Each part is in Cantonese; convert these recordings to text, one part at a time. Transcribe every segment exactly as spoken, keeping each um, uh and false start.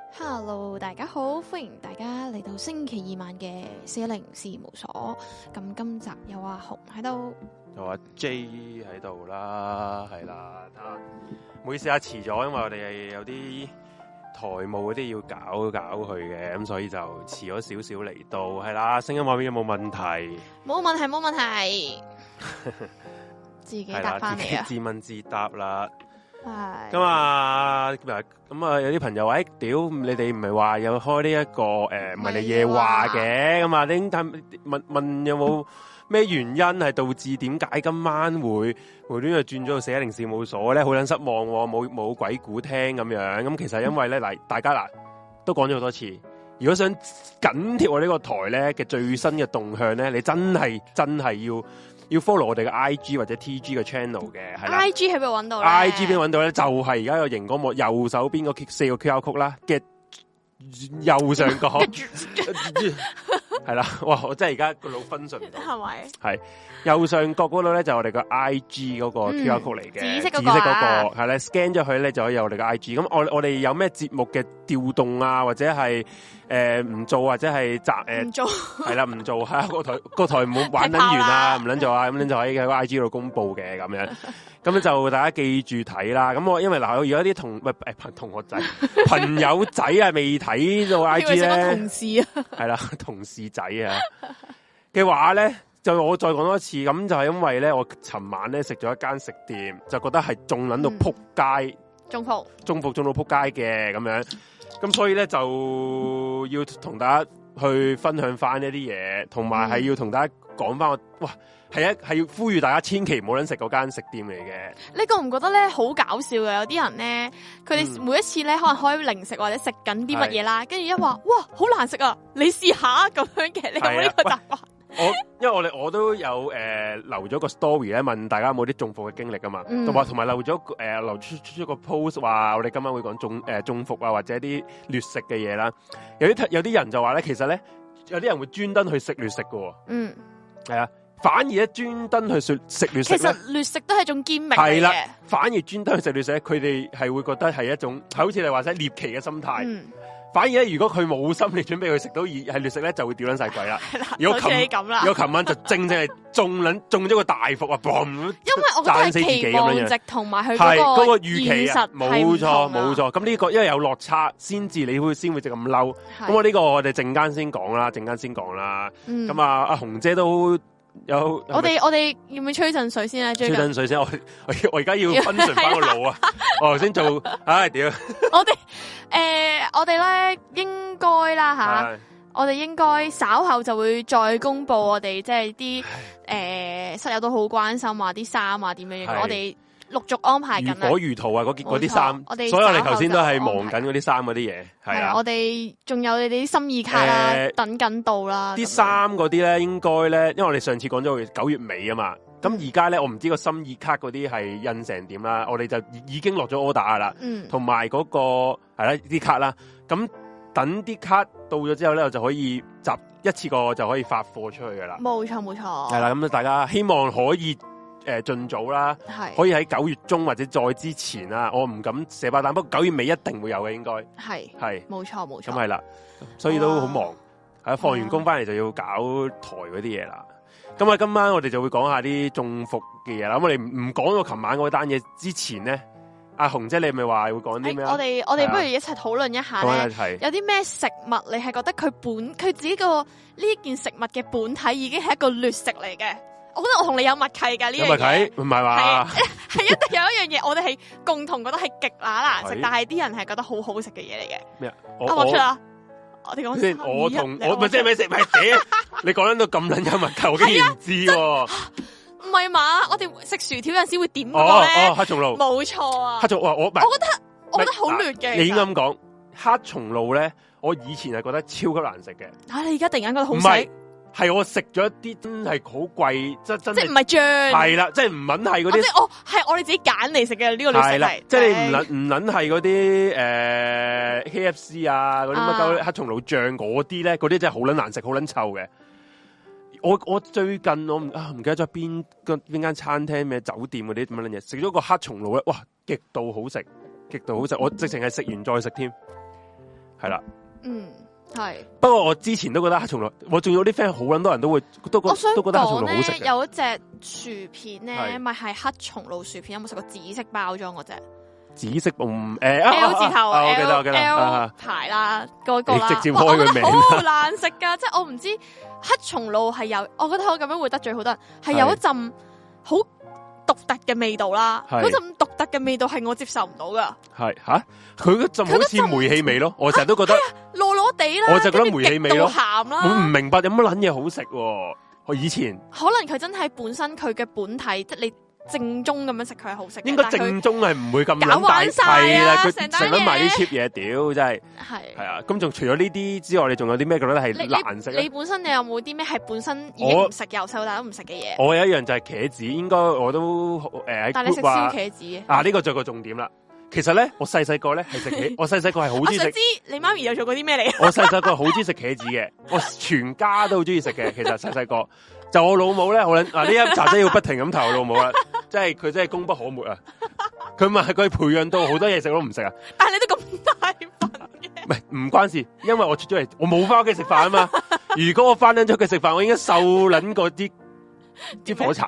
Hello，大家好，歡迎大家嚟到星期二晚嘅四一零事務所。咁今集有阿紅喺度， 有阿 J 喺度啦，係啦。唔好意思啊，遲咗，因為我哋係有啲台務嗰啲要搞搞佢嘅，咁所以就遲咗少少嚟到，係啦。聲音畫面有冇問題？ 冇問題，冇問題，自己答翻嚟啊！ 自問自答啦。 係咁啊，咁啊，有啲朋友話：，誒、欸，屌，你哋唔係話有開呢、這、一個誒唔係你夜話嘅，咁啊，你問問問有冇咩原因係導致點解今晚會無端端轉咗到四一零事務所咧？好撚失望喎、哦，冇冇鬼故聽咁樣。咁其實因為咧，嗱、嗯，大家嗱都講咗好多次，如果想緊貼我呢個台咧嘅最新嘅動向咧，你真係真係要。要 follow 我哋嘅 I G 或者 T G 嘅 channel 嘅，係啦。 I G 喺邊度揾到咧 ？I G 邊揾到咧？就係而家個熒光幕右手邊個四個 Q R code 啦嘅右上角，係啦。哇！我真係而家個腦分順唔到，係咪？係右上角嗰度咧就我哋個 I G 嗰個 Q R code 嚟嘅， 紫色嗰個， 紫色嗰個係咧 scan 咗佢咧就可以有我哋嘅 I G。咁我我哋有咩節目嘅調動啊，或者係誒唔做或者係雜誒唔做係啦唔做係個台個台唔好玩撚完啊唔撚做啊咁樣就可以喺個 I G 度公佈嘅咁樣。咁咧就大家記住睇啦。咁我因為嗱，我而家啲同喂誒同學仔朋友仔啊未睇到 I G 咧， 同事啊係啦同事仔啊嘅話咧。就我再講多一次，咁就係因為咧，我尋晚咧食咗一間食店，就覺得係仲撚到撲街， 中伏中伏中到撲街嘅咁樣，咁所以咧就要同大家去分享翻一啲嘢，同埋係要同大家講翻我，哇，係一係要呼籲大家千祈唔好撚食嗰間食店嚟嘅。 你覺唔覺得咧好搞笑嘅？有啲人咧，佢哋每一次咧可能開零食或者食緊啲乜嘢啦，跟住一話哇好難食啊，你試下咁樣嘅，你有冇呢個習慣？ 我因為我哋我都有誒、呃、留咗個 story 咧，問大家有冇啲中伏嘅經歷啊嘛，同埋同埋留咗誒、呃、留出出咗個 post 話我哋今晚會講中誒、呃、中伏啊或者啲劣食嘅嘢啦。有啲有啲人就話咧，其實咧有啲人會專登去食劣食嘅，嗯，係啊，反而咧專登去食食劣食，其實劣食都係一種堅明係啦，反而專登去食劣食，佢哋係會覺得係一種好似你話齋獵奇嘅心態。嗯反而咧，如果佢冇心理準備去食到係劣食咧，就會掉撚晒鬼啦。如果琴如果琴晚就正正係中撚中咗個大伏啊！嘣！因為我覺得係期望值同埋佢嗰個預期啊，冇錯冇錯。咁呢個因為有落差，先至你會先會就咁嬲。咁我呢個我哋陣間先講啦，陣間先講啦。咁、嗯、啊，阿紅姐都。有我哋我哋要唔要吹陣水先啊？ 吹陣水先，我我而家要分順翻個腦啊！我頭先做，唉屌！ 我哋誒，我哋咧應該啦吓，我哋應該稍後就會再公布我哋即係啲誒室友都好關心啊，啲衫啊點樣樣，我哋陸續安排緊啦。如火如荼啊！嗰嗰啲衫，所以我哋頭先都係忙緊嗰啲衫嗰啲嘢，係啊。 我哋仲有你哋啲心意卡啦，呃、等緊到啦。 啲衫嗰啲咧，應該咧，因為我哋上次講咗九月尾啊嘛，咁而家咧，我唔知個心意卡嗰啲係印成點啦，我哋就已經落咗 order 噶啦，嗯，同埋嗰個係啦啲卡啦，咁等啲卡到咗之後咧，我就可以集一次過就可以發貨出去噶啦。 冇錯冇錯， 係啦，咁大家希望可以。誒，盡早啦，可以喺九月中或者再之前啦，我唔敢寫爆彈，不過九月尾一定會有嘅，應該係係冇錯冇錯， 咁係啦，所以都好忙，係放完工翻嚟就要搞台嗰啲嘢啦。咁啊，今晚我哋就會講下啲中伏嘅嘢啦。咁我哋唔講到琴晚嗰單嘢之前咧，阿紅姐你咪話會講啲咩？ 我哋我哋不如一齊討論一下咧，有啲咩食物你係覺得佢本佢自己個呢件食物嘅本體已經係一個劣食嚟嘅？我覺得我同你有默契㗎呢樣嘢，默契唔係話係一定有一樣嘢，我哋係共同覺得係極乸難食，但係啲人係覺得好好食嘅嘢嚟嘅。咩？我講出啦，我哋講先。我同我咪即係咩食？咪嗲！你講到咁撚有默契，我竟然唔知喎。唔係嘛？我哋食薯條有陣時會點嗰個咧？哦，黑松露。冇錯啊。黑松露我我我覺得我覺得好劣嘅。你應該咁講，黑松露咧，我以前係覺得超級難食嘅。啊！你而家突然間覺得好食？係我食咗一啲真係好貴，真真即係唔係醬，係啦，即係唔撚係嗰啲。即係我係我哋自己揀嚟食嘅呢個劣食係，即係你唔撚唔撚係嗰啲誒 K F C 啊嗰啲乜鳩黑松露醬嗰啲咧，嗰啲真係好撚難食，好撚臭嘅。我我最近我唔啊唔記得咗邊個邊間餐廳咩酒店嗰啲咁樣嘢，食咗個黑松露咧，哇極度好食，極度好食，我直情係食完再食添。 係啦。 嗯，係。 不過我之前都覺得黑松露，我仲有啲 friend 好撚多人都會都覺都覺得黑松露好食嘅。 有一隻薯片咧，咪係黑松露薯片，有冇食過紫色包裝嗰隻？紫色嗯誒 L 字頭， 我記得我記得 L 牌啦，嗰個啦， 直接開個名， 好難食噶，即係我唔知黑松露係有，我覺得我咁樣會得罪好多人，係有一陣好獨特嘅味道啦，嗰陣獨特嘅味道係我接受唔到噶。係吓，佢嗰陣好似煤氣味咯，我成日都覺得糯糯地啦， 我就覺得煤氣味咯， 鹹啦， 我唔明白有乜撚嘢好食。我以前可能佢真係本身佢嘅本體，即係你。正宗咁樣食佢係好食， 應該正宗係唔會咁搞玩晒啦，佢成日買啲 cheap 嘢，屌真係係係啊！咁仲除咗呢啲之外，你仲有啲咩覺得係難食？ 你本身你有冇啲咩係本身已經唔食由細到大都唔食嘅嘢？ 我有一樣就係茄子，應該我都誒、呃、 但係你食燒茄子啊？呢、這個就係個重點啦。其實咧，我細細個咧係食茄，我細細個係好中意食。 我知你媽咪有做過啲咩嚟？ 我細細個好中意食茄子嘅，我全家都好中意食嘅。其實細細個。就我老母咧，我諗嗱呢一集真要不停咁投我老母啦，即係佢真係功不可沒啊！佢咪係佢培養到好多嘢食都唔食啊！ 但係你都咁大份嘅， 唔係唔關事，因為我出咗嚟，我冇翻屋企食飯啊嘛。如果我翻緊咗屋企食飯，我應該瘦撚過啲啲火柴。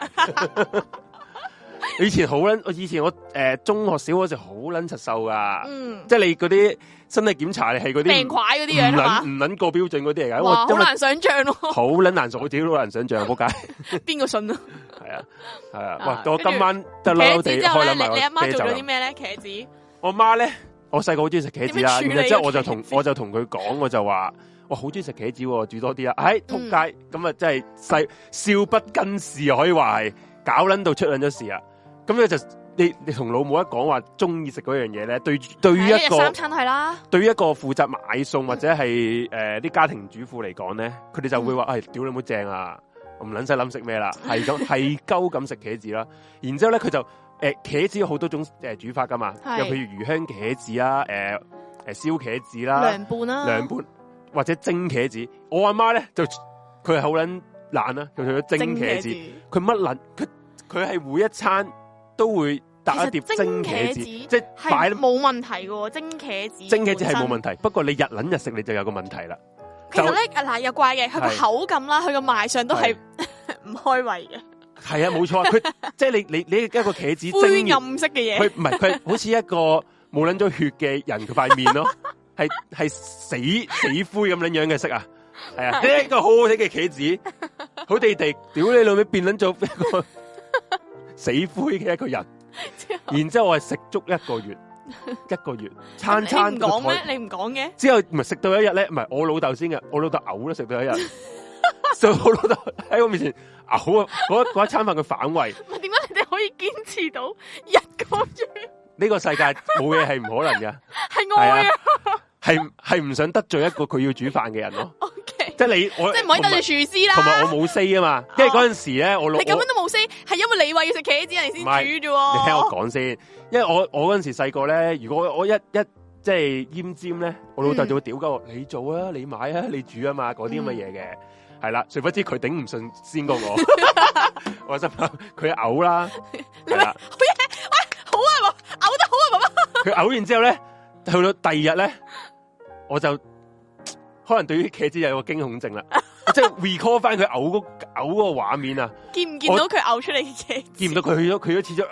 以前好撚，我以前我誒、呃、中學小嗰時好撚實瘦噶，嗯、即係你嗰啲身體檢查你係嗰啲病塊嗰啲樣係嘛？ 唔撚過標準嗰啲嚟噶， 哇，好難想象咯， 好撚難做，我自己都難想象，仆街。 邊個信啊？ 係啊，係啊，哇！我今晚得啦，我哋開諗埋你阿媽做咗啲咩咧？茄子， 我媽咧，我細個好中意食茄子啦，然之後我就同我就同佢講，我就話我好中意食茄子，煮多啲啊！哎，仆街，咁啊真係細笑不更事，可以話係搞撚到出撚咗事啊！咁咧就你你同老母一講話中意食嗰樣嘢咧，對對於一個三餐係啦， 對於一個負責買餸或者係誒啲家庭主婦嚟講咧，佢哋就會話：，哎，屌你冇正啊！唔撚使諗食咩啦，係咁係鳩咁食茄子啦。然之後咧，佢就誒、呃、茄子有好多種誒、呃、煮法噶嘛，又譬如魚香茄子啦，誒誒燒茄子啦， 涼拌啦， 涼拌或者蒸茄子。我阿媽咧就佢係好撚懶啦，佢除咗蒸茄子，佢乜撚佢佢係每一餐都會搭一碟蒸茄子，即係擺冇問題嘅，蒸茄子蒸茄子係冇問題，不過你日撚日食你就有個問題啦。 其實咧，嗱又怪嘅，佢個口感啦，佢個賣相都係唔開胃嘅。 係啊，冇錯，佢即係你你你一個茄子灰暗色嘅嘢， 佢唔係佢好似一個冇捻咗血嘅人佢塊面咯，係係死死灰咁樣樣嘅色啊，係啊，呢一個好好睇嘅茄子，好地地，屌你老味變捻咗一個死灰嘅一個人，然之後我係食足一個月。一個月餐餐唔講咩？你唔講嘅？ 之後唔係食到一日咧，唔係我老豆先嘅，我老豆嘔都食到一日，所以我老豆喺我面前嘔啊！嗰嗰一餐飯佢反胃。 唔係點解你哋可以堅持到一個月？ 呢個世界冇嘢係唔可能嘅， 係愛啊！ 係係唔想得罪一個佢要煮飯嘅人咯。 OK， 即係你我即係唔可以得罪廚師啦。 同埋我冇 say 啊嘛，因為嗰陣時咧我老你咁樣都冇 say，係因為你話要食茄子人哋先煮啫。 你聽我講先。因為我我嗰陣時細個咧，如果我一一即係奄尖咧，我老豆就會屌鳩我，你做啊，你買啊，你煮啊嘛，嗰啲咁嘅嘢嘅，係啦。殊不知佢頂唔順先過我，我心諗佢嘔啦，係啦， 好嘢，喂，好啊，嘔得好啊，爸爸。佢嘔完之後咧，去到第二日咧，我就可能對於茄子有個驚恐症啦，即係 recall 翻佢嘔嗰嘔嗰個畫面啊！ 見唔見到佢嘔出嚟嘅茄子？ 見唔到佢去咗，佢咗似咗。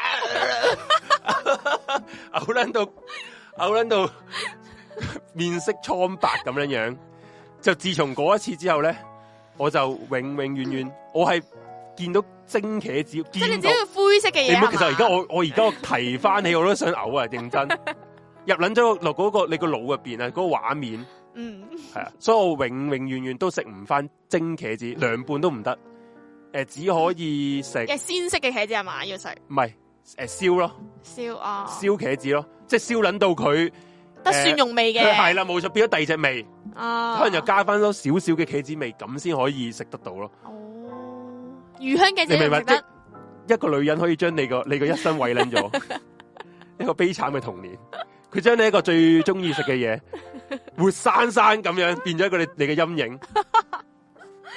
嘔撚到，嘔撚到面色蒼白咁樣樣，就自從嗰一次之後咧，我就永永遠遠，我係見到蒸茄子，即係你只要灰色嘅嘢。 其實而家我我而家我提翻起，我都想嘔啊！認真入撚咗落嗰個你個腦入邊啊，嗰個畫面，嗯，係啊，所以我永永遠遠都食唔翻蒸茄子，涼拌都唔得，誒，只可以食嘅鮮色嘅茄子係嘛？要食？ 唔係。誒，燒咯， 燒啊， 燒茄子咯，即係燒捻到佢得蒜蓉味嘅， 係啦，冇錯，變咗第二隻味， 啊， 可能就加翻多少少嘅茄子味，咁先可以食得到咯。 哦，魚香茄子你明白？ 食得一個女人可以將你個你個一生毀捻咗，一個悲慘嘅童年，佢將你一個最中意食嘅嘢，活生生咁樣變咗一個你你嘅陰影。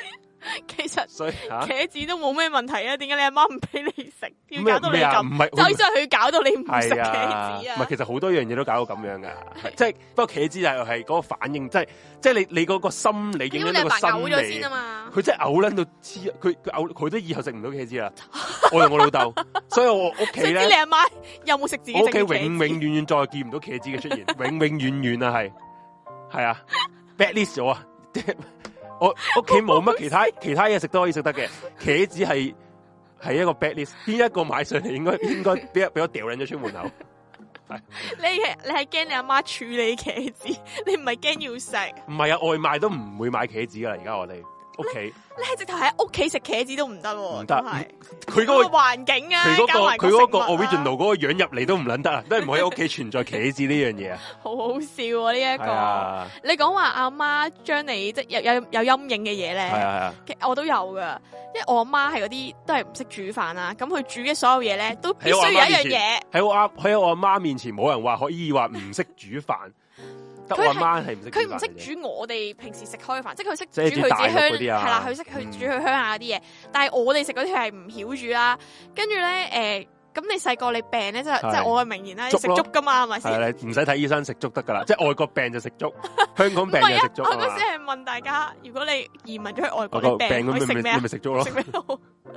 其實所以茄子都冇咩問題啊，點解你阿媽唔俾你食，要搞到你咁？ 唔係， 就係佢搞到你唔食茄子啊？ 唔係，其實好多樣嘢都搞到咁樣噶，即係不過茄子就係係嗰個反應，即係即係你你嗰個心理影響到個心理先啊嘛。佢真係嘔撚到黐，佢佢嘔佢都以後食唔到茄子啦。我同我老豆，所以我屋企咧， 你阿媽有冇食自己？ 我屋企永永遠遠再見唔到茄子嘅出現，永永遠遠啊係係啊 bad list 咗啊！我屋企冇乜其他其他嘢食都可以食得嘅，茄子係係一個 bad list， 邊一個買上嚟應該應該俾俾我掉撚咗出門口。係你係你係驚你阿媽處理茄子，你唔係驚要食。唔係啊，外賣都唔會買茄子噶啦，而家我哋屋企。你係直頭喺屋企食茄子都唔得，唔得。 佢嗰個環境啊， 佢嗰個佢嗰個 original 嗰個樣入嚟都唔撚得啊，都係唔可以喺屋企存在茄子呢樣嘢啊。 好好笑啊！呢一個，你講話阿媽將你即有有有陰影嘅嘢咧，係啊係啊，我都有噶，因為我阿媽係嗰啲都係唔識煮飯啦，咁佢煮嘅所有嘢咧都必須有一樣嘢。喺我阿喺我阿媽面前，冇人話可以話唔識煮飯。得我阿媽係唔識， 佢唔識煮我哋平時食開飯，即係佢識煮佢自己鄉係啦，佢識去煮佢鄉下嗰啲嘢。但係我哋食嗰啲係唔曉煮啦。跟住咧，誒，咁你細個你病咧，即係即係我嘅名言啦，食粥噶嘛，係咪先？係唔使睇醫生食粥得噶啦，即係外國病就食粥，香港病就食粥。我嗰時係問大家，如果你移民咗去外國，你病可以食咩啊？你咪食粥咯。食咩好？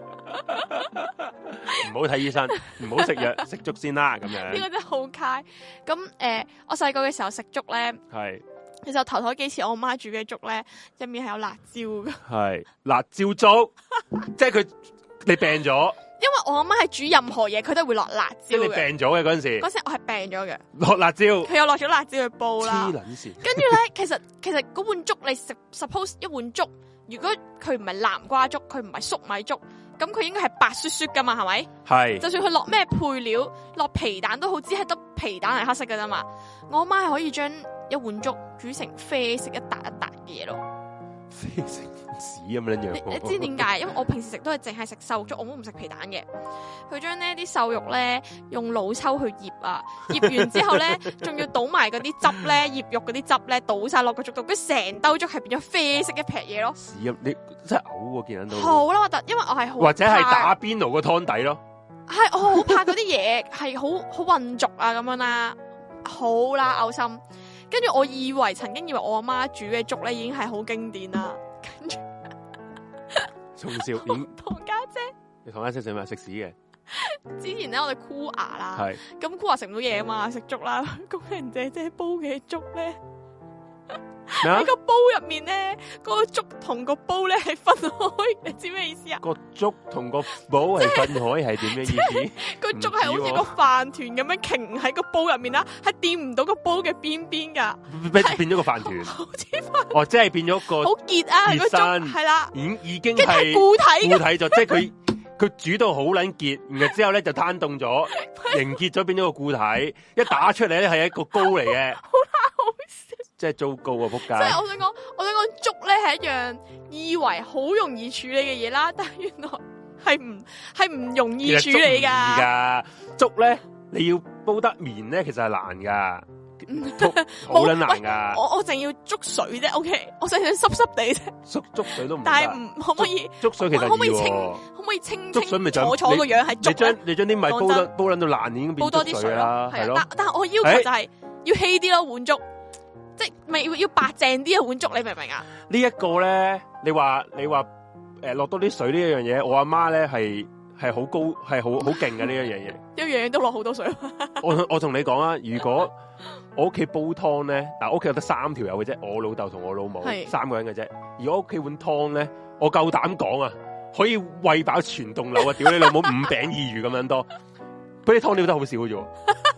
唔好睇醫生，唔好食藥，食粥先啦。咁樣呢個真係好嘥。咁誒、呃，我細個嘅時候食粥咧，係其實頭頭幾次我媽煮嘅粥咧，入面係有辣椒噶。係辣椒粥，即係佢你病咗。因為我阿媽係煮任何嘢，佢都會落辣椒。即係你病咗嘅嗰陣時，嗰時我係病咗嘅。落辣椒，佢有落咗辣椒去煲啦。黐撚線。跟住咧，其實其實嗰碗粥你食 ，suppose 一碗粥，如果佢唔係南瓜粥，佢唔係粟米粥。咁佢應該係白雪雪噶嘛，係咪？係。就算佢落咩配料，落皮蛋都好，只係得皮蛋係黑色噶啫嘛。我阿媽係可以將一碗粥煮成啡色一笪一笪嘅嘢咯。啡色屎咁樣樣。你知點解？因為我平時食都係淨係食瘦粥，我都唔食皮蛋嘅。佢將呢啲瘦肉咧用老抽去醃啊，醃完之後咧，仲要倒埋嗰啲汁咧，醃肉嗰啲汁咧，倒晒落個粥度，跟成兜粥係變咗啡色一撇嘢咯。屎啊！你真係嘔喎，見到。好啦，核突，因為我係好或者係打邊爐個湯底咯。係，我好怕嗰啲嘢係好好混濁啊，咁樣啦，好啦，嘔心。跟住我以為曾經以為我阿媽煮嘅粥咧已經係好經典啦，跟住從小點同家姐，你同家姐食咩？食屎嘅。之前咧我哋箍牙啦，咁箍牙食唔到嘢啊嘛，食粥啦，工人姐姐煲嘅粥咧。喺個煲入面咧，嗰個粥同個煲咧係分開，你知咩意思啊？個粥同個煲係分開係點嘅意思？個粥係好似個飯團咁樣擎喺個煲入面啦，係掂唔到個煲嘅邊邊噶，變咗個飯團，好似飯哦，即係變咗個好結啊個粥係啦，已已經係固體固體咗，即係佢佢煮到好撚結，然後之後咧就攤凍咗，凝結咗變咗個固體，一打出嚟咧係一個糕嚟嘅。即係糟糕啊！仆街！即係我想講，我想講粥咧係一樣以為好容易處理嘅嘢啦，但係原來係唔係唔容易處理噶。粥咧你要煲得綿咧，其實係難噶，好撚難噶。我我淨要粥水啫 ，OK， 我淨係濕濕地啫。粥粥水都唔得，但係唔可唔可以？粥水其實可唔可以清？可唔可以清？粥水咪就楚楚個樣係粥。你將你將啲米煲得煲撚到爛，已經變粥水啦，係咯。但但係我要求就係要稀啲咯，碗粥。即係咪要白淨啲嘅碗粥？你明唔明啊？呢一個咧，你話你話誒落多啲水呢一樣嘢，我阿媽咧係係好高係好好勁嘅呢一樣嘢。一樣嘢都落好多水。我我同你講啊，如果我屋企煲湯咧，嗱，屋企有得三條友嘅啫，我老豆同我老母三個人嘅啫。如果屋企碗湯咧，我夠膽講啊，可以餵飽全棟樓啊！屌你老母五餅二魚咁樣多，嗰啲湯料得好少嘅啫。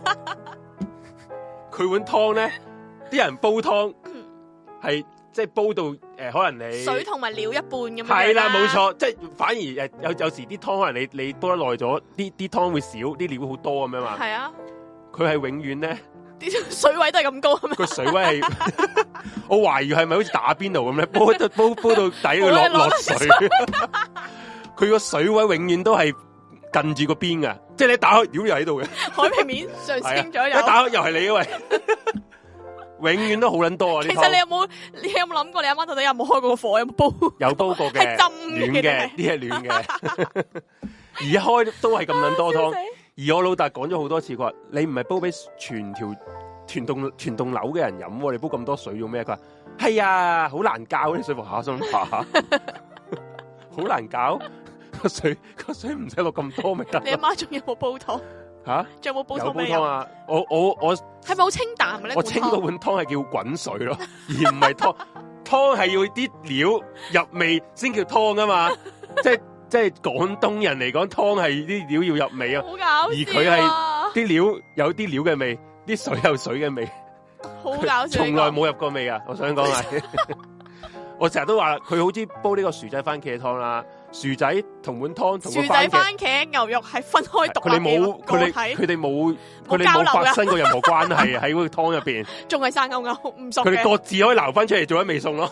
佢碗湯咧。啲人煲湯係即係煲到誒、呃，可能你水同埋料一半咁樣。係啦，冇錯，即係反而誒有有時啲湯可能你你煲得耐咗，啲啲湯會少，啲料好多咁樣嘛。係啊，佢係永遠咧，啲水位都係咁高。個水位係，我懷疑係咪好似打邊爐咁咧？煲到煲煲到底佢落落水，佢個水位永遠都係近住個邊噶，即係你打開料又喺度嘅，海平面上升咗，一打開又係你喂。 永遠都好撚多啊！ 其實你有冇你有冇諗過你阿媽到底有冇開過個火，有冇煲？ 有煲過嘅，係浸暖嘅，啲係暖嘅。而一開都係咁撚多湯。而我老豆講咗好多次，佢話你唔係煲俾全條全棟全棟樓嘅人飲，你煲咁多水做咩？佢話係啊，好難教啲水服下心下，好難教個水個水唔使落咁多咪得。 你阿媽仲有冇煲湯？吓，仲有冇煲湯？有煲湯啊！ 我我我係咪好清淡嘅咧？ 我清嗰碗湯係叫滾水咯，而唔係湯。湯係要啲料入味先叫湯啊嘛！即係即係廣東人嚟講，湯係啲料要入味啊。好搞笑啊！而佢係啲料有啲料嘅味，啲水有水嘅味。好搞笑！從來冇入過味啊！我想講係，我成日都話佢好似煲呢個薯仔番茄湯啦。薯仔同碗湯同薯仔番茄牛肉係分開獨立嘅個體，佢哋冇佢哋冇發生過任何關係喺嗰個湯入邊，仲係生勾勾唔熟嘅。佢哋各自可以撈翻出嚟做一味餸咯。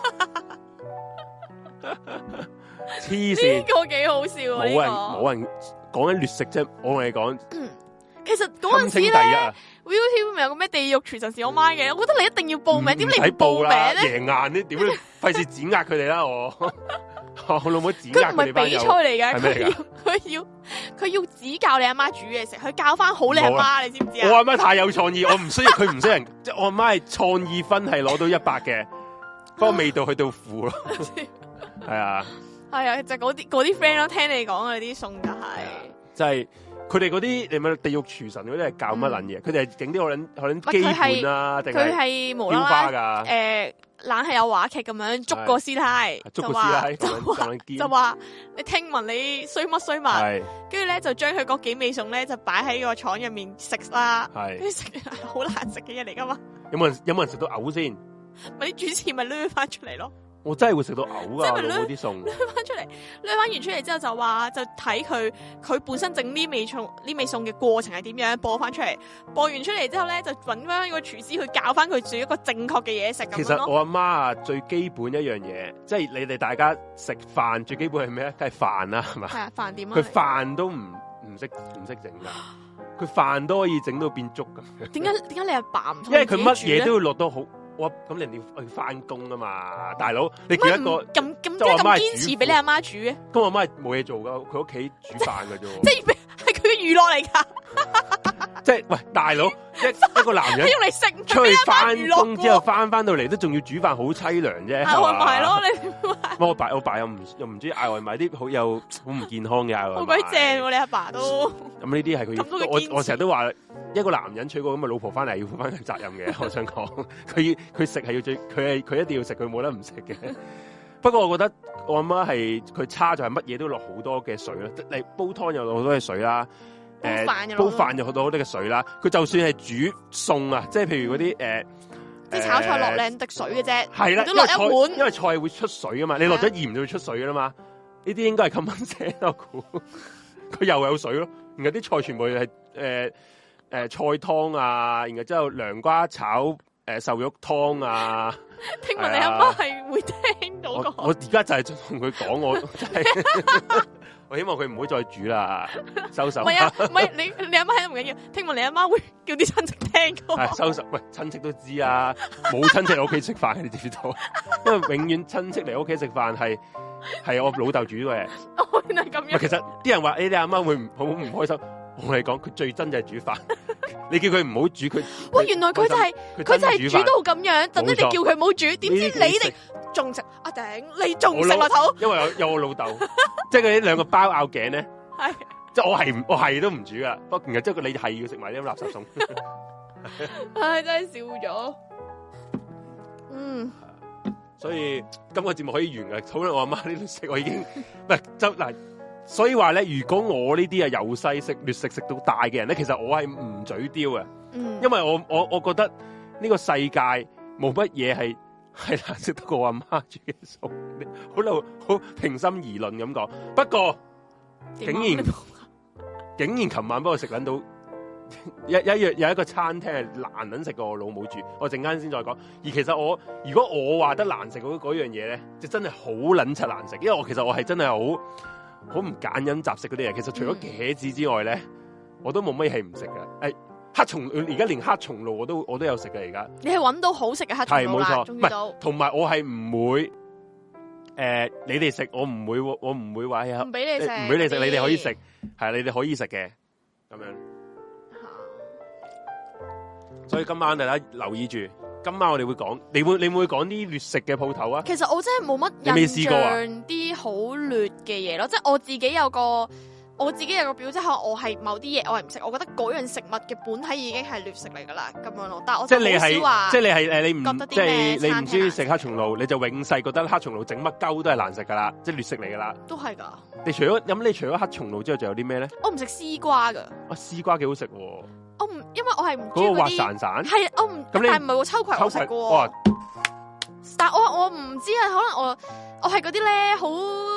黐線，呢個幾好笑啊！冇人冇人講緊劣食啫，我同你講。其實嗰陣時咧 ，ViuTV 咪有個咩地獄廚神是我媽嘅，我覺得你一定要報名，點你唔報名咧？贏硬啲，點樣費事碾壓佢哋啦我。我老母指佢唔係比賽嚟嘅，佢要佢要佢要指教你阿媽煮嘢食，佢教翻好你阿媽，你知唔知啊？我阿媽太有創意，我唔需要佢唔需要人，即係我阿媽係創意分係攞到一百嘅，不過味道去到負咯。係啊，係啊，就嗰啲嗰啲 friend 咯，聽你講嗰啲餸就係，就係佢哋嗰啲你咪地獄廚神嗰啲係教乜撚嘢？佢哋係整啲可能可能基本啊，定係佢係無啦啦誒。冷係有話劇咁樣捉個師太，就話就話就話你聽聞你衰乜衰物，跟住咧就將佢嗰幾味餸咧就擺喺個廠入面食啦，跟住食好難食嘅嘢嚟噶嘛。有冇人有冇人食到嘔先？咪啲主持咪掠翻出嚟咯。我真係會食到嘔噶，嗰啲餸掠翻出嚟，掠翻完出嚟之後就話就睇佢佢本身整呢味餸呢味餸嘅過程係點樣播翻出嚟，播完出嚟之後咧就揾翻個廚師去教翻佢煮一個正確嘅嘢食。其實我阿媽啊最基本一樣嘢，即係你哋大家食飯最基本係咩咧？梗係飯啦，係嘛？係啊，飯點啊？佢飯都唔唔識唔識整噶，佢飯都可以整到變粥咁。點解點解你阿爸唔？因為佢乜嘢都要落到好。我咁人哋去翻工啊嘛，大佬你叫一個咁咁即係咁堅持俾你阿媽煮嘅？咁我阿媽係冇嘢做噶，佢屋企煮飯噶啫。即係係佢嘅娛樂嚟噶。即係喂，大佬一一個男人用嚟食出去翻工之後翻翻到嚟都仲要煮飯，好凄涼啫。嗌外賣咯，你我爸我爸又唔又唔中意嗌外賣，啲好有好唔健康嘅嗌外賣。好鬼正，你阿爸都咁呢啲係佢要。我我成日都話。一個男人娶個咁嘅老婆翻嚟，要負翻佢責任嘅。我想講，佢佢食係要最，佢係佢一定要食，佢冇得唔食嘅。不過我覺得我阿媽係佢差就係乜嘢都落好多嘅水啦，你煲湯又落好多嘅水啦，誒煲飯又落好多嘅水啦。佢就算係煮餸啊，即係譬如嗰啲誒，即係炒菜落兩滴水嘅啫，係啦，都落一碗，因為菜會出水噶嘛，你落咗鹽就會出水噶啦嘛。呢啲應該係咁樣寫我估，佢又有水咯，然後啲菜全部係誒。呃誒、呃，菜湯啊，然後之後涼瓜炒誒、呃、瘦肉湯啊。聽聞你阿媽係會聽到個。我而家就係同佢講，我真係，我希望佢唔好再煮啦，收手。唔係啊，唔係你你阿媽喺度唔緊要，聽聞你阿媽會叫啲親戚聽噶。係收手，喂，親戚都知啊，冇親戚嚟屋企食飯，你知唔知道？因為永遠親戚嚟屋企食飯係係我老豆煮嘅。哦，原來咁樣。其實啲人話誒，你阿媽會唔好唔開心。我同你講，佢最憎就係煮飯。你叫佢唔好煮，佢喂，原來佢就係佢就係煮到咁樣，等你哋叫佢唔好煮，點知你哋仲食？阿頂，你仲食落頭？因為有有我老豆，即係佢啲兩個包拗頸咧，係即係我係我係都唔煮噶，不過然後即係你係要食埋啲垃圾餸。唉，真係笑咗。嗯，所以今個節目可以完噶，討論我阿媽呢度食，我已經唔係就嗱。所以話咧，如果我呢啲啊由細食劣食食到大嘅人咧，其實我係唔嘴刁嘅，嗯、因為我我我覺得呢個世界冇乜嘢係係難食得過我阿媽煮嘅餸，好老好平心而論咁講。不過竟然竟然琴晚幫我食捻到一一樣有一個餐廳係難捻食過我老母煮，我陣間先再講。而其實我如果我話得難食嗰嗰樣嘢咧，就真係好捻柒難食，因為我其實我係真係好。好唔揀飲雜食嗰啲嘢，其實除咗茄子之外咧，嗯、我都冇乜嘢係唔食嘅。誒、哎， 黑松而家連黑松露我都我都有食嘅而家。 你係揾到好食嘅黑松露啦，終於到。 同埋我係唔會。誒、呃，你哋食我唔會，我唔會話唔俾你食， 唔俾你食，你哋可以食，係你哋可以食嘅，咁樣。所以今晚大家留意住，今晚我哋會講，你會你會講啲劣食嘅鋪頭啊？ 其實我真係冇乜印象啲好劣嘅嘢咯，即係我自己有個。我自己有個表，即係可能我係某啲嘢我係唔食，我覺得嗰樣食物嘅本體已經係劣食嚟噶啦，咁樣咯。但係我就好少話， 即係你係誒，你唔即係你唔中意食黑松露，你就永世覺得黑松露整乜鳩都係難食噶啦，即係劣食嚟噶啦。 都係噶。 你除咗咁，你除咗黑松露之外，仲有啲咩咧？ 我唔食絲瓜噶。啊， 絲瓜幾好食喎！ 我唔，因為我係唔中意嗰啲。嗰個滑散散。係，我唔。咁你但係唔係喎，秋葵我食過。哇！但係我我唔知啊，可能我我係嗰啲咧好。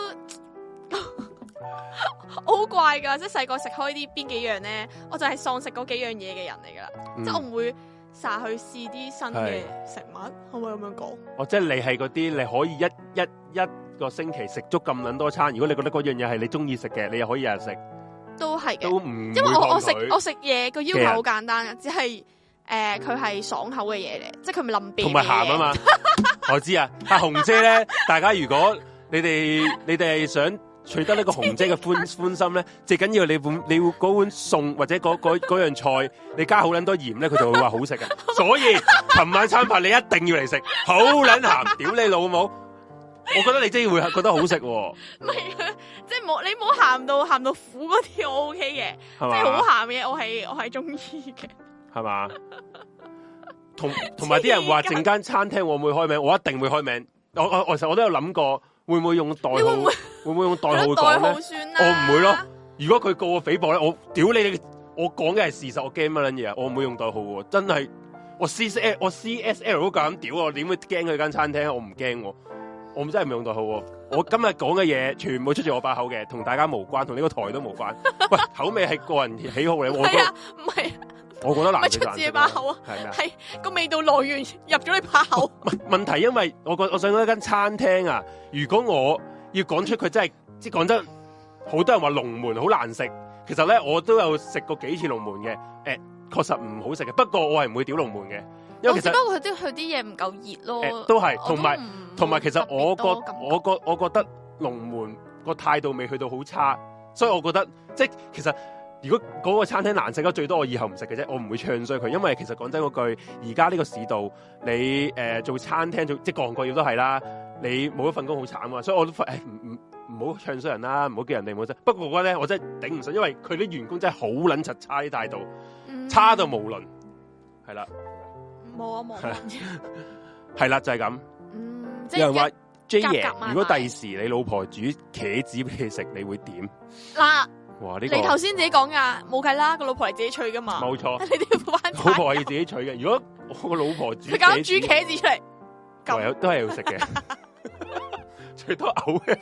我好怪噶，即係細個食開啲邊幾樣咧，我就係喪食嗰幾樣嘢嘅人嚟噶啦，嗯、即係我唔會成日去試啲新嘅食物，可唔可以咁樣講？哦，即係你係嗰啲你可以一一一個星期食足咁撚多餐，如果你覺得嗰樣嘢係你中意食嘅，你又可以日日食，都係嘅，都唔因為我我食我食嘢個要求好簡單嘅，只係誒佢係爽口嘅嘢嚟，即係佢唔係腍鼻嘅嘢，同埋鹹啊嘛。我知啊，阿紅姐咧，大家如果你哋你哋係想取得呢個紅姐嘅歡歡心咧，最緊要你碗你嗰碗餸或者嗰嗰嗰樣菜，你加好撚多鹽咧，佢就會話好食嘅。所以琴晚餐飯你一定要嚟食，好撚鹹，屌你老母！我覺得你真係會覺得好食喎。唔係啊，即係冇你冇鹹到鹹到苦嗰啲，我 OK 嘅，即係好鹹嘅嘢，我係我係中意嘅。係嘛？同同埋啲人話整間餐廳會唔會開名？我一定會開名。我我我其實我都有諗過。會唔會用代號？會唔會，會，唔會用代號講咧？我唔會咯。如果佢告我誹謗咧，我屌你！我講嘅係事實，我驚乜撚嘢啊？我唔會用代號喎，真係我 C S L 我 C S L 都夠膽屌我，點會驚佢間餐廳？我唔驚，我真係唔用代號。我今日講嘅嘢全部出自我把口嘅，同大家無關，同呢個台都無關。喂，口味係個人喜好嚟，我係啊，唔係。我覺得難食，出自你把口啊，係個味道來源入咗你把口。問題因為我覺我想講一間餐廳啊，如果我要講出佢真係，即係講真，好多人話龍門好難食，其實咧我都有食過幾次龍門嘅，誒、欸，確實唔好食嘅。不過我係唔會屌龍門嘅，因為其實不過佢啲佢啲嘢唔夠熱咯，欸、都係同埋同埋其實我覺我覺我覺得龍門個態度未去到好差，所以我覺得即係其實。如果嗰個餐廳難食得最多，我以後唔食嘅啫，我唔會唱衰佢，因為其實講真嗰句，而家呢個市道，你誒、呃、做餐廳做即係各行各業都係啦，你冇一份工好慘啊，所以我都誒唔唔唔好唱衰人啦，唔好叫人哋冇啫。不過我覺得咧，我真係頂唔順，因為佢啲員工真係好撚柒差啲態度，嗯、差到無倫，係啦，冇啊冇啊，係啦就係、是、咁。嗯，有人話 J 爺，如果第時你老婆煮茄子俾你食，你會點？嗱。哇！呢個、你頭先自己講噶，冇計啦，個老婆係自己取噶嘛。冇錯，你都要翻。老婆係要自己取嘅。如果我個老婆煮，佢搞煮茄子出嚟，唯有都係要食嘅，最多嘔嘅。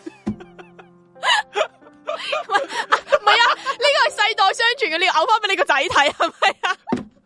唔係啊，呢個係世代相傳嘅，你要嘔翻俾你個仔睇，係咪啊？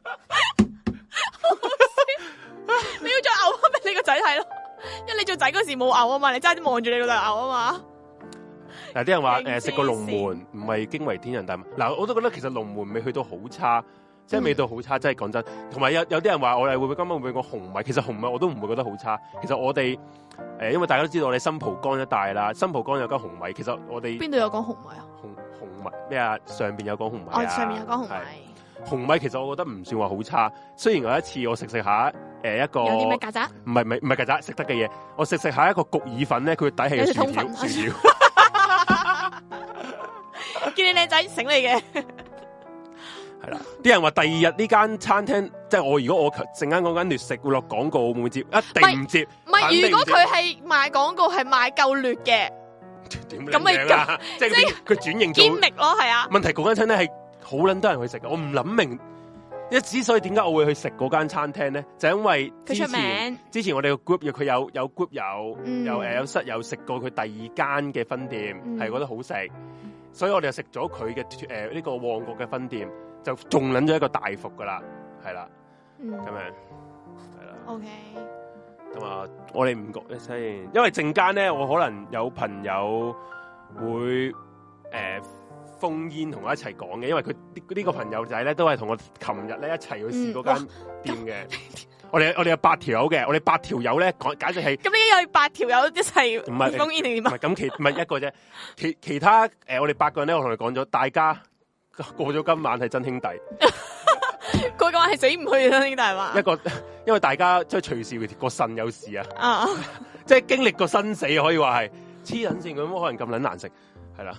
你要再嘔翻俾你個仔睇咯，因為你做仔嗰時冇嘔啊嘛，你齋啲望住你老豆嘔啊嘛。嗱，啲人話誒食個龍門唔係驚為天人，但嗱我都覺得其實龍門未去到好差，即係味道好差，真係講真。同埋有有啲人話我哋會唔會今晚會唔會講紅米？其實紅米我都唔會覺得好差。其實我哋誒、呃，因為大家都知道我哋新蒲崗一帶啦，新蒲崗有間紅米。其實我哋邊度有講紅米啊？紅紅米咩啊？上邊有講紅米啊？哦、上面有講紅米。紅米其實我覺得唔算話好差。雖然有一次我食食下誒、呃、一個有啲咩曱甴？唔係唔係唔係曱甴食得嘅嘢。我食食下一個焗意粉咧，佢底係有薯條薯條。見你靚仔醒你嘅，係啦。啲人話第二日呢間餐廳，即係我如果我陣間嗰間劣食會落廣告，會唔會接？一定唔接。唔係，如果佢係賣廣告係賣夠劣嘅，咁咪咁，即係佢轉型做堅力咯，係啊。問題嗰間餐廳係好撚多人去食嘅，我唔諗明。一之所以點解我會去食嗰間餐廳咧，就因為之前佢出名之前我哋個 group 佢有有 group 友，嗯、有誒有室友食過佢第二間嘅分店，係、嗯、覺得好食。所以我哋就食咗佢嘅誒呢個旺角嘅分店，就仲撚咗一個大幅噶啦，係啦，咁、嗯、樣係啦。OK，咁啊，我哋唔覺先，因為陣間咧，我可能有朋友會誒封煙同我一齊講嘅，因為佢呢個朋友仔咧都係同我琴日咧一齊去試嗰間店嘅。嗯我哋我哋有八條友嘅，我哋八條友咧講，簡直係咁你有八條友一齊唔係封煙定點啊？ 唔係咁其唔係一個啫，其其他誒、呃，我哋八個人咧，我同你講咗，大家過咗今晚係真兄弟， 過今晚係死唔去嘅真兄弟嘛？ 一個因為大家即係隨時個腎有事啊， 啊即係經歷過生死，可以話係黐撚線咁，可能咁撚難食，係啦。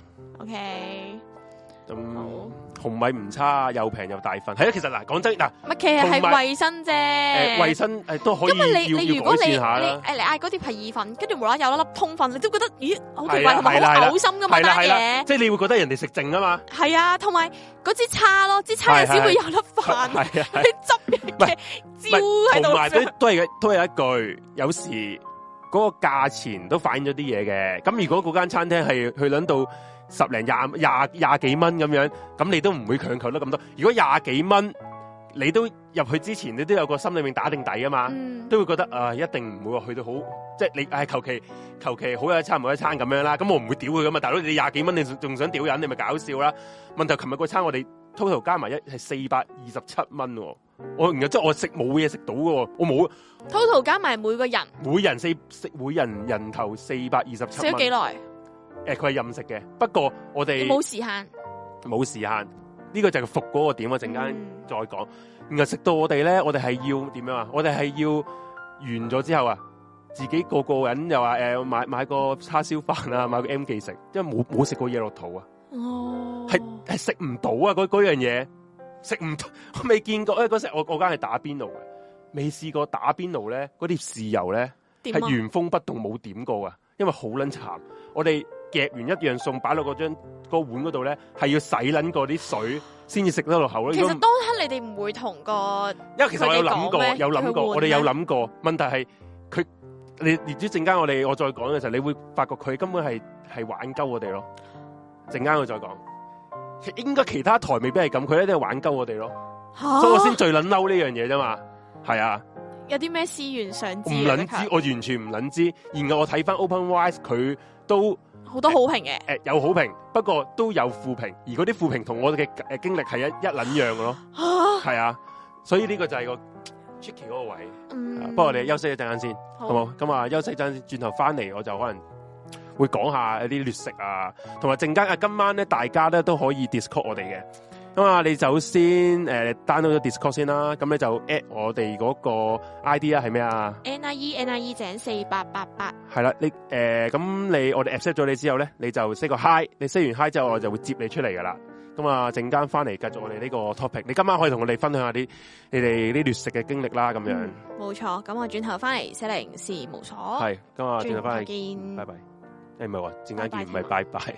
OK。 咁、嗯、紅米唔差，又平又大份。係啊，其實嗱，講真嗱， 唔係其實係衛生啫。誒， 衛生誒都可以。 因為你你如果你你誒你嗌嗰碟係意粉，跟住無啦有一粒通粉，你都覺得咦好奇怪，同埋好嘔心噶嘛單嘢。 即係你會覺得人哋食剩啊嘛。 係啊，同埋嗰支叉咯，支叉有時會有粒飯，啲汁嘅焦喺度。 同埋都都係都係一句，有時嗰個價錢都反映咗啲嘢嘅。咁如果嗰間餐廳係去諗到十零廿廿廿幾蚊咁樣，咁你都唔會強求得咁多。如果廿幾蚊，你都入去之前，你都有個心裏面打定底啊嘛，嗯、都會覺得啊、呃，一定唔會話去到好，即係你誒求其求其好有一餐冇一餐咁樣啦。咁我唔會屌佢噶嘛，大佬你廿幾蚊，你仲想屌人，你咪搞笑啦。問題琴日個餐我哋 total 加埋一係四百二十七蚊，我然後即係我食冇嘢食到嘅，我冇 total 加埋每個人， 每人四食每人人頭四百二十七蚊。 食咗幾耐？ 誒，佢係任食嘅，不過我哋冇時限， 冇時限，呢、這個就係服嗰個點，我陣間再講。嗯、然後食到我哋咧，我哋係要點樣啊？我哋係要完咗之後啊，自己個個人又話誒、呃、買買個叉燒飯啊，買個 M 記食，因為冇冇食過嘢落肚啊。哦，係係食唔到啊！嗰嗰樣嘢食唔到，我未見過。誒，嗰時我我間係打邊爐嘅，未試過打邊爐咧，嗰啲豉油咧係原封不動冇點過啊，因為好撚慘。我哋夾完一樣餸擺落嗰張個碗嗰度咧，係要洗撚過啲水先至食得落口咯。 其實當刻你哋唔會同個， 因為其實我有諗過，有諗過，我哋有諗過。問題係佢，你你知陣間我哋我再講嘅時候，你會發覺佢根本係係玩鳩我哋咯。陣間我再講，應該其他台未必係咁，佢一定係玩鳩我哋咯。啊、所以我先最撚嬲呢樣嘢啫嘛。係啊， 有啲咩思源想知？唔撚知，我完全唔撚知。然後我睇翻 OpenRice 佢。都好多好評嘅，誒、 呃呃、有好評，不過都有負評，而嗰啲負評同我哋嘅誒經歷係一一撚樣嘅咯，係啊，所以呢個就係個 tricky 嗰個位。嗯，不過我哋休息一陣間先，好冇？咁啊，休息一陣先，轉頭翻嚟我就可能會講下一啲劣食啊，同埋陣間啊，今晚咧大家咧都可以 Discord 我哋嘅。咁啊，你首先誒 download 咗 Discord 先啦，咁你就 at 我哋嗰個 I D 啊，係咩啊 ？N I E N I E 井四八八八。 係啦，你誒咁、呃、你我哋 accept 咗你之後咧，你就 say 個 hi，你 say 完 hi 之後，我就會接你出嚟噶啦。咁啊，陣間翻嚟繼續我哋呢個 topic。你今晚可以同我哋分享下啲你哋啲劣食嘅經歷啦，咁樣。 冇錯、嗯，咁我轉頭翻嚟四零事務所。 係，今日轉頭翻嚟見， 拜拜。誒唔係話陣間見，唔係拜拜。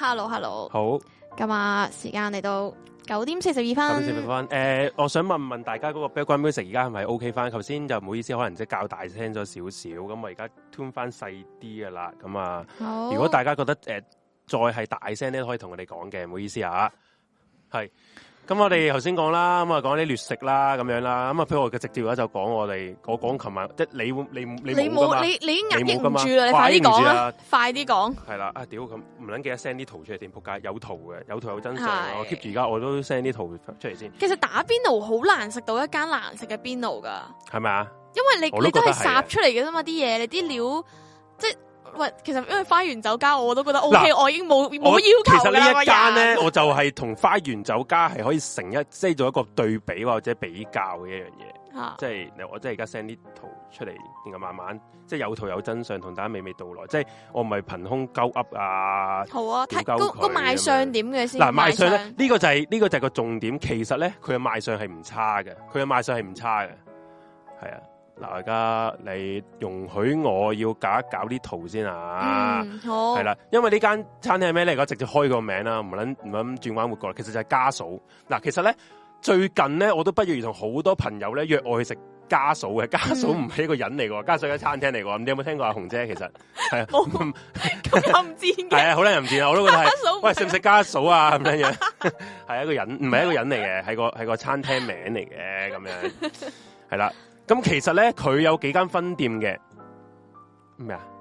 Hello，Hello， 好。 今日時間嚟到九點四十二分。九點四十二分。 誒，我想問問大家嗰個 background music 而家係咪 OK 翻？頭先就唔好意思，可能即係較大聲咗少少，咁我而家 tune 翻細啲噶啦。咁啊，如果大家覺得誒、呃、再係大聲咧，可以同我哋講嘅，唔好意思啊。係。咁我哋頭先講啦，咁啊講啲劣食啦，咁樣啦，咁啊譬如我嘅直接嘅就講我哋，我講琴日即係你你你冇噶嘛， 你你已經壓抑唔住啦，你快啲講啦，快啲講。係啦，啊屌咁唔撚記得 send 啲圖出嚟點仆街，有圖嘅，有圖有真相，我 keep 住而家我都 send 啲圖出嚟先。 其實打邊爐好難食到一間難食嘅邊爐噶， 係咪啊？ 因為你你都係烚出嚟嘅啫嘛，啲嘢你啲料即係。喂，其實因為花園酒家我都覺得 O K，我已經冇冇要求啦。其實呢一間咧， 我就係同花園酒家係可以成一即係做一個對比或者比較嘅一樣嘢。啊、即係我即係而家 send 啲圖出嚟，然後慢慢即係有圖有真相，同大家娓娓道來。即係我唔係憑空鳩噏啊。 好啊，睇個個賣相點嘅先。 嗱，賣相咧呢、這個就係、是、呢、這個就係個重點。其實咧，佢嘅賣相係唔差嘅，佢嘅賣相係唔差嘅，係啊。嗱，而家你容許我要搞一搞啲圖先啊！ 嗯，好。 係啦，因為呢間餐廳係咩嚟？而家直接開個名啦，唔撚唔撚轉彎活過嚟。其實就係家嫂。嗱，其實咧最近咧，我都不約而同好多朋友咧約我去食家嫂嘅。家嫂唔係一個人嚟嘅，家嫂係餐廳嚟嘅。你有冇聽過阿紅姐？其實係啊， 冇咁又唔知嘅。係啊，好多人唔知啊，我都覺得係。喂，食唔食家嫂啊？咁樣樣係一個人，唔係一個人嚟嘅，係個係個餐廳名嚟嘅咁樣。係啦。咁其實咧，佢有幾間分店嘅咩啊？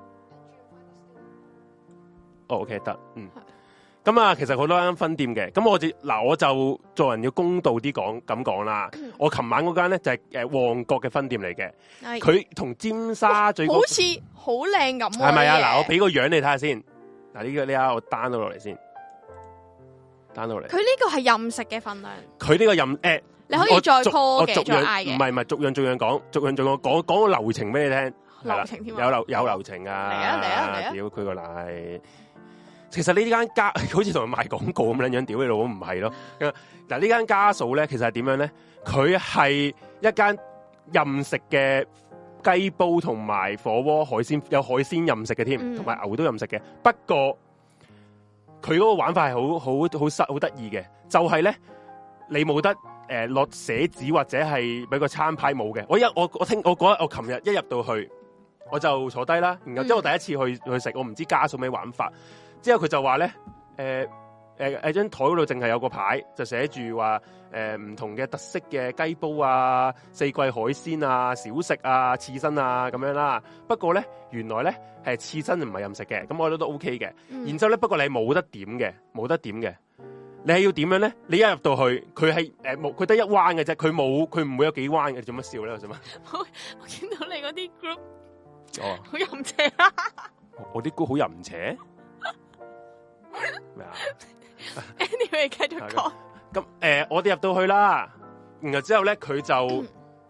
哦 ，OK 得，嗯。咁啊，其實好多間分店嘅。咁我哋嗱，我就做人要公道啲講咁講啦。我琴晚嗰間咧就係誒旺角嘅分店嚟嘅。佢同尖沙咀好似好靚咁。 係咪啊？嗱，我俾個樣你睇下先。嗱，呢個呢下我 down 到落嚟先 ，down 到落嚟。佢呢個係任食嘅份量。 佢呢個任誒。欸你可以再 call 嘅，再嗌嘅。 唔係唔係，逐樣逐樣講，逐樣逐樣講，講個流程俾你聽。 流程添有流有流程啊！ 嚟啊嚟啊嚟啊！ 屌佢個奶！其實呢間家好似同佢賣廣告咁樣樣，屌你老母唔係咯。嗱，呢間家嫂咧，其實係點樣咧？佢係一間任食嘅雞煲同埋火鍋海鮮，有海鮮任食嘅添，同埋牛都任食嘅。不過佢嗰個玩法係好好好實好得意嘅，就係咧你冇得。誒，落寫紙或者係俾個餐牌冇嘅，我一我我聽我嗰日我琴日一入到去，我就坐低啦，然後即係我第一次去去食，我唔知家嫂咩玩法，之後佢就話咧，誒誒誒張台嗰度淨係有個牌，就寫住話誒唔同嘅特色嘅雞煲啊、四季海鮮啊、小食啊、刺身啊咁樣啦。不過咧，原來咧係刺身唔係任食嘅，咁我覺得都 OK 嘅。嗯、然之後咧，不過你係冇得點嘅，冇得點嘅。你係要點樣咧？你一入到去，佢係誒冇，佢、呃、得一彎嘅啫，佢冇，佢唔會有幾彎嘅。做乜笑咧？做乜？ 我我見到你嗰啲 group， 哦， 好淫邪啊！ 我啲 group 好淫邪咩啊 ？Anyway， 繼續講。 咁誒、呃，我哋入到去啦，然後之後咧，佢就誒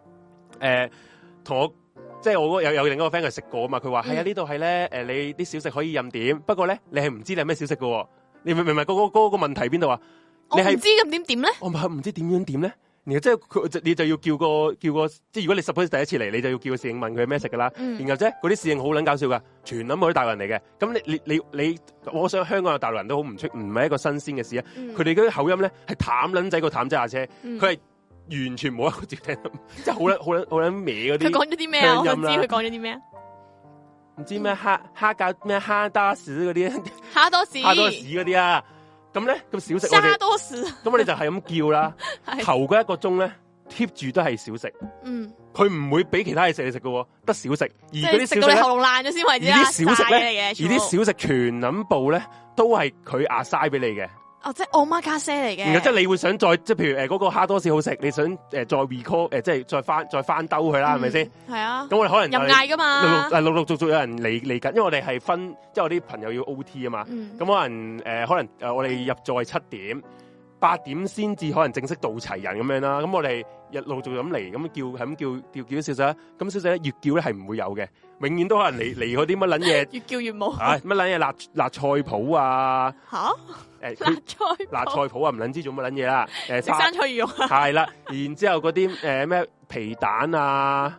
同、呃、我，即係我有有另一個 friend 佢食過啊嘛，佢話係啊，呢度係咧誒，你啲小食可以任點，不過咧你係唔知你係咩小食嘅。你明唔明？嗰、那個嗰、那個問題邊度啊？你係唔知咁點點咧？ 我唔係唔知點樣點咧？然後即係佢，你就要叫個叫個，即係如果你 suppose 第一次嚟，你就要叫個侍應問佢咩食噶啦。嗯、然後啫，嗰啲侍應好撚搞笑噶，全諗嗰啲大陸人嚟嘅。咁你你你你，我想香港嘅大陸人都好唔出，唔係一個新鮮嘅事啊。佢哋嗰啲口音咧係淡撚仔個淡仔下車，佢係、嗯、完全冇一個接聽，即係好撚好撚好撚歪嗰啲。佢講咗啲咩啊？我想知佢講咗啲咩啊？ 唔知咩蝦蝦餃咩蝦多士嗰啲， 蝦多士蝦多士嗰啲啊！咁咧咁小食， 蝦多士， 咁我哋就係咁叫啦。頭嗰一個鐘咧，keep 住都係小食。嗯，佢唔會俾其他嘢食你食嘅，得小食。而嗰啲小食咧， 喉嚨爛咗先為止。 而啲小食咧，而啲小食全冧部咧，都係佢壓晒俾你嘅。 哦，即係 omakase 嚟嘅。 然後即係你會想再即係譬如誒嗰個蝦多士好食，你想誒再 recall 誒即係再翻再翻兜佢啦，係咪先？係啊。咁我哋可能任嗌噶嘛。 陸陸陸陸續續有人嚟嚟緊，因為我哋係分，即係我啲朋友要 O T 啊嘛。咁可能誒可能誒我哋入座係七點，八點先至可能正式到齊人咁樣啦。咁我哋日陸續咁嚟，咁叫係咁叫叫叫小食啦。咁小食咧越叫咧係唔會有嘅，永遠都可能嚟嚟嗰啲乜撚嘢。 越叫越冇。 啊乜撚嘢辣辣菜脯啊？吓？誒， 辣菜辣菜脯啊，唔捻知做乜捻嘢啦？誒， 食生菜魚肉啊， 係啦，然之後嗰啲誒咩皮蛋啊、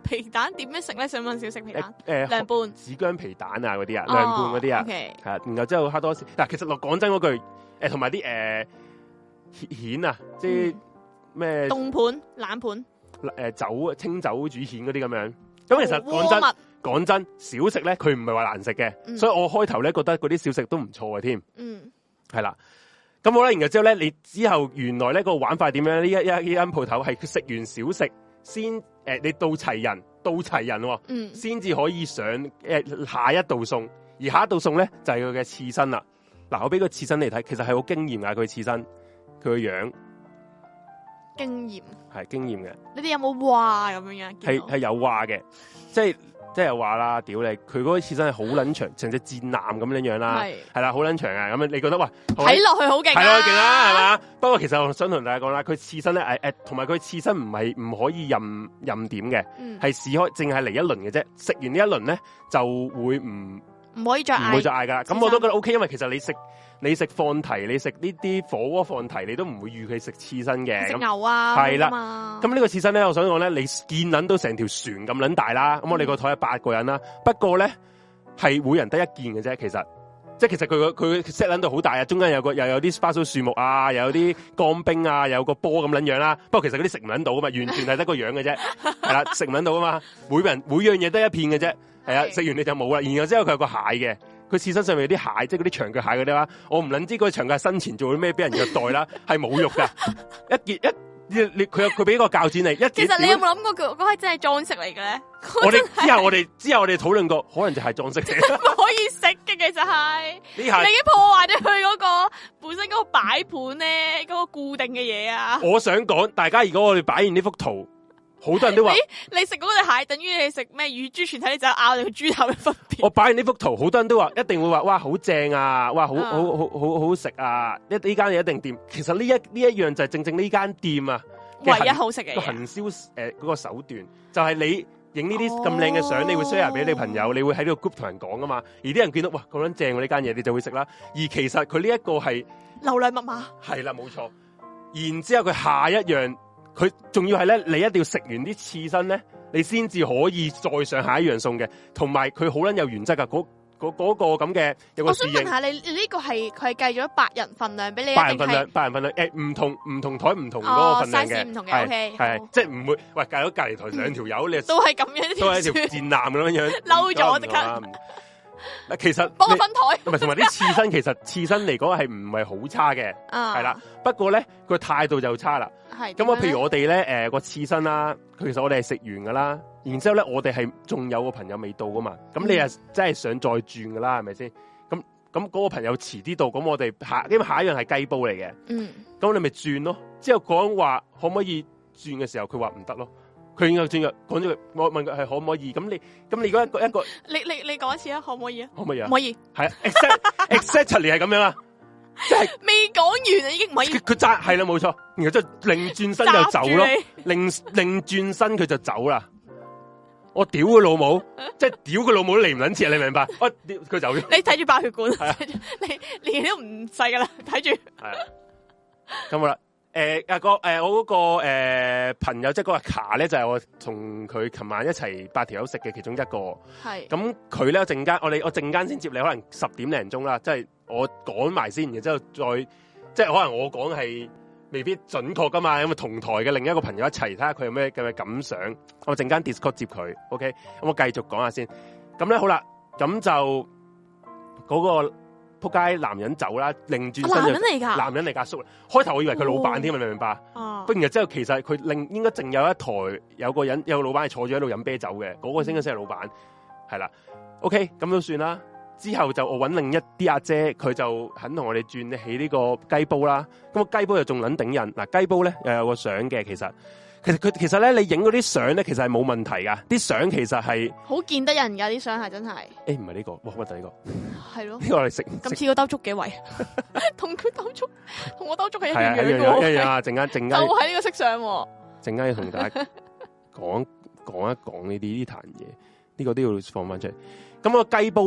皮蛋點樣食咧？想問小食皮蛋， 誒涼拌紫薑皮蛋啊嗰啲啊，涼拌嗰啲啊，係，然後之後黑多士。嗱，其實落講真嗰句，誒同埋啲誒蜆啊，即係咩凍盤、冷盤， 誒酒清酒煮蜆嗰啲咁樣。咁其實講真，講真，小食咧佢唔係話難食嘅，所以我開頭咧覺得嗰啲小食都唔錯嘅添。嗯，係啦。咁好啦，然後之後咧，你之後原來咧個玩法點樣？呢一一呢間鋪頭係食完小食先，誒、呃，你到齊人，到齊人、哦，嗯，先至可以上誒、呃、下一道餸，而下一道餸咧就係佢嘅刺身啦。嗱，我俾個刺身你睇，其實係好驚艷啊！佢刺身，佢個樣驚艷， 係驚艷嘅。 你哋有冇話咁樣樣？ 係係有話嘅，即係。即係話啦，屌你！佢嗰個刺身係好撚長，成隻戰艦咁樣樣啦，係啦，好撚長啊！咁樣你覺得哇，睇落去好勁， 係咯，勁啦，係嘛？不過其實我想同大家講啦，佢刺身咧，誒誒，同埋佢刺身唔係唔可以任任點嘅，係試開淨係嚟一輪嘅啫。食完呢一輪咧，就會唔唔可以再嗌， 唔會再嗌噶啦。咁我都覺得 O K，因為其實你食你食放題，你食呢啲火鍋放題，你都唔會預佢食刺身嘅。 食牛啊， 係啦。咁呢個刺身咧，我想講咧，你見撚到成條船咁撚大啦。咁、嗯、我哋個台有八個人啦，不過咧係每人得一件嘅啫。其實，即係其實佢佢 set 撚到好大啊，中間有個又有啲花草樹木啊，又有啲乾冰啊，有個波咁撚樣啦。不過其實嗰啲食唔撚到啊嘛，完全係得個樣嘅啫。係啦，食唔撚到啊嘛，每人每樣嘢得一片嘅啫。係啊，食完你就冇啦。然後之後佢有個蟹嘅。佢刺身上面有啲蟹，即係嗰啲長腳蟹嗰啲啦。我唔捻知嗰長腳蟹生前做咗咩，俾人虐待啦，係侮辱噶。一件一你佢有佢俾個鉸剪嚟，一其實你有冇諗過佢嗰係真係裝飾嚟嘅咧？ 我哋之後我哋之後我哋討論過，可能就係裝飾嚟。 唔可以食嘅，其實係你已經破壞咗佢嗰個本身嗰個擺盤咧，嗰個固定嘅嘢啊。 我想講，大家如果我哋擺完呢幅圖。好多人都話， 你食嗰隻蟹等於你食咩乳豬全體，你就咬你個豬頭嘅分別。 我擺完呢幅圖，好多人都話一定會話，哇，好正啊，哇，好好好好好好食啊！一呢間嘢一定掂。其實呢一呢一樣就係正正呢間店啊， 唯一好食嘅個行銷誒嗰個手段，就係、是、你影呢啲咁靚嘅相，你會 share 俾你朋友，你會喺呢個 group 同人講啊嘛。而啲人見到哇咁樣正喎呢間嘢，你就會食啦。而其實佢呢一個係流量密碼， 係啦冇錯。然之後佢下一樣。佢仲要係咧，你一定要食完啲刺身咧，你先至可以再上下一樣餸嘅。同埋佢好撚有原則噶，嗰嗰嗰個咁嘅有個侍應。 我想問下你，你呢個係佢係計咗八人份量俾你？ 八人份量，八人份量，誒唔同唔同台唔同嗰個份量嘅， 唔同嘅，O K， 係即係唔會喂隔咗隔離台兩條友，你都係咁樣， 都係一條戰艦咁樣樣， 嬲咗即刻。 嗱，其實幫我分台， 唔係同埋啲刺身，其實刺身嚟講係唔係好差嘅，係啦。不過咧個態度就差啦。係咁啊，譬如我哋咧，誒個刺身啦，其實我哋係食完噶啦，然之後咧我哋係仲有個朋友未到噶嘛，咁你啊真係想再轉噶啦，係咪先？咁咁嗰個朋友遲啲到，咁我哋下因為下一樣係雞煲嚟嘅，嗯，咁你咪轉咯。之後講話可唔可以轉嘅時候，佢話唔得咯。佢應該轉嘅，講咗佢，我問佢係可唔可以？咁你咁你如果一個一個， 你你你講一次啊，可唔可以啊？ 可唔可以啊？ 唔可以， 係 exactly 係咁樣啊，即係未講完啊，已經唔可以。 佢揸係啦，冇錯，然後即係擰轉身就走咯，擰擰轉身佢就走啦。我屌佢老母，即係屌佢老母都嚟唔撚切，你明白？我屌佢走咗。 你睇住爆血管，你年紀都唔細噶啦，睇住。係啊， 咁好啦。誒、呃，個誒、呃，我嗰、那個誒、呃、朋友，即係嗰個卡咧，就係、是、我同佢琴晚一齊八條友食嘅其中一個。係。咁佢咧陣間，我哋我陣間先接你，可能十點零鐘啦，即係我講埋先，然之後再，即係可能我講係未必準確噶嘛，因為同台嘅另一個朋友一齊睇下佢有咩嘅感想。我陣間 Discord 接佢 ，OK，咁我繼續講下先。咁咧好啦，咁就嗰、那個。仆街男人走啦，擰轉身就男人嚟噶，男人嚟噶叔。開頭我以為佢老闆添，你明唔明白？哦。不然之後其實佢另應該淨有一台有個人有個老闆係坐住喺度飲啤酒嘅，嗰、那個先應該先係老闆。係啦 ，OK，咁都算啦。之後就我揾另一啲阿姐，佢就肯同我哋轉起呢個雞煲啦。咁個雞煲又仲撚頂人。嗱，雞煲咧又有個相嘅，其實。其實佢其實咧，你影嗰啲相咧，其實係冇問題噶。啲相其實係好見得人噶，啲相係真係。 誒，唔係呢個，哇，乜就呢個？ 係咯。呢個我哋食。 咁似個兜粥幾位？同佢兜粥，同我兜粥係一樣嘅。係啊，一樣啊，陣間陣間。 就喺呢個色相。 陣間要同大家講講一講呢啲呢壇嘢，呢個都要放翻出嚟。咁個雞煲咧，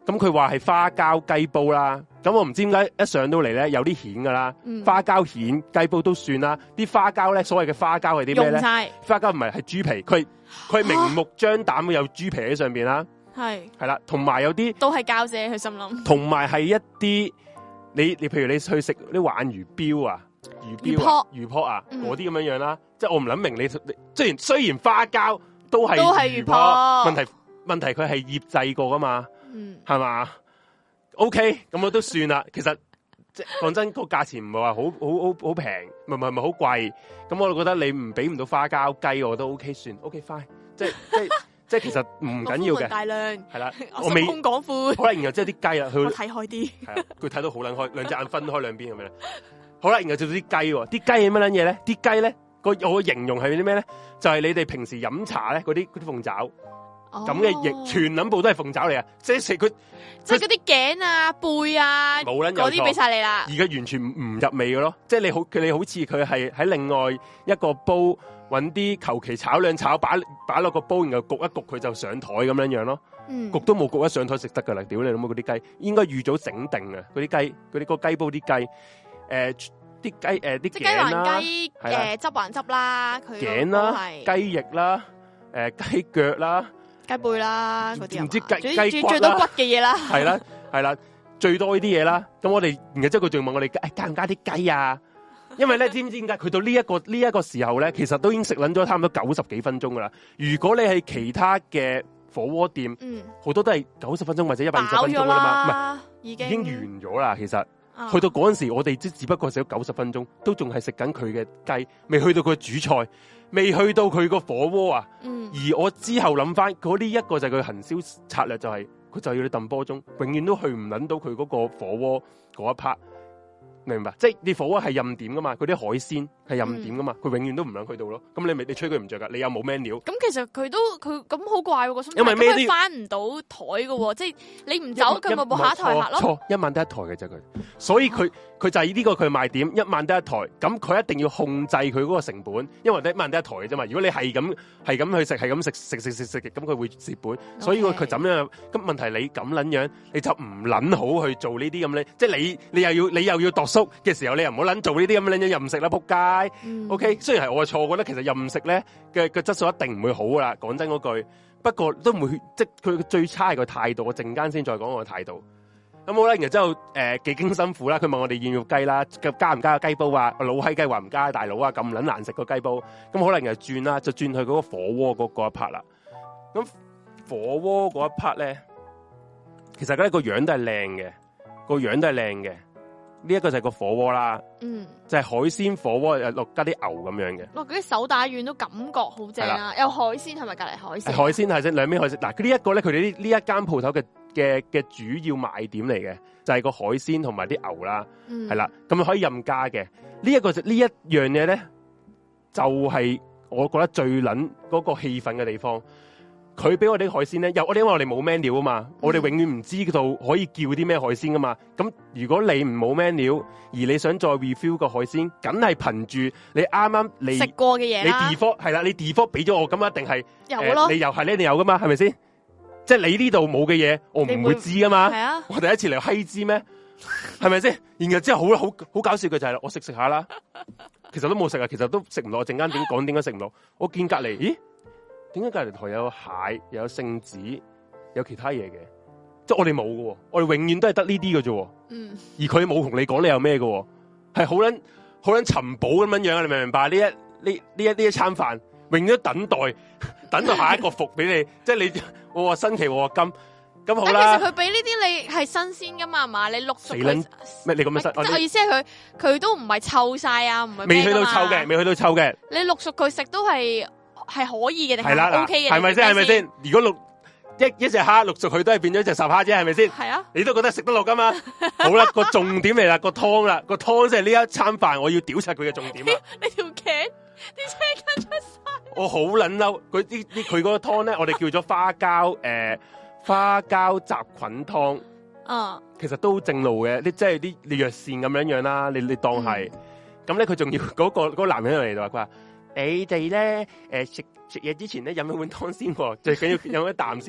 咁佢話係花膠雞煲啦。咁我唔知點解一上到嚟咧有啲蜆噶啦，嗯、花膠蜆雞煲都算啦。啲花膠咧，所謂嘅花膠係啲咩咧？花膠唔係係豬皮，佢佢明目張膽有豬皮喺上邊啦。係係啦，同埋有啲都係膠啫，佢心諗。同埋係一啲你你譬如你去食啲鯇魚標啊、魚標啊、魚泡啊嗰啲咁樣樣啦。即係我唔諗明你，雖然雖然花膠都係都係魚泡，問題問題佢係醃製過噶嘛，係嘛、嗯、？OK， 咁我都算啦。其實即係講真，個價錢唔係話好好好好平，唔係唔係唔係好貴。咁我就覺得你唔俾唔到花膠雞，我都 OK 算 OK fine。即係即係。即係其實唔緊要嘅，大量係啦，我未空講闊，好啦，然後即係啲雞啦，佢睇開啲，係啊，佢睇到好撚開，兩隻眼分開兩邊咁樣。好啦，然後就到啲雞，啲雞係乜撚嘢咧？啲雞咧個我形容係啲咩咧？就係、是、你哋平時飲茶咧嗰啲嗰啲鳳爪咁嘅翼，全撚部都係鳳爪嚟啊！即係食佢，即係嗰啲頸啊、背啊，冇撚嗰啲俾晒你啦。而家完全唔入味嘅咯，即係你好佢你好似佢係喺另外一個煲。搵啲求其炒兩炒，擺擺落個煲，然後焗一焗佢就上台咁樣樣咯。嗯、焗都冇焗一上台食得噶啦，屌你老母嗰啲雞，應該預早整定嘅嗰啲雞，嗰啲個雞煲啲雞，誒啲雞誒啲頸啦，誒汁還汁啦，佢頸啦，雞翼啦，誒雞腳啦，雞背啦，嗰啲唔知雞雞骨最多骨嘅嘢啦，係啦係啦，最多呢啲嘢啦。咁我哋然後之後佢仲問我哋加唔加啲雞啊？因為咧，知唔知點解佢到呢、這、一個呢一、這個時候咧，其實都已經食撚咗差唔多九十幾分鐘噶啦。如果你係其他嘅火鍋店，嗯，好多都係九十分鐘或者一百二十分鐘噶啦嘛，唔係已經已經完咗啦。其實、哦、去到嗰陣時，我哋只只不過食咗九十分鐘，都仲係食緊佢嘅雞，未去到佢主菜，未去到佢個火鍋啊。嗯、而我之後諗翻，嗰呢一個就係佢行銷策略、就是，就係佢就要你揼波鐘，永遠都去唔撚到佢嗰個火鍋嗰一 part。明白，即係你火鍋係任點噶嘛，嗰啲海鮮係任點噶嘛，佢、嗯、永遠都唔想去到咯。咁你咪你吹佢唔着噶，你又冇 menu。咁其實佢都佢咁好怪喎，因為咩都翻唔到台噶，即係你唔走佢咪冇下一台客咯。錯，一晚得一台嘅啫佢，所以佢佢就係呢個佢賣點，一晚得一台。咁佢一定要控制佢嗰個成本，因為得一晚得一台嘅啫嘛。如果你係咁係咁去食，係咁食食食食食嘅，咁佢會蝕本。Okay. 所以佢怎樣？咁問題你咁撚樣，你就唔撚好去做呢啲咁咧，即係你你又要你又要度嘅時候，你又唔好捻做呢啲咁嘅嘢，任食啦，仆街。嗯、OK，雖然係我嘅錯，我覺得其實任食咧嘅嘅質素一定唔會好噶啦。講真嗰句，不過都唔會，即係佢最差係個態度。我陣間先再講我嘅態度。咁好啦，然後之後誒幾經辛苦啦，佢問我哋要唔要雞啦，加唔加個雞煲啊？老閪雞話唔加，大佬啊咁捻難食個雞煲。咁可能又轉啦，就轉去嗰個火鍋嗰嗰一 part 啦。咁火鍋嗰一 part 咧，其實咧個樣都係靚嘅，個樣都係靚嘅。呢一個就係個火鍋啦，嗯，就係海鮮火鍋，又落加啲牛咁樣嘅。哇，嗰啲手打丸都感覺好正啊！有海鮮係咪隔籬海鮮？海鮮係先兩邊海鮮。嗱，呢一個咧，佢哋呢呢一間鋪頭嘅嘅嘅主要賣點嚟嘅，就係、是、個海鮮同埋啲牛啦，係啦、嗯，咁可以任加嘅。呢、這、一個就呢一樣嘢咧，就係、是、我覺得最捻嗰個氣氛嘅地方。佢俾我哋海鮮咧，又我哋因為我哋冇 menu 啊嘛，嗯、我哋永遠唔知道可以叫啲咩海鮮噶嘛。咁如果你唔冇 menu，而你想再 review 個海鮮，梗係憑住你啱啱你食過嘅嘢你 default 係啦，你 default 俾咗我，咁一定係有咯、呃。你又係呢？你有噶嘛？係咪先？即係你呢度冇嘅嘢，我唔會知噶嘛。係啊，我第一次嚟閪知咩？係咪先？然後之後好好好搞笑嘅就係、是、我食食下啦，其實都冇食啊，其實都食唔落。陣間點講點解食唔落？我見隔籬，咦？點解隔籬台有蟹，又有聖子，有其他嘢嘅？即係我哋冇嘅，我哋永遠都係得呢啲嘅啫。嗯，而佢冇同你講你有咩嘅，係好捻好捻尋寶咁樣樣，你明唔明白？呢一呢呢一呢一餐飯，永遠都等待，等到下一個服俾你。即係你我話新奇，我話金，咁好啦。其實佢俾呢啲你係新鮮噶嘛？嘛，你陸續咩？你咁樣新？即係意思係佢佢都唔係臭晒啊，唔係未去到臭嘅，未去到臭嘅。你陸續佢食都係。係可以嘅定係 OK 嘅，係咪先？係咪先？如果六一一隻蝦陸續佢都係變咗一隻十蝦啫，係咪先？係啊，你都覺得食得落噶嘛？好啦，個重點嚟啦，個湯啦，個湯即係呢一餐飯我要屌柒佢嘅重點啦。你條頸啲車根出晒，我好撚嬲！佢啲啲佢嗰個湯咧，我哋叫咗花膠誒、呃、花膠雜菌湯。嗯，其實都正路嘅，啲即係啲你藥膳咁樣樣啦，你你當係咁咧，佢仲、嗯、要嗰、嗰個嗰、嗰個男人嚟到話佢話。你哋咧，誒食食嘢之前咧飲一碗湯先，最緊要飲一啖先。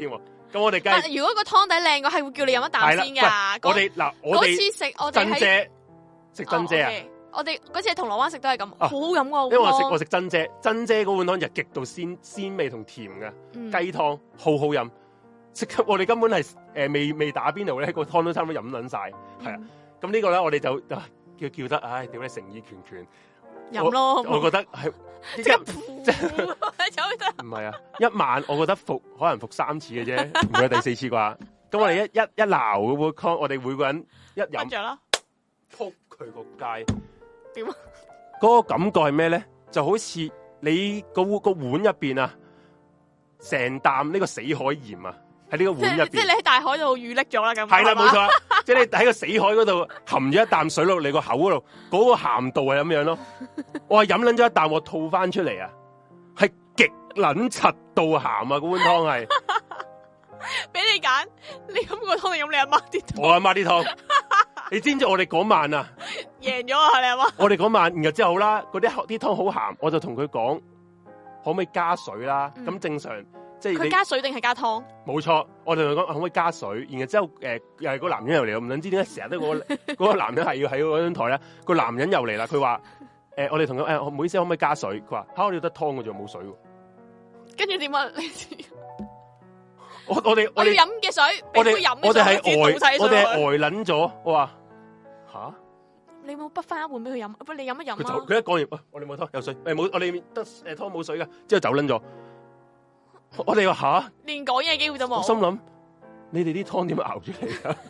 咁我哋梗係如果個湯底靚，我係會叫你飲一啖先噶。 我哋嗱，我哋嗰次食我哋珍姐食珍姐啊！ 我哋嗰次喺銅鑼灣食都係咁，好好飲噶。 因為我食我食珍姐，珍姐嗰碗湯就極度鮮鮮味同甜嘅雞湯，好好飲。食我哋根本係誒未未打邊爐咧，個湯都差唔多飲撚晒。係啊，咁呢個咧我哋就叫叫得，唉，屌你誠意拳拳飲咯。我覺得係即係唔係啊，一晚我覺得服可能服三次嘅啫，唔會第四次啩。咁我哋一一一撈嗰碗湯，我哋每個人一飲着啦， 撲佢個街。 點啊？ 嗰個感覺係咩咧？就好似你個個碗入邊啊，成啖呢個死海鹽啊，喺呢個碗入邊。即係你喺大海度遇溺咗啦，咁係啦，冇錯。即係你喺個死海嗰度含咗一啖水落你個口嗰度，嗰、嗰個鹹度係咁樣咯。我係飲撚咗一啖，我吐翻出嚟啊，係極撚柒到鹹啊！嗰碗湯係俾你揀，你飲個湯定飲你阿媽啲湯？ 我阿媽啲湯。你知唔知我哋嗰晚啊贏咗啊？你阿媽？我哋嗰晚，然後之後好啦，嗰啲啲湯好鹹，我就同佢講可唔可以加水啦？咁、嗯、正常即係佢加水定係加湯？冇錯，我哋同佢講可唔可以加水？然後之後誒、呃、又係個男人又嚟，我唔諗知點解成日都嗰個個男人係要喺嗰張台咧，個男人又嚟啦。佢話誒我哋同佢誒唔好意思，可唔可以加水？佢話吓，我哋得湯嘅啫，冇水。跟住點啊？我我哋我哋飲嘅水，我哋我哋係呆，我哋係呆撚咗。我話吓，你冇滗翻一碗俾佢飲，不你飲一飲啊！佢一講完，喂，我哋冇湯有水，誒冇，我哋得誒湯冇水噶，之後走撚咗。我哋話吓，連講嘢機會都冇。我心諗，你哋啲湯點熬出嚟噶？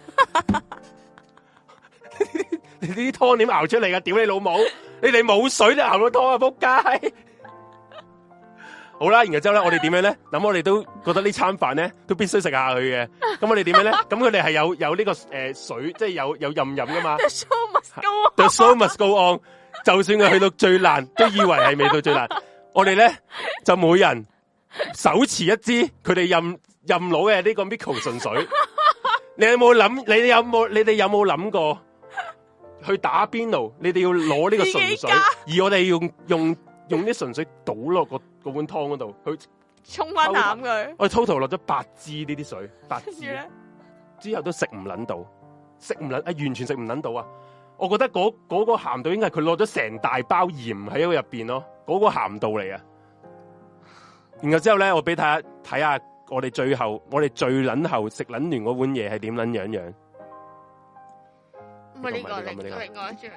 你啲湯點熬出嚟噶？屌你老母！你哋冇水就熬到湯啊！仆街！好啦，然後之後咧，我哋點樣咧？咁我哋都覺得呢餐飯咧都必須食下佢嘅。咁我哋點樣咧？咁佢哋係有有呢、這個誒、呃、水，即係有有任飲噶嘛。The show must go on. The show must go on. 就算佢去到最爛，都以為係未到最爛。我哋咧就每人手持一支佢哋任任攞嘅呢個 Miko 純水。你有冇諗？你哋有冇？你哋有冇諗過去打邊爐？你哋要攞呢個純水，而我哋用用用啲純水倒落個。個碗湯嗰度，佢沖翻淡佢。我哋 total 落咗八支呢啲水，八支之後都食唔捻到，食唔捻啊，完全食唔捻到啊！我覺得嗰嗰個鹹度應該係佢落咗成大包鹽喺個入邊咯，嗰個鹹度嚟啊！然後之後咧，我俾睇下睇下我哋最後，我哋最捻後食捻完嗰碗嘢係點捻樣樣？唔係呢個，另另外一張。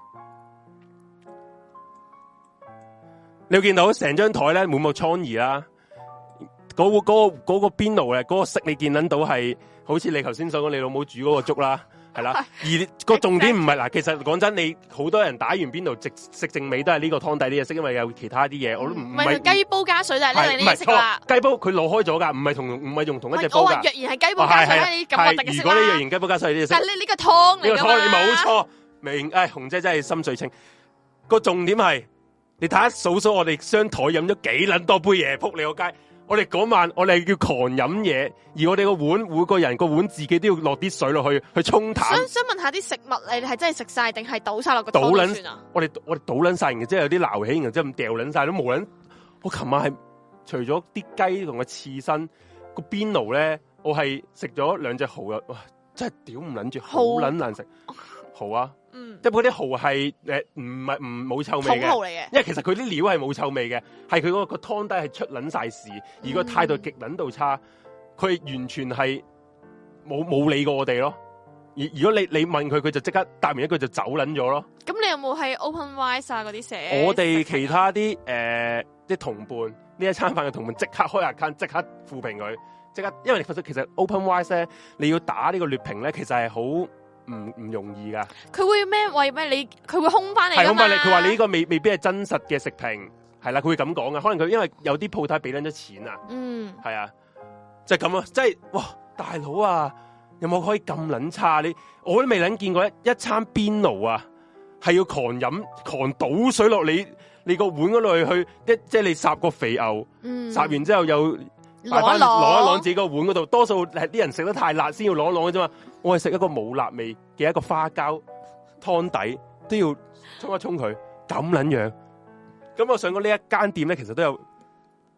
你會見到成張台咧滿目瘡痍啦，嗰、那個嗰、那個嗰、那個邊爐咧，嗰、那個色你見捻到係好似你頭先所講你老母煮嗰個粥啦，係啦。而個重點唔係嗱，其實講真，你好多人打完邊爐食食剩尾都係呢個湯底呢嘢色，因為有其他啲嘢我都唔唔係雞煲加水就係呢樣嘢色啦。雞煲佢攞開咗噶，唔係同唔係用同一隻煲噶。我話若然係雞煲加水咧，咁核突嘅色啦。如果你若然雞煲加水呢隻色，但係呢呢個湯嚟噶嘛？呢個湯你冇錯，明誒紅姐真係心水清。個重點係。你睇下數數，我哋雙台飲咗幾捻多杯嘢，扑你個街！我哋嗰晚我哋叫狂飲嘢，而我哋個碗每個人個碗自己都要落啲水落去去沖淡。想想問下啲食物，你哋係真係食晒定係倒晒落個湯度算啊？我哋我哋倒捻晒，然之後有啲撈起，然之後咁掉捻晒都冇捻。我琴晚係除咗啲雞同個刺身個邊爐咧，我係食咗兩隻蠔啊！哇，真係屌唔捻住，好捻難食蠔啊！嗯，即係嗰啲蠔係誒唔係唔冇臭味嘅，蠔嚟嘅。因為其實佢啲料係冇臭味嘅，係佢嗰個湯底係出捻晒事，而個態度極捻到差，佢完全係冇冇理過我哋咯。而如果你你問佢，佢就即刻答完一句就走捻咗咯。咁你有冇喺 OpenRice 啊嗰啲寫？我哋其他啲誒啲同伴呢一餐飯嘅同伴即刻開 account，即刻負評佢，即刻，因為其實其實 OpenRice 咧，你要打呢個劣評咧，其實係好。唔唔容易噶，佢會咩？為咩你？佢會空翻你？係空翻你。佢話你呢個未未必係真實嘅食評，係啦，佢會咁講噶。可能佢因為有啲鋪頭俾捻咗錢啊，嗯，係啊，就係咁啊，即係哇，大佬啊，有冇可以咁捻差？你我都未捻見過一一餐邊爐啊，係要狂飲狂倒水落你你個碗嗰度去，一即係你烚個肥牛，嗯，烚完之後又。攞一攞一攞自己個碗嗰度，多數係啲人食得太辣先要攞一攞嘅啫嘛。我係食一個冇辣味嘅一個花膠湯底，都要沖一沖佢咁撚樣。咁我上過呢一間店咧，其實都有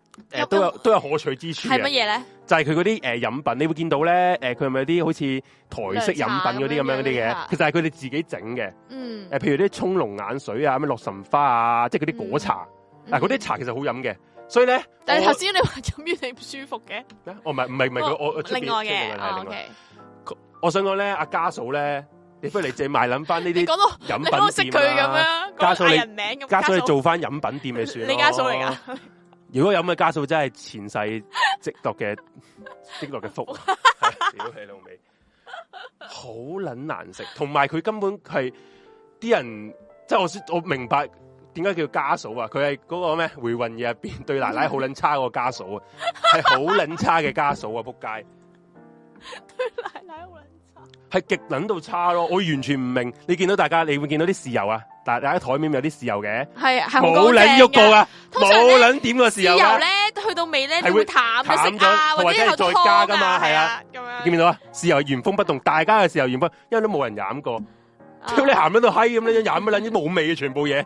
誒都有都有可取之處。 係乜嘢咧？ 就係佢嗰啲誒飲品，你會見到咧，誒佢係咪有啲好似台式飲品嗰啲咁樣嗰啲嘅？其實係佢哋自己整嘅。嗯。誒，譬如啲沖龍眼水啊，咩洛神花啊，即係嗰啲果茶。嗱，嗰啲茶其實好飲嘅，所以咧。但係頭先你話飲完你唔舒服嘅？哦，唔係唔係唔係，我我另外嘅。O K。我想講咧，阿家嫂咧。你不如你借賣諗翻呢啲飲品店啊！識佢咁樣，家嫂你家嫂你做翻飲品店咪算咯。你家嫂嚟噶？如果有咁嘅家嫂，真係前世積落嘅積落嘅福。屌你老味，好撚難食。同埋佢根本係啲人，即係我我明白點解叫家嫂啊？佢係嗰個咩回魂夜入邊對奶奶好撚差個家嫂啊，係好撚差嘅家嫂啊！仆街，對奶奶好撚。係極撚到差咯，我完全唔明。你見到大家，你會見到啲豉油啊，但係大家台面有啲豉油嘅，係係冇撚喐過噶，冇撚點個豉油。豉油咧，去到尾咧係會淡咗啊，或者係再加噶嘛，係啊，咁樣。見唔見到啊？豉油原封不動，大家嘅豉油原封，因為都冇人飲過。屌你鹹喺度閪咁樣飲乜撚啲冇味嘅全部嘢。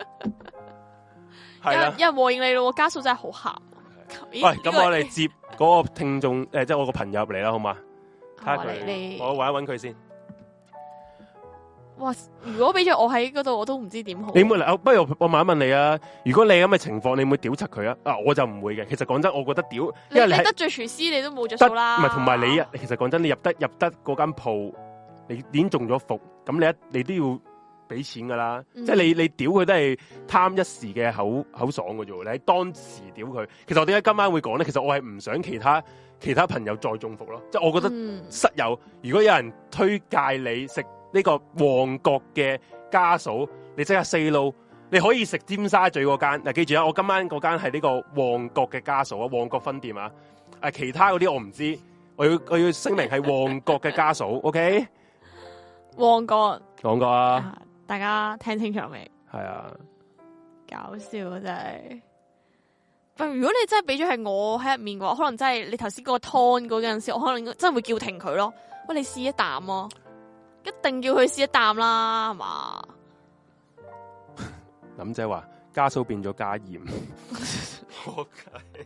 係啦，因為和應你咯，家嫂真係好鹹。喂，咁我哋接嗰個聽眾誒，即係我個朋友入嚟啦，好嘛？睇下佢，我搵一搵佢先。哇！如果俾咗我喺嗰度，我都唔知點好。你唔會嚟？不如我問一問你啊。如果你咁嘅情況，你會屌柒佢啊？啊，我就唔會嘅。其實講真，我覺得屌，因為你，你得罪廚師，你都冇着數啦。唔係，同埋你啊，其實講真，你入得入得嗰間鋪，你已經中咗伏，咁你一你都要俾錢噶啦。嗯、即係你你屌佢都係貪一時嘅口口爽嘅啫。你喺當時屌佢，其實我點解今晚會講咧？其實我係唔想其他。其他朋友再中伏咯，即係我覺得室友，嗯、如果有人推介你食呢個旺角嘅家嫂，你即刻 say no，你可以食尖沙咀嗰間。嗱，記住啊，我今晚嗰間係呢個旺角嘅家嫂啊，旺角分店啊。誒，其他嗰啲我唔知，我要我要聲明係旺角嘅家嫂，OK？ 旺角，旺角啊！大家聽清楚未？係啊，搞笑啊真係。如果你真係俾咗係我喺入面嘅話，可能真係你頭先嗰個湯嗰陣時，我可能真係會叫停佢咯。喂，你試一啖咯，一定叫佢試一啖啦，係嘛？林姐話家嫂變咗加鹽，好計。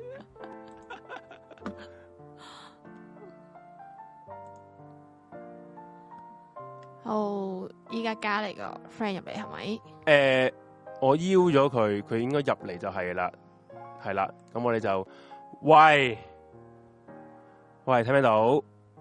哦，依家加嚟個 friend 入嚟係咪？誒、呃，我邀咗佢，佢應該入嚟就係啦。係啦，咁我哋就喂喂，聽唔聽到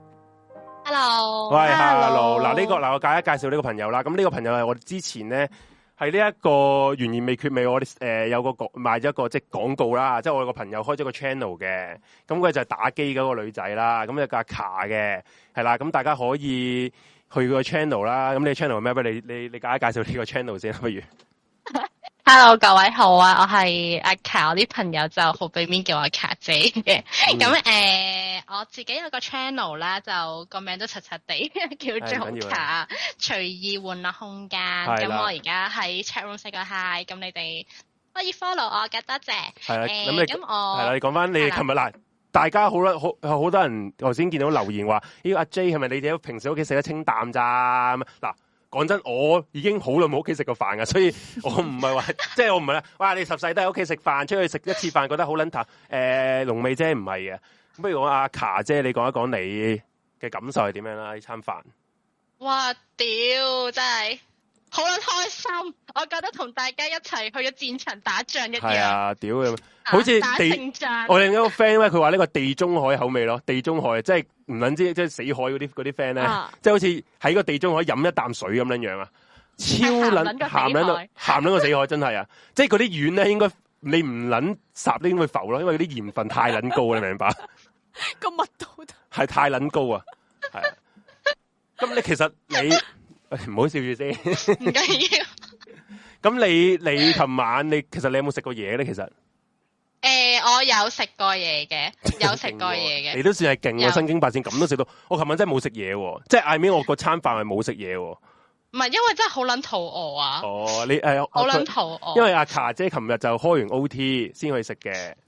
？Hello，喂 ，Hello，嗱呢、這個嗱我介一介紹呢個朋友啦。咁呢個朋友係我哋之前咧係呢一個懸而未決未，我哋誒、呃、有個賣咗一個即係廣告啦，即係我有個朋友開咗個 channel 嘅，咁佢就係打機嗰個女仔啦，咁有個阿卡嘅，係啦，咁大家可以去個 channel 啦。咁你 channel 係咩？不如你你你介一介紹呢個 channel 先，不如。Hello， 各位好啊！我係阿卡，我啲朋友就好俾面叫我卡姐嘅。咁誒、嗯呃，我自己有個 channel 啦，就個名都柒柒地，叫做卡隨意玩樂空間。咁我而家喺 chatroom 寫個 hi，咁你哋可以 follow 我嘅，多謝。係啦，咁、呃、你咁我係啦，你講翻你琴日嗱，大家好啦，好好多人頭先見到留言話，呢個阿 J 係咪你哋平時屋企食得清淡咋？嗱。講真，我已經好耐冇屋企食過飯噶，所以我唔係話，即係我唔係啦。哇，你十世都喺屋企食飯，出去食一次飯覺得好撚淡。誒、呃，龍尾姐唔係嘅，咁不如我阿卡姐，你講一講你嘅感受係點樣啦？呢餐飯，哇，屌，真係好撚開心！我覺得同大家一齊去咗戰場打仗一樣。係啊，屌嘅，好似地，我另一個 friend 咧，佢話呢個地中海口味咯，地中海即係唔撚知即係死海嗰啲嗰啲 friend 咧，即係好似喺個地中海飲一啖水咁樣樣啊，超撚鹹撚到鹹撚個死海，真係啊！即係嗰啲魚咧，應該你唔撚烚都應該浮咯，因為嗰啲鹽分太撚高，你明白？個密度係太撚高啊！係啊，咁你其實你。唔好笑住先，唔緊要。咁你你琴晚你其實你有冇食過嘢咧？其實，誒、呃，我有食過嘢嘅，有食過嘢嘅。你都算係勁喎，身經百戰咁都食到。我琴晚真係冇食嘢，即係嗌面我個餐飯係冇食嘢。唔係，因為真係好撚肚餓啊！哦，你誒，好、呃、撚肚餓。因為阿卡姐琴日就開完 O T 先去食嘅，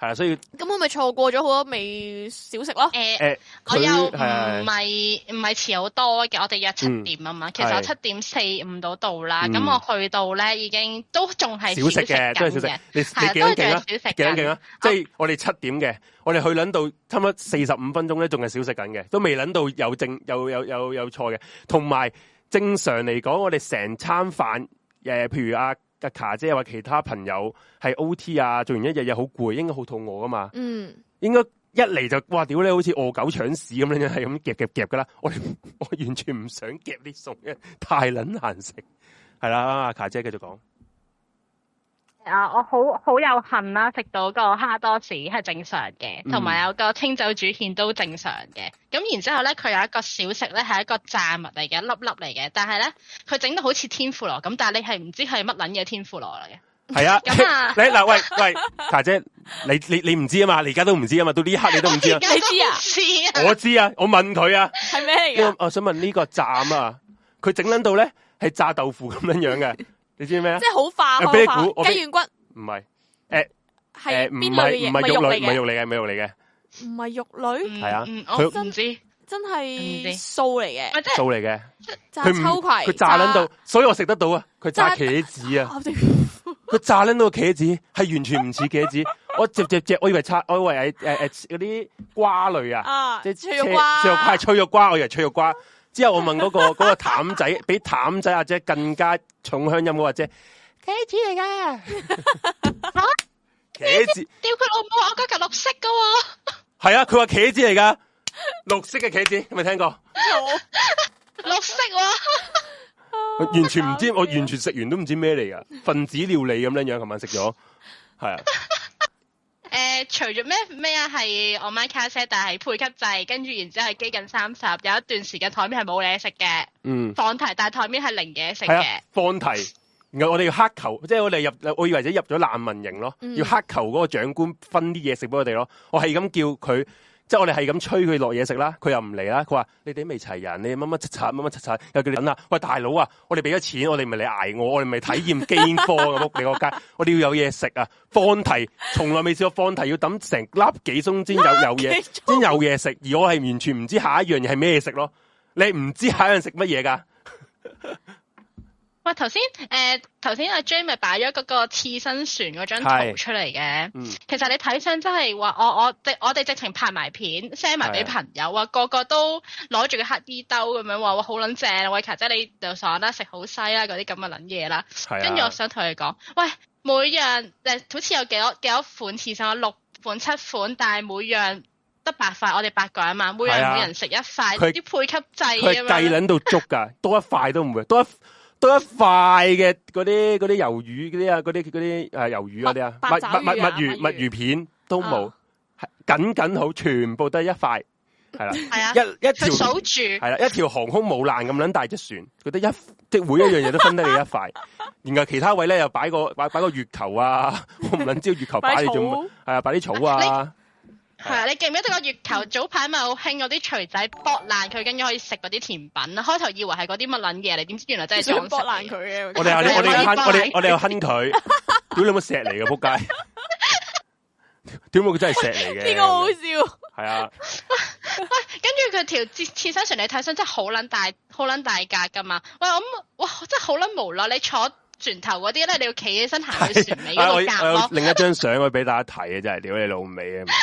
係啊，所以咁我咪錯過咗好多味小食咯。 誒誒，我又唔係唔係遲好多嘅，我哋約七點啊嘛。其實我七點四五到到啦，咁我去到咧已經都仲係小食嘅， 都係小食。你你幾多勁啊？幾多勁啊？即係我哋七點嘅，我哋去撚到差唔多四十五分鐘咧，仲係小食緊嘅，都未撚到有正有有有有錯嘅。同埋正常嚟講，我哋成餐飯誒，譬如阿阿卡姐或其他朋友係 O T 啊，做完一日又好攰，應該好肚餓噶嘛。嗯，應該一嚟就哇屌你，好似餓狗搶屎咁樣，係咁夾夾夾噶啦。我哋我完全唔想夾啲餸，因為太撚難食。係啦，阿卡姐繼續講。 啊，我好好有幸啦，食到個蝦多士係正常嘅，同埋有個清酒煮芡都正常嘅。咁、嗯、然之後咧，佢有一個小食咧，係一個炸物嚟嘅，一粒粒嚟嘅。但係咧，佢整到好似天婦羅咁，但係你係唔知係乜撚嘢天婦羅嚟嘅。係啊，咁啊， 你嗱喂喂，卡姐，你你你唔知啊嘛？你而家都唔知啊嘛？到呢一刻你都唔知啊？ 你知啊？ 知我知啊，我問佢啊， 係咩嚟嘅？ 我想問呢個站啊，佢整撚到咧係炸豆腐咁樣樣嘅。你知咩啊？ 即係好化，好化雞軟骨。 唔係，誒， 係邊類嘅嘢？ 唔係肉類，唔係肉嚟嘅，唔係肉嚟嘅。 唔係肉類？ 係啊， 佢唔知， 真係素嚟嘅， 素嚟嘅。 炸秋葵， 佢炸撚到，所以我食得到啊。佢炸茄子啊，佢炸撚到個茄子係完全唔似茄子。我隻隻隻，我以為拆，我以為係誒誒嗰啲瓜類啊，即係脆肉瓜， 脆肉瓜係脆肉瓜，我以為脆肉瓜。之後我問嗰個嗰個淡仔，比淡仔阿姐更加重鄉音嗰個姐，茄子嚟噶吓，茄子， 屌佢老母，我嗰嚿綠色噶喎， 係啊，佢話茄子嚟噶，綠色嘅茄子，有冇聽過？ 綠色喎， 完全唔知，我完全食完都唔知咩嚟噶，分子料理咁樣樣，琴晚食咗，係啊。 誒、呃，除咗咩咩啊，係我買卡車，但係配給制，跟住然之後係基緊三十，有一段時間台面係冇嘢食嘅，嗯，放題，但係台面係零嘢食嘅， 放題，然後我哋要乞求，即係我哋入，我以為者入咗難民營咯，嗯、要乞求嗰個長官分啲嘢食俾我哋咯，我係咁叫佢。即係我哋係咁催佢落嘢食啦，佢又唔嚟啦。佢話你哋未齊人，你乜乜柒柒，乜乜柒柒，又叫你等啊！喂，大佬啊，我哋俾咗錢，我哋唔係嚟挨我，我哋唔係體驗饑荒啊！仆你個街，我哋要有嘢食啊！放題從來未試過放題要等成粒幾鐘先有有嘢，先有嘢食。而我係完全唔知下一樣嘢係咩食咯。你唔知下一樣食乜嘢噶？ 喂，頭先誒，頭先阿 J 咪擺咗嗰個刺身船嗰張圖出嚟嘅，嗯、其實你睇相真係話，我我我哋直情拍埋片 send 埋俾朋友啊，個個都攞住個黑衣兜咁樣話，哇好撚正，喂卡姐你就爽啦，食好西啦，嗰啲咁嘅撚嘢啦，跟住我想同你講，喂，每樣誒好似有幾多幾多款刺身啊，六款七款，但係每樣得八塊，我哋八個人嘛，每樣每人食一塊，啲配給制咁樣，佢計撚到足㗎，多一塊都唔會，多一。多一塊嘅嗰啲嗰啲魷魚嗰啲啊，嗰啲嗰啲誒魷魚嗰啲啊，墨墨墨墨魚墨魚片都冇，係僅僅好，全部都係一塊，係啦， 係啊， 一一條數住， 係啦，一條航空母艦咁撚大隻船，佢得一即係每一樣嘢都分得你一塊，然後其他位咧又擺個擺擺個月球啊，我唔撚知月球擺你做乜，係啊，擺啲草啊。 係啊！你記唔記得個月球早排咪好興嗰啲錘仔剝爛佢，跟住可以食嗰啲甜品啊！開頭以為係嗰啲乜撚嘢嚟，點知原來真係想剝爛佢嘅。 我哋我哋我哋我哋我哋又哼佢，屌你冇石嚟嘅仆街！屌佢真係石嚟嘅。 呢個好笑。 係啊。 喂，跟住佢條刺刺身船你睇相真係好撚大，好撚大格噶嘛！喂，我哇真係好撚無奈，你坐船頭嗰啲咧，你要企起身行去船尾嗰度夾咯。 另一張相我俾大家睇啊，真係屌你老味啊！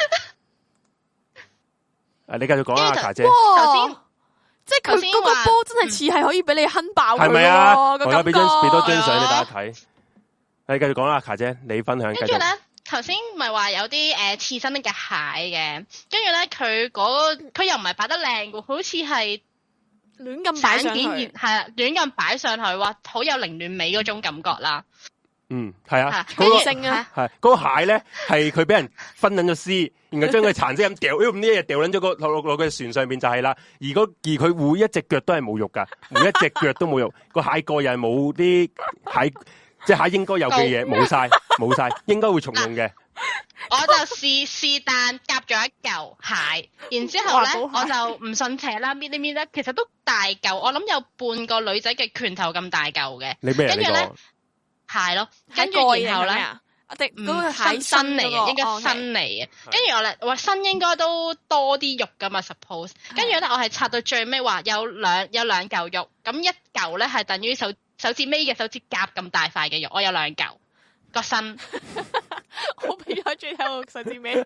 誒，你繼續講啊，卡姐。 頭先， 即係佢嗰個波真係似係可以俾你哼爆佢。 係咪啊？我而家俾張俾多張相俾大家睇。你繼續講啦，卡姐，你分享。 跟住咧，頭先咪話有啲誒刺身嘅蟹嘅，跟住咧佢嗰佢又唔係擺得靚嘅，好似係亂咁擺上去， 係啊，亂咁擺上去，話好有凌亂美嗰種感覺啦。 嗯，係啊， 嗰個係嗰個蟹咧，係佢俾人分捻咗絲，然後將佢殘肢咁掉，咁呢一日掉捻咗個落落個船上邊就係啦。而嗰而佢每一隻腳都係冇肉噶，每一隻腳都冇肉。個蟹蓋又係冇啲蟹，即係蟹應該有嘅嘢冇晒，冇晒，應該會重用嘅。 我就試試但夾咗一嚿蟹，然之後咧我就唔信邪啦，搣呢搣咧，其實都大嚿，我諗有半個女仔嘅拳頭咁大嚿嘅。 你咩人呢個？ 蟹咯，跟住然後咧， 定嗰個係新嚟嘅，應該新嚟嘅。跟住我咧話新應該都多啲肉噶嘛 ，suppose。跟住咧我係拆到最尾話有兩有兩嚿肉，咁一嚿咧係等於手手指尾嘅手指甲咁大塊嘅肉，我有兩嚿個身。 我俾咗最後個手指尾。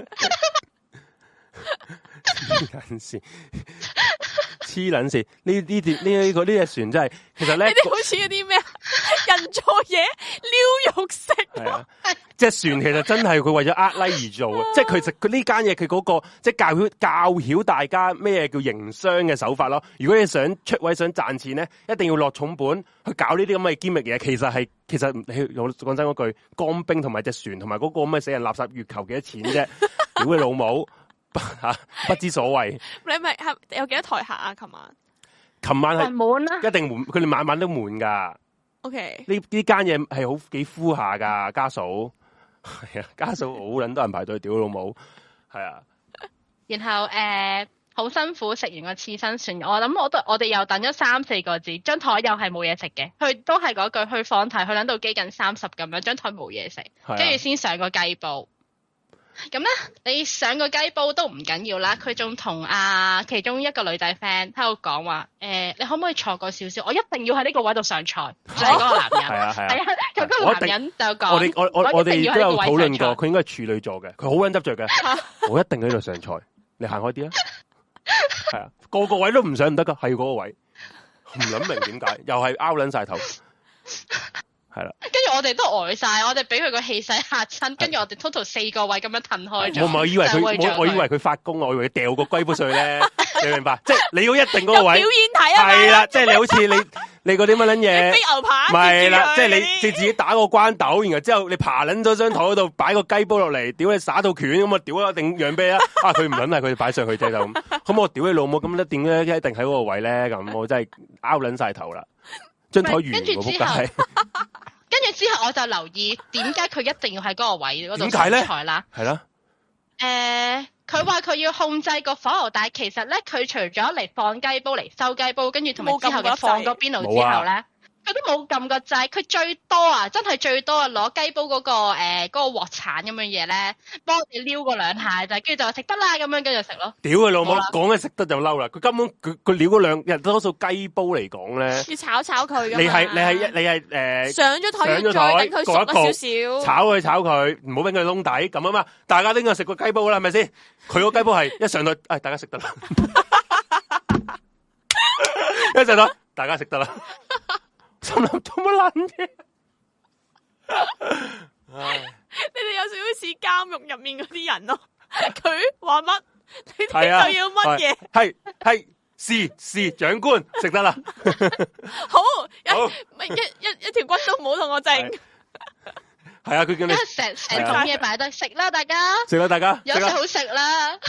黐撚線，黐撚線，呢呢段呢呢個呢隻船真係，其實咧， 呢啲好似嗰啲咩人做嘢撩肉食。 係啊，隻船其實真係佢為咗呃 like 而做嘅，即係其實佢呢間嘢佢嗰個即係教曉教曉大家咩叫營商嘅手法咯。如果你想出位想賺錢咧，一定要落重本去搞呢啲咁嘅堅密嘢。其實係其實你講真嗰句，乾冰同埋隻船同埋嗰個咁嘅死人垃圾月球幾多錢啫？屌你老母！吓不知所謂。 你咪係有幾多台客啊？琴晚， 琴晚係滿啦， 一定滿，佢哋晚晚都滿噶。 O K，呢呢間嘢係好幾敷下噶，家嫂係啊，家嫂好撚多人排隊，屌老母，係啊。 然後誒，好、呃、辛苦食完個刺身船，我諗我都我哋又等咗三四個字，張台又係冇嘢食嘅，佢都係嗰句去放題，去撚到機近三十咁樣，張台冇嘢食，跟住先上個雞煲。咁咧，你上個雞煲都唔緊要啦。佢仲同啊其中一個女仔 friend 喺度講話，誒、呃，你可唔可以坐過少少？我一定要喺呢個位度上菜。就係、是、嗰個男人。係啊係啊。係啊，佢嗰個男人就講。我哋我我我哋都有討論過，佢應該係處女座嘅，佢好撚執着嘅。我一定喺度上菜，你行開啲啊。係啊，個個位都唔上唔得噶，係嗰個位。唔諗明點解，又係拗撚晒頭。係啦，跟住我哋都呆晒，我哋俾佢個氣勢嚇親，跟住我哋 total 四個位咁樣褪開咗。我唔係以為佢，我我以為佢發功，我以為佢掉個龜煲上去咧，你明白？即係你要一定嗰個位。表演睇啊！係啦，即係你好似你你嗰啲乜撚嘢，飛牛扒。係啦，即係你你自己打個關斗，然後之後你爬撚咗張台嗰度擺個雞煲落嚟，屌你耍到拳咁啊！屌一定讓啤啊！啊佢唔撚係佢哋擺上去啫就咁。咁我屌你老母咁一定咧一定喺嗰個位咧咁，我真係拗撚晒頭啦。張台完，跟住之後，跟住之後我就留意點解佢一定要喺嗰個位嗰度上台啦。係啦，誒，佢話佢要控制個火候，但係其實咧，佢除咗嚟放雞煲嚟收雞煲，跟住同埋之後嘅放個邊爐之後咧。佢都冇撳個掣，佢最多啊，真係最多啊，攞雞煲嗰、那個誒嗰、呃那個鑊鏟咁樣嘢咧，幫你撩過兩下就，跟住就話食得啦，咁樣跟住食咯。屌佢老母，講緊食得就嬲啦！佢根本佢佢撩嗰兩日多數雞煲嚟講咧，要炒炒佢。你係你係你係誒、呃、上咗台，上咗台等佢熟咗少少，炒佢炒佢，唔好俾佢窿底咁啊嘛！大家都應該食過雞煲啦，係咪先？佢個雞煲係一上到，誒、哎、大家食得啦，一上到大家食得啦。心諗做乜撚嘢？你哋有少少似監獄入面嗰啲人咯。佢話乜，你哋就要乜嘢？係係是是長官食得啦。好，好一一一,一條骨都唔好同我整。係啊，佢叫你成成桶嘢擺低食啦，大家食啦，大家有食好食啦。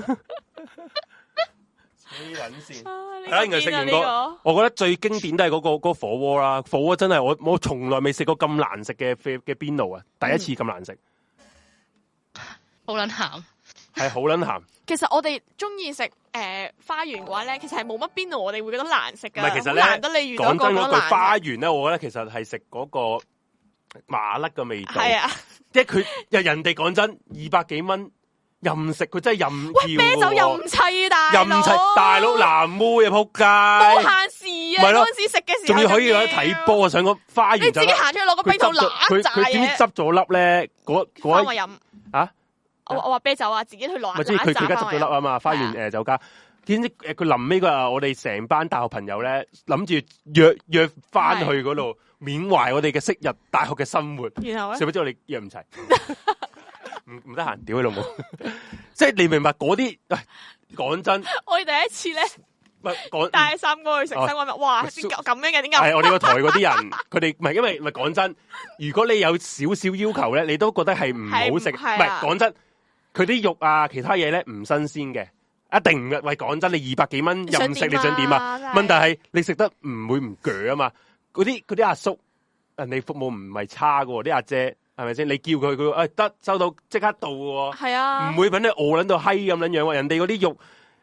黐撚線，係啦，然後食完個，我覺得最經典都係嗰、那個嗰、那個火鍋啦。火鍋真係我我從來未食過咁難食嘅嘅邊爐啊！第一次咁難食，好撚鹹，係好撚鹹。其實我哋中意食誒花園嘅話咧，其實係冇乜邊爐我哋會覺得難食噶。唔係，其實咧難得你遇到講真嗰句花園咧，我覺得其實係食嗰個麻甩嘅味道。係啊，即係佢人人哋講真二百幾蚊。任食佢真係任叫，啤酒任砌大佬，任砌大佬藍妹啊仆街，冇限時啊！嗰陣時食嘅時候，仲要可以有得睇波啊！上個花園就你自己行出去攞個啤酒攞佢佢點知執咗粒咧？嗰嗰我飲啊！我我話啤酒啊，自己去攞。咪即係佢佢而家執咗粒啊嘛！花園誒酒家，點知誒佢臨尾嗰日，我哋成班大學朋友咧諗住約約翻去嗰度緬懷我哋嘅昔日大學嘅生活。然後咧，誰不知我哋約唔齊。唔唔得閒，屌你老母！即係你明白嗰啲，講真，我哋第一次咧，唔係講帶三哥去食西瓜麵，哇！點解咁樣嘅？點解？係我哋個台嗰啲人，佢哋唔係因為唔係講真，如果你有少少要求咧，你都覺得係唔好食，唔係講真，佢啲肉啊，其他嘢咧唔新鮮嘅，一定唔喂講真，你二百幾蚊任食，你想點啊？問題係你食得唔會唔鋸啊嘛？嗰啲嗰啲阿叔，人哋服務唔係差噶，啲阿姐。係咪先？你叫佢佢誒得收到即刻到喎，係啊，唔會搵你餓撚到閪咁樣樣喎。人哋嗰啲肉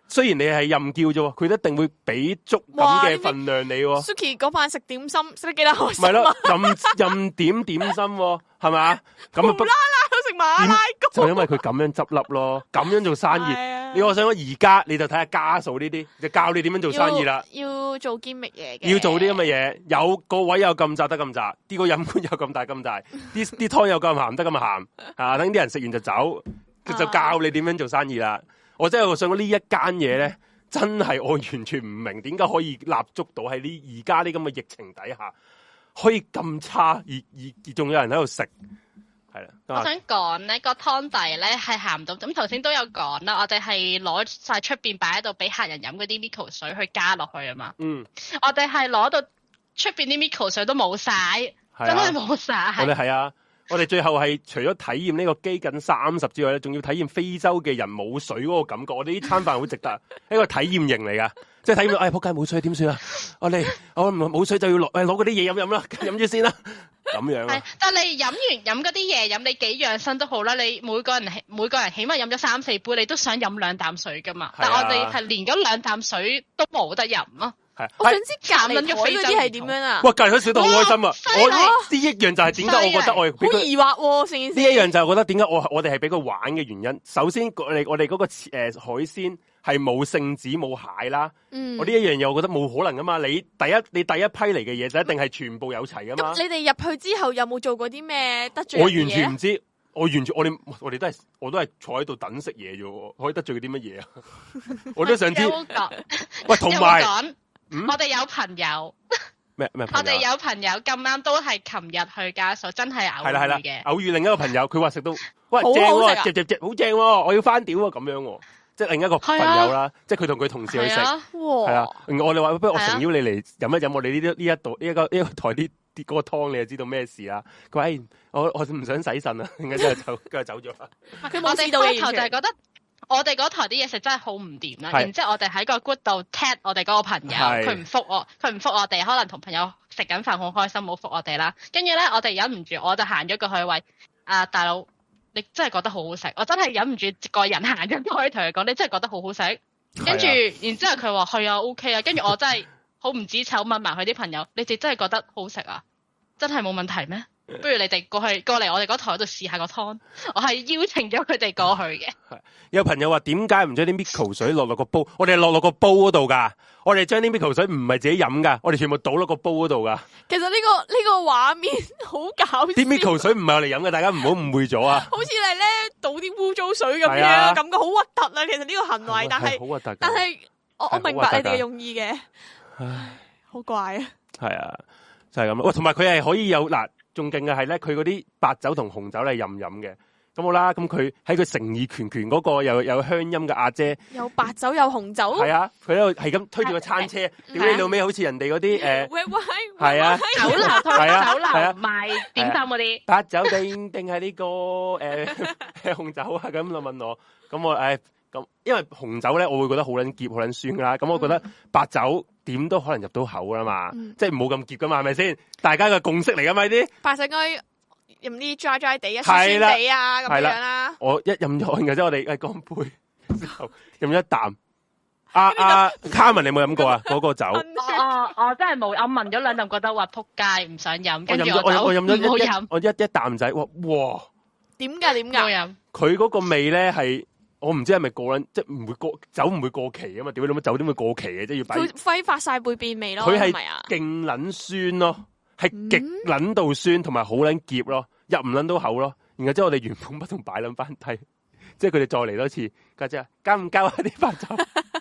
雖然你係任叫啫，佢一定會俾足咁嘅份量你。 Suki 嗰晚食點心食得幾多開心？ 咪咯，任任點點心係咪啊？咁啊無啦啦去食馬拉糕， 就因為佢咁樣執笠咯，咁樣做生意。你我想講而家你就睇下家數呢啲，就教你點樣做生意啦。 要做堅密嘢嘅， 要做啲咁嘅嘢，有個位有咁窄得咁窄，啲個飲管有咁大咁大，啲啲湯有咁鹹得咁鹹，啊等啲人食完就走，佢就教你點樣做生意啦。我真係想講呢一間嘢咧，真係我完全唔明點解可以立足到喺呢而家呢咁嘅疫情底下，可以咁差，而而而仲有人喺度食。係啦， 我想講咧個湯底咧係鹹到，咁頭先都有講啦，我哋係攞晒出邊擺喺度俾客人飲嗰啲 Miko 水去加落去啊嘛。嗯，我哋係攞到出邊啲 Miko 水都冇晒，啊、真係冇晒。 我哋係啊，我哋最後係除咗體驗呢個饑饉三十之外咧，仲要體驗非洲嘅人冇水嗰個感覺。我哋呢餐飯好值得，一個體驗營嚟噶，即係體驗到，哎仆街冇水點算啊？我哋我冇水就要落，誒攞嗰啲嘢飲飲啦，飲住先啦。咁樣係， 但係你飲完飲嗰啲嘢飲，你幾養生都好啦。你每個人每個人起碼飲咗三四杯，你都想飲兩啖水噶嘛？啊、但係我哋係連嗰兩啖水都冇得飲咯。 係、啊， 我想知隔離台嗰啲係點樣啊？ 哇，隔離台笑到好開心啊！我呢一樣就係點解我覺得我好疑惑喎、啊，成件事。 呢一樣就係覺得點解我我哋係俾佢玩嘅原因。首先，我哋我哋嗰個誒、呃、海鮮係冇聖子冇蟹啦。嗯，我呢一樣嘢我覺得冇可能噶嘛。你第一你第一批嚟嘅嘢就一定係全部有齊噶嘛。 咁你哋入去之後有冇做過啲咩得罪人嘅嘢？ 我完全唔知，我完全我哋我哋都係我都係坐喺度等食嘢啫，可以得罪佢啲乜嘢啊？我都想知。喂，同埋。 嗯、我哋有朋友咩咩？ 我哋有朋友咁啱都係琴日去家數，真係偶遇嘅。係啦係啦， 偶遇另一個朋友，佢話食到喂正喎，只只只好正喎，我要翻屌喎咁樣喎，即係另一個朋友啦，啊、即係佢同佢同事去食，係啊。我哋話不如我誠邀你嚟飲一飲我哋呢啲呢一度呢一個呢、這個台啲啲嗰個湯，你就知道咩事啦。佢話、哎、我我唔想洗腎啊，點解之後就跟住走咗啦。 佢冇試到嘅，頭就係覺得。我哋嗰台啲嘢食真係好唔掂啦，然之後我哋喺個 group 度 tag 我哋嗰個朋友，佢唔覆我，佢唔覆我哋，可能同朋友食緊飯好開心，冇覆我哋啦。跟住咧，我哋忍唔住，我就行咗過去喂，啊大佬，你真係覺得好好食，我真係忍唔住個人行咗過去同佢講，你真係覺得好好食。跟住，然之後佢話係啊 OK 啊，跟住我真係好唔知醜問埋佢啲朋友，你哋真係覺得好食啊？真係冇問題咩？不如你哋過去過嚟我哋嗰台度試下個湯，我係邀請咗佢哋過去嘅。 有朋友話點解唔將啲 Miko 水落落個煲？我哋係落落個煲嗰度噶，我哋將啲 Miko 水唔係自己飲噶，我哋全部倒落個煲嗰度噶。 其實呢、這個呢、這個畫面好搞笑。啲 Miko 水唔係我嚟飲嘅，大家唔好誤會咗啊！ 好似係咧倒啲污糟水咁樣，啊、感覺好核突啊！其實呢個行為，但係好核突。 但係我我明白你哋嘅用意嘅。唉，好怪啊！ 係啊，就係咁咯。喂，同埋佢係可以有嗱。仲勁嘅係咧，佢嗰啲白酒同紅酒咧任飲嘅，咁好啦。咁佢喺佢誠意拳拳嗰個又有鄉音嘅阿姐， 有白酒有紅酒， 係啊，佢喺度係咁推住個餐車，屌你老味，好似人哋嗰啲誒，係啊， 酒樓係啊，酒樓賣點心嗰啲白酒定定係呢個誒紅酒啊？咁就問我，咁我誒咁，因為紅酒咧，我會覺得好撚澀，好撚酸啦。咁我覺得白酒。點都可能入到口噶嘛，嗯、即係冇咁澀噶嘛，係咪先？大家嘅共識嚟噶嘛呢啲。白酒應該飲啲 dry dry 地啊，酸酸地啊咁樣啦。我一飲咗，然之後我哋誒乾杯之後飲咗一啖。阿阿 Carmen 你有冇飲過啊？嗰個酒。 哦哦，真係冇，我聞咗兩啖，覺得話撲街，唔想飲。跟住我我我飲咗一一， 我一一啖仔，哇哇！ 點解點解？ 佢嗰個味咧係。我唔知係咪過撚，即係唔會過酒唔會過期啊嘛？點解你乜酒點會過期嘅？即係要擺佢揮發晒會變味咯。 佢係勁撚酸咯，係極撚到酸，同埋好撚澀咯，入唔撚到口咯。然後之後我哋原封不動擺撚翻低，即係佢哋再嚟多次，家姐交唔交啊啲白酒？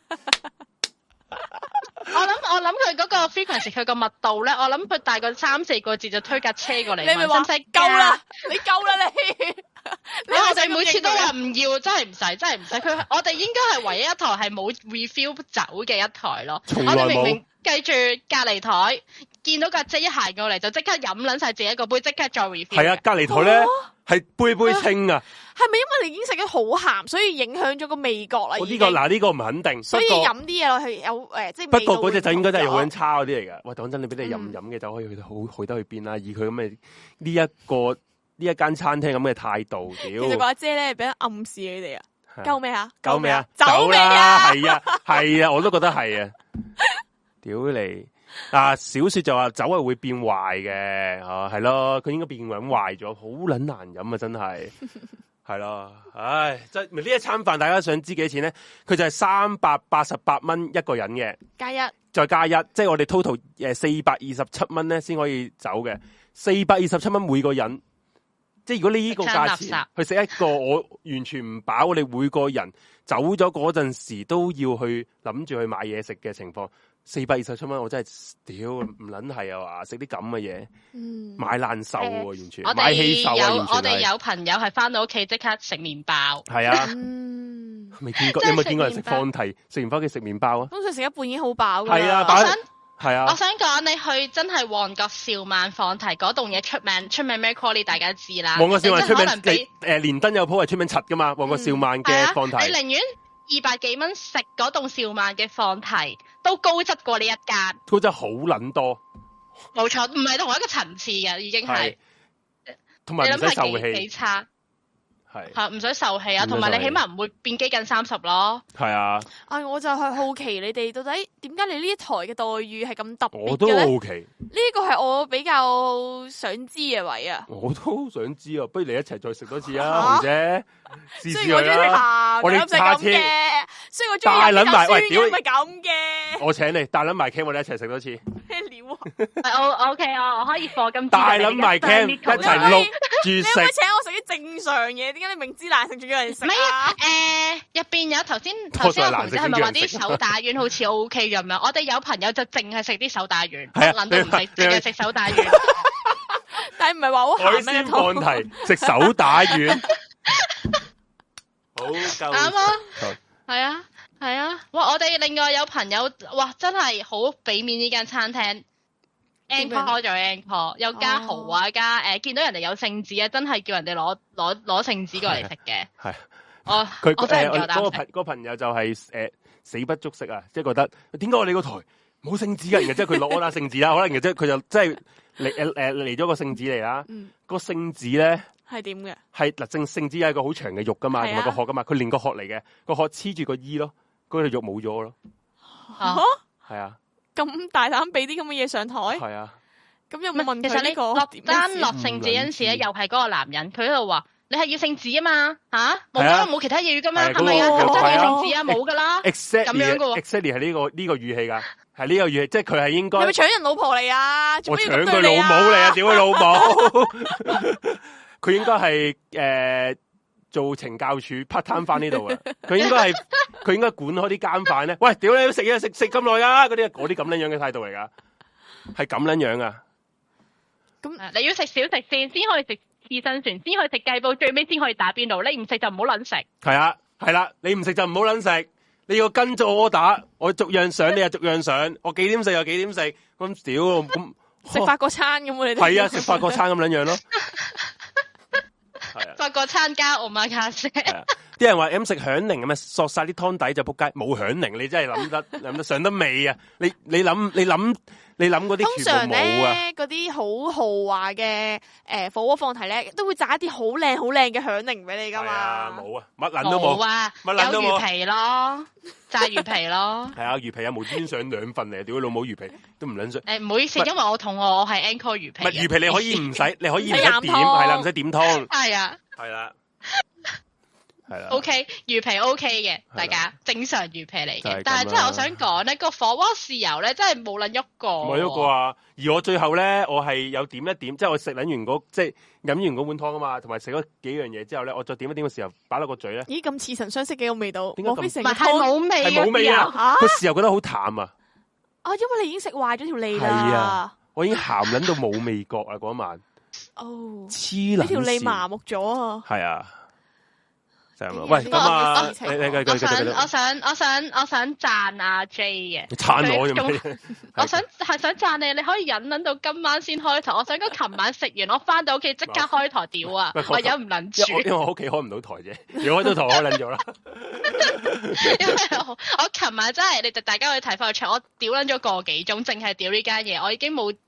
我諗我諗佢嗰個 frequency 佢個密度咧，我諗佢大概三四個字就推架車過嚟。你咪話夠啦，你夠啦你。 你我哋每次都話唔要，真係唔使，真係唔使。佢我哋應該係唯一一台係冇 refill 酒嘅一台咯。我哋明明記住隔離台見到架姐一行過嚟就即刻飲撚晒自己一個杯，即刻再 refill。係啊，隔離台咧係杯杯清啊。 係咪因為你已經食得好鹹，所以影響咗個味覺啦？ 我呢個嗱呢個唔肯定。 所以飲啲嘢落去有誒，即係不過嗰隻酒應該真係好撚差嗰啲嚟㗎。喂，講真，你俾你飲飲嘅酒可以去到好去得去邊啦？以佢咁嘅呢一個。呢一間餐廳咁嘅態度，屌！ 其實個阿姐咧，俾人暗示你哋啊， 夠未啊？ 夠未啊？ 走未啊？係啊，係啊，我都覺得係啊。屌你！啊，小說就話酒係會變壞嘅，啊係咯，佢應該變搵壞咗，好撚難飲啊，真係係咯，唉，即係呢一餐飯，大家想知幾多錢咧？佢就係三百八十八蚊一個人嘅， 加一，再加一，即係我哋 total 誒四百二十七蚊咧，先可以走嘅，四百二十七蚊每個人。即係如果你呢個價錢去食一個，我完全唔飽。我哋每個人走咗嗰陣時都要去諗住去買嘢食嘅情況，四百二十七蚊，我真係屌唔撚係啊！話食啲咁嘅嘢，嗯、買難受喎、啊，完全、呃、買氣受啊！ 有完全我哋有朋友係翻到屋企即刻食麵包，係啊，未見過，你有冇見過人食放題？食完翻屋企食麵包啊？ 通常食一半已經好飽㗎啦。 係啊，我想係啊， 我想講你去真係旺角兆萬放題嗰棟嘢出名，出名咩 quality 大家知啦。 旺角兆萬出名，誒、呃、連登有鋪係出名柒㗎嘛？旺角兆萬嘅放題， 嗯啊、你寧願二百幾蚊食嗰棟兆萬嘅放題，都高質過呢一間。 高質好撚多， 冇錯，唔係同一個層次嘅，已經係。 同埋唔使受氣， 幾差。 係係唔使受氣啊，同埋你起碼唔會變基近三十咯。 係啊， 啊我就係好奇你哋到底點解你呢一台嘅待遇係咁特別嘅咧？ 我都好奇， 呢個係我比較想知嘅位啊。 我都想知啊，不如你一齊再食多次啊，紅姐。 雖然我中意食鹹，我哋下次，雖然我中意飲酸嘅，咪咁嘅。 我請你大撚埋 cam，我哋一齊食多次。 咩料啊？ 我 OK 啊，我可以課金。 大撚埋 cam 一齊錄住食。 你可唔可以請我食啲正常嘢？點解你明知難食仲要人食啊？ 唔係啊，誒入邊有頭先頭先阿紅姐係咪話啲手打丸好似 OK 咁樣？我哋有朋友就淨係食啲手打丸，諗都唔食，淨係食手打丸。 但係唔係話好鹹咩？ 海鮮放題食手打丸。好夠啱啊！係啊，係啊！哇！我哋另外有朋友，哇！真係好俾面呢間餐廳 ，encore 咗 encore，又加豪啊，加誒，見到人哋有聖子啊，真係叫人哋攞攞攞聖子過嚟食嘅。係，我佢我真係唔夠膽食。 嗰個朋嗰個朋友就係誒死不足惜啊，即係覺得點解我哋個台冇聖子嘅？然後即係佢攞攞聖子啦，可能然後即係佢就即係嚟誒誒嚟咗個聖子嚟啦。個聖子咧。 係點嘅？ 係嗱，正聖子有一個好長嘅肉噶嘛，同埋個殼噶嘛，佢連個殼嚟嘅，個殼黐住個衣咯，嗰條肉冇咗咯。 吓，係啊， 咁大膽俾啲咁嘅嘢上台？係啊， 咁有冇問佢？ 其實你落單落聖子嗰陣時咧，又係嗰個男人，佢喺度話：你係要聖子啊嘛，吓冇噶，冇其他嘢噶嘛，係咪啊？真係要聖子啊，冇噶啦。 咁樣噶喎 ，exactly 係呢個呢個語氣噶，係呢個語氣，即係佢係應該。 係咪搶人老婆嚟啊？ 我搶佢老母嚟啊！屌佢老母！佢應該係誒做懲教處 part time 翻呢度嘅，佢應該係佢應該管開啲監犯咧。喂，屌你食嘢食食咁耐啊！嗰啲嗰啲咁樣樣嘅態度嚟噶，係咁樣樣啊。 咁你要食小食先，先可以食刺身船，先可以食雞煲，最尾先可以打邊爐。你唔食就唔好撚食。係啊，係啦，你唔食就唔好撚食。你要跟住我打，我逐樣上，你又逐樣上。我幾點食又幾點食，咁屌咁食法國餐咁你哋係啊，食法國餐咁樣樣咯。 法國餐加奧馬卡西， 啲人話咁食響鈴咁啊，索晒啲湯底就仆街，冇響鈴你真係諗得諗得上得味啊！你你諗你諗你諗嗰啲全部冇啊！ 嗰啲好豪華嘅誒火鍋放題咧，都會炸一啲好靚好靚嘅響鈴俾你噶嘛？ 冇啊，乜撚都冇啊，乜撚都冇，有魚皮咯，炸魚皮咯。係啊，魚皮啊，無端上兩份嚟，屌老母魚皮都唔撚上。 誒，唔好意思，因為我肚餓，我係 Anchor 魚皮。 唔係魚皮，你可以唔使，你可以唔使點，係啦，唔使點湯。 係啊， 係啦。係啦 ，OK 魚皮 OK 嘅，大家正常魚皮嚟嘅，但係真係我想講咧，個火鍋豉油咧真係冇撚喐過， 冇喐過啊！而我最後咧，我係有點一點，即係我食撚完嗰即係飲完嗰碗湯啊嘛，同埋食咗幾樣嘢之後咧，我再點一點嘅時候擺落個嘴咧， 咦咁似曾相識嘅個味道， 點解咁？ 唔係冇味， 係冇味啊！個豉油覺得好淡啊！ 啊，因為你已經食壞咗條脷啦， 係啊，我已經鹹撚到冇味覺啊！嗰晚哦， 黐撚， 呢條脷麻木咗啊！ 係啊。喂，咁啊，你你繼續繼續繼續。 我想我想我想讚阿 J 嘅， 讚我做咩？ 我想係想讚你，你可以忍忍到今晚先開台。我想講琴晚食完，我翻到屋企即刻開台屌啊！我忍唔撚住， 因為我屋企開唔到台啫，如果開到台開撚咗啦。 因為我我琴晚真係，你哋大家可以睇翻個場，我屌撚咗個幾鐘，淨係屌呢間嘢，我已經冇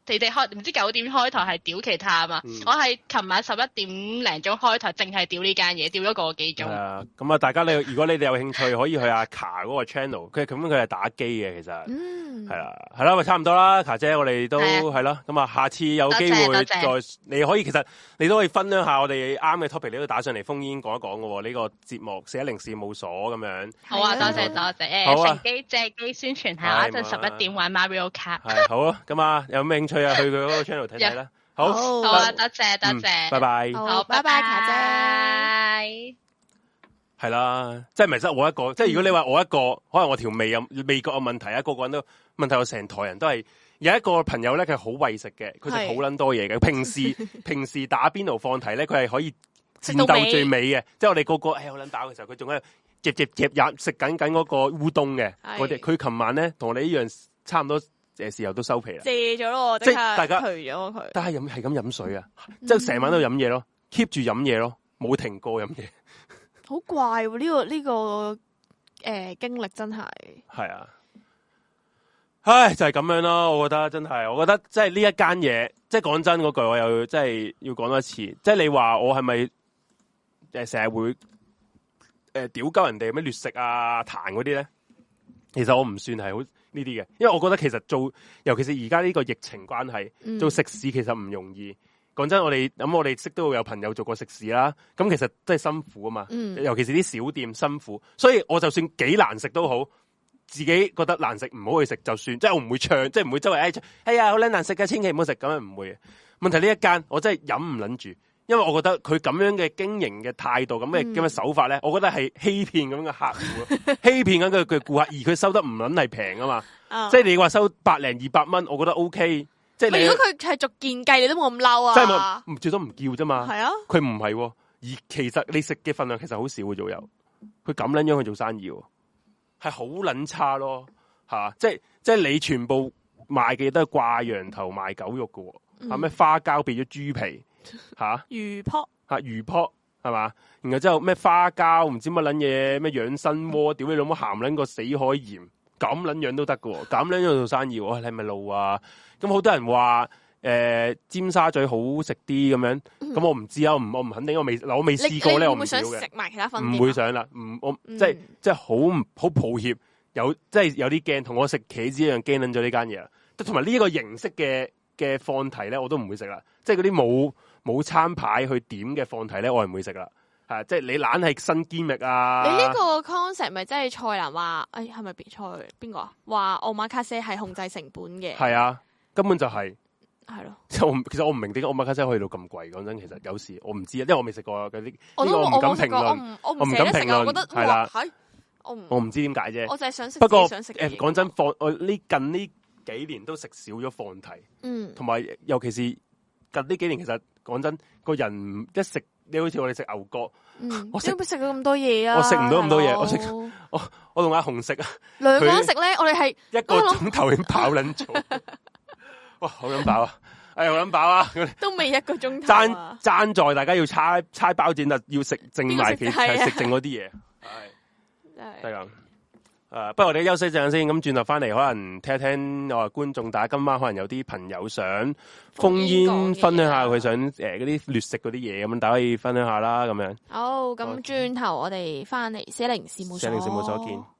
你哋開唔知九點開台係屌其他啊嘛，嗯、我係琴晚十一點零鐘開台，淨係屌呢間嘢，屌咗個幾鐘。係啊， 咁啊，大家你如果你哋有興趣，可以去阿卡嗰個 channel，佢咁樣佢係打機嘅，其實，嗯，係啦，係啦，咪差唔多啦，卡姐，我哋都係咯，咁啊，下次有機會再，你可以其實你都可以分享下我哋啱嘅 topic，你都打上嚟烽煙講一講嘅喎，呢、這個節目四一零事務所咁樣。 好啊，多謝多謝，誒，乘機借機宣傳下，一陣十一點玩 Mario Kart。 係好啊，咁啊，有咩興趣啊？去佢嗰個 channel 睇睇啦。好， 好啊，多謝多謝， 拜拜。 好，拜拜，卡姐。 係啦，即係唔係得我一個？即係如果你話我一個，可能我條味有味覺有問題啊，個個人都問題，我成台人都係有一個朋友咧，佢係好為食嘅，佢食好捻多嘢嘅。平時平時打邊爐放題咧，佢係可以戰鬥最尾嘅。即係我哋個個誒好捻飽嘅時候，佢仲喺度夾夾夾飲食緊緊嗰個烏冬嘅。我哋佢琴晚咧同我哋一樣，差唔多誒時候都收皮啦。 謝咗咯， 即係大家除咗佢。但係飲係咁飲水啊，即係成晚都飲嘢咯 ，keep 住飲嘢咯，冇停過飲嘢。 好怪喎！呢、這個呢、這個誒、呃、經歷真係係啊，唉，就係、是、咁樣咯。我覺得真係，我覺得即係呢一間嘢，即係講真嗰句，我又即係要講多一次。即係你話我係咪誒成日會誒屌鳩人哋咩劣食啊彈嗰啲咧？其實我唔算係好呢啲嘅，因為我覺得其實做，尤其是而家呢個疫情關係，嗯、做食肆其實唔容易。講真，我哋咁我哋識都會有朋友做過食肆啦，咁其實真係辛苦啊嘛，嗯、尤其是啲小店辛苦，所以我就算幾難食都好，自己覺得難食唔好去食就算，即係我唔會唱，即係唔會周圍誒，哎呀好撚難食嘅，千祈唔好食，咁樣唔會。問題呢一間我真係忍唔撚住，因為我覺得佢咁樣嘅經營嘅態度，咁嘅咁嘅手法咧，我覺得係欺騙咁嘅客戶，欺騙緊佢嘅顧客，而佢收得唔撚係平啊嘛，哦、即係你話收百零二百蚊，我覺得 OK。即係如果佢係逐件計，你都冇咁嬲啊！ 即係唔最多唔叫啫嘛。係啊， 佢唔係，而其實你食嘅份量其實好少嘅，左右。佢咁撚樣去做生意，係好撚差咯，吓！即係即係你全部賣嘅都係掛羊頭賣狗肉嘅，吓咩、嗯、花膠變咗豬皮，吓魚卜吓魚卜係嘛？然後之後咩花膠唔知乜撚嘢咩養生鍋，屌你老母鹹撚個死海鹽，咁撚樣都得嘅，咁撚樣做生意，你係咪路啊？咁好多人話誒、呃、尖沙咀好食啲咁樣，咁、嗯、我唔知啊，我唔我唔肯定，我未我未試過咧，我唔想食埋其他分店，唔會想啦，唔我、嗯、即係即係好好抱歉，有即係有啲驚，同我食茄子一樣驚撚咗呢間嘢啦，同埋呢一個形式嘅嘅放題咧，我都唔會食啦，即係嗰啲冇冇餐牌去點嘅放題咧，我係唔會食啦，係即係你懶係新堅力啊！ 你呢個 concept 咪真係蔡瀾話，誒係咪別菜邊個啊？話奧馬卡西係控制成本嘅， 係啊。根本就係係咯， 即係我其實我唔明點解奧馬卡西可以到咁貴。講真，其實有時我唔知啊，因為我未食過嗰啲，呢個我唔敢評論，我唔敢評論。係啦，我唔我唔知點解啫。 我就係想食。 不過誒，講真，放我呢近呢幾年都食少咗放題，嗯，同埋尤其是近呢幾年，其實講真，個人一食，你好似我哋食牛角， 我食唔食到咁多嘢啊？ 我食唔到咁多嘢，我食我我同阿紅食啊， 兩個人食咧，我哋係一個鐘頭已經跑撚咗。哇，好撚飽啊！哎，好撚飽啊！ 都未一個鐘頭。 爭爭在大家要猜猜包剪啊，要食剩埋其實食剩嗰啲嘢。係，係咁。誒，不如我哋休息陣先，咁轉頭翻嚟，可能聽一聽我哋觀眾，大家今晚可能有啲朋友想烽煙分享下佢想誒嗰啲劣食嗰啲嘢，咁大家可以分享下啦，咁樣。 好，咁轉頭我哋翻嚟四一零事務所， 四一零事務所見。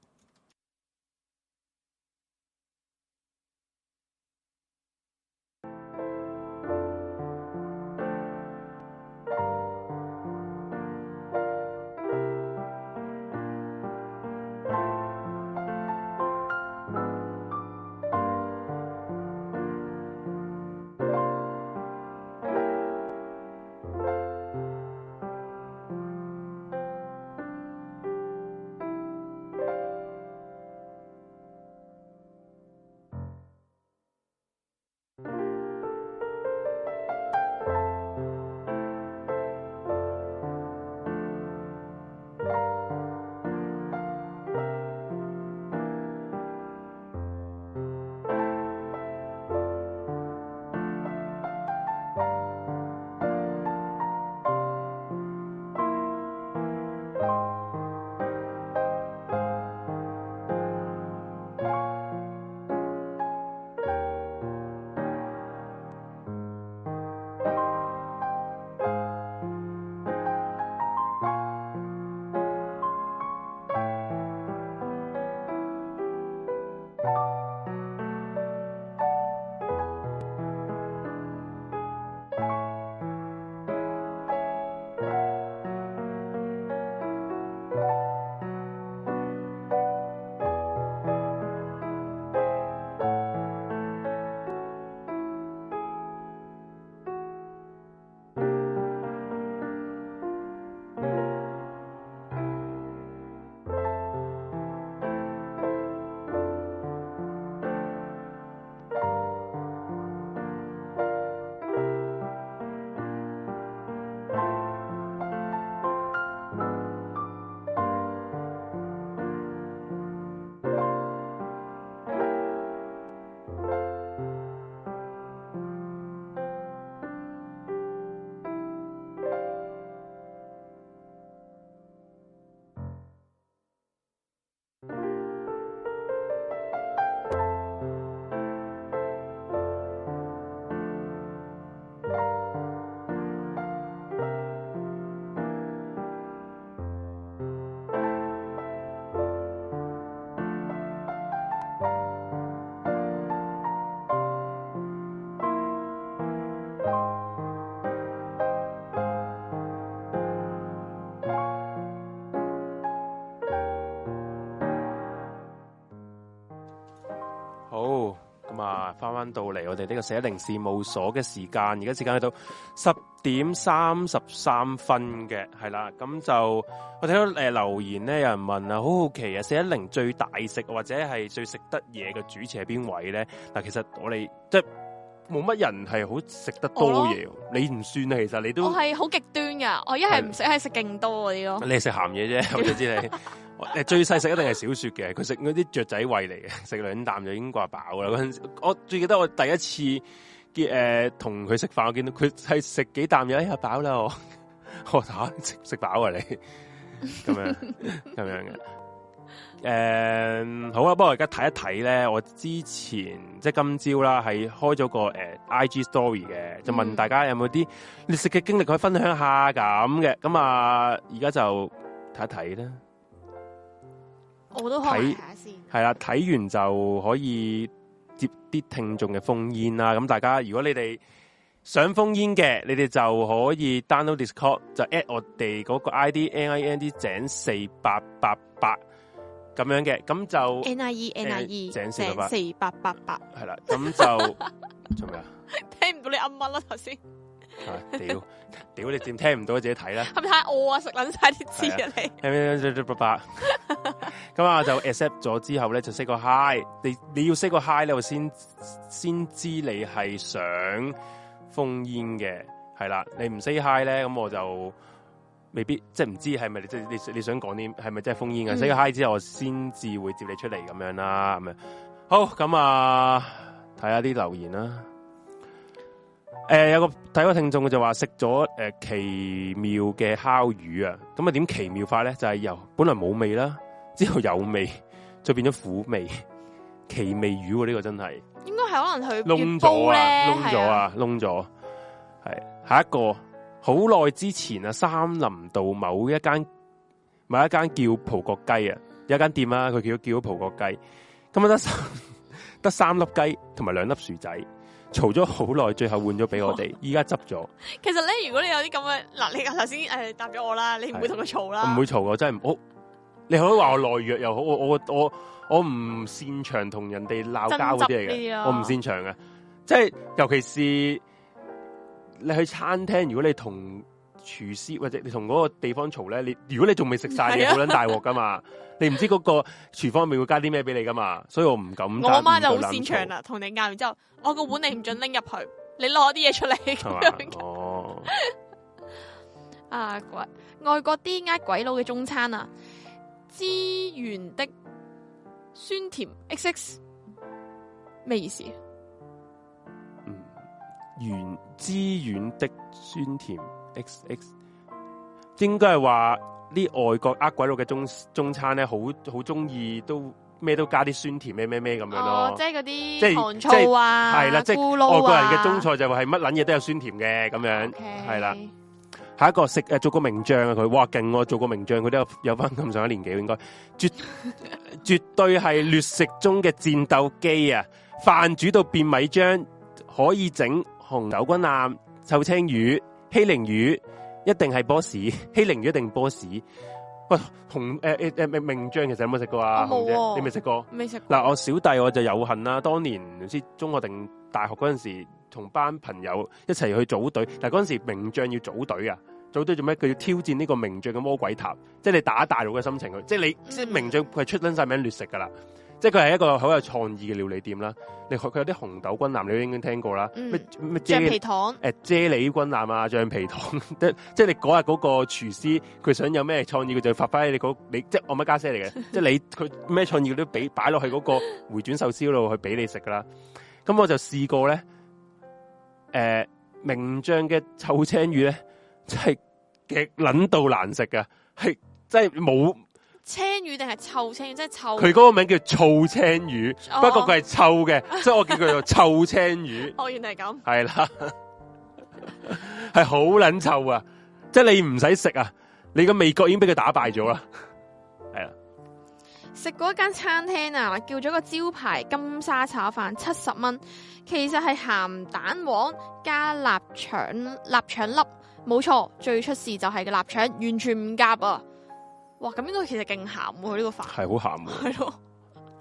咁啊，翻翻到嚟我哋呢個四一零事務所嘅時間，而家時間去到十點三十三分嘅，係啦。咁就我睇到誒、呃、留言咧，有人問啊，好好奇啊，四一零最大食或者係最食得嘢嘅主持係邊位咧？嗱，其實我哋即係冇乜人係好食得多嘢，你唔算啊。其實你都我係好極端噶，我一係唔食，一係食勁多嗰啲咯。 你係食鹹嘢啫，我就知你。誒，最細食一定係小雪嘅，佢食嗰啲雀仔胃嚟嘅，食兩啖就已經掛飽啦。嗰陣時，我最記得我第一次嘅誒同佢食飯，我見到佢係食幾啖嘢，哎呀飽啦我，我吓食食飽啊你，咁樣咁樣嘅。誒、uh, 好啊，不過我而家睇一睇咧，我之前即係今朝啦，係開咗個誒、uh, I G story 嘅，就問大家有冇啲你食嘅經歷可以分享下咁嘅，咁啊而家就睇一睇啦。 我都睇下先， 係啦，睇完就可以接啲聽眾嘅烽煙啦。咁大家如果你哋想烽煙嘅，你哋就可以 download Discord， 就 at 我哋嗰個 I D N I N D 井四八八八咁樣嘅，咁就 N I E N I E 井四八八八，係啦，咁就做咩啊？ 聽唔到你噏乜啦頭先？ 屌屌你點聽唔到自己睇啦？ 係咪太餓啊？食撚晒啲字啊你？ 八八咁啊就 accept 咗之後咧就 say 個 hi， 你你要 say 個 hi 咧我先先知你係想烽煙嘅，係啦，你唔 say hi 咧咁我就未必即係唔知係咪即係你你想講啲係咪真係烽煙嘅 say 個 hi 之後我先至會接你出嚟咁樣啦，咁樣好咁啊睇下啲留言啦。誒、呃，有個睇個聽眾就話食咗誒奇妙嘅烤魚啊，咁啊點奇妙法咧？就係、是、由本來冇味啦，之後有味，再變咗苦味，奇味魚喎、啊、呢、這個真係。應該係可能佢燶咗啊，燶咗啊，燶咗。係下一個，好耐之前啊，三林道某一間某一間叫葡國雞啊，有一間店啊，佢叫叫咗葡國雞，咁啊得得三粒雞同埋兩粒薯仔。嘈咗好耐，最後換咗俾我哋，依家執咗。其實咧，如果你有啲咁嘅嗱，你頭先誒答咗我啦，你唔會同佢嘈啦。唔會嘈，我真係唔好。你可以話我懦弱又好，我我我我唔擅長同人哋鬧交嗰啲嚟嘅，我唔擅長嘅。即係尤其是你去餐廳，如果你同廚師或者你同嗰個地方嘈咧，你如果你仲未食晒，你好撚大鑊噶嘛。你唔知嗰個廚房入面會加啲咩俾你噶嘛，所以我唔敢。我阿媽就好擅長啦，同你拗完之後，我個碗你唔准拎入去，你攞啲嘢出嚟咁樣。哦，啊鬼外國啲呃鬼佬嘅中餐啊，資源的酸甜 X X 咩意思？嗯，原資源的酸甜 X X 應該係話。啲外國呃鬼佬嘅中中餐咧，好好中意都咩都加啲酸甜咩咩咩咁樣咯。哦，即係嗰啲即係糖醋啊，係啦，即係外國人嘅中菜就係乜撚嘢都有酸甜嘅咁樣，係啦。下一個食誒做個名將啊，佢哇勁喎，做個名將佢都有有翻咁上下年紀應該，絕絕對係劣食中嘅戰鬥機啊！飯煮到變米漿，可以整紅豆軍艦、臭青魚、希靈魚。一定係 boss， 希靈魚一定 boss。喂，紅誒誒誒名名將其實有冇食過啊？紅姐，你未食過？未食過。嗱，我小弟我就有幸啦。當年唔知中學定大學嗰陣時，同班朋友一齊去組隊。但係嗰陣時名將要組隊啊，組隊做咩？佢要挑戰呢個名將嘅魔鬼塔，即係你打大佬嘅心情去。即係你，嗯、即係名將佢係出撚晒名劣食噶啦。即係佢係一個好有創意嘅料理店啦。你佢有啲紅豆軍艦，你都應該聽過啦。咩咩橡皮糖？誒，啫喱軍艦啊，橡皮糖。即即係你嗰日嗰個廚師，佢想有咩創意，佢就發揮你嗰你即係我乜家姐嚟嘅。即係你佢咩創意，佢都俾擺落去嗰個回轉壽司嗰度去俾你食噶啦。咁我就試過咧，誒、呃，名將嘅臭青魚咧，真係極撚到難食噶，係真係冇。青魚定係臭青魚？即係臭。佢嗰個名叫醋青魚，哦、不過佢係臭嘅，所以我叫佢做臭青魚。哦，原來係咁。係啦，係好撚臭啊！即係你唔使食啊，你個味覺已經俾佢打敗咗啦。係啦，食過一間餐廳啊，叫咗個招牌金沙炒飯七十蚊，其實係鹹蛋黃加臘腸臘腸粒，冇錯，最出事就係個臘腸完全唔夾啊！哇，咁應該其實勁鹹喎，呢個飯係好鹹喎，係咯，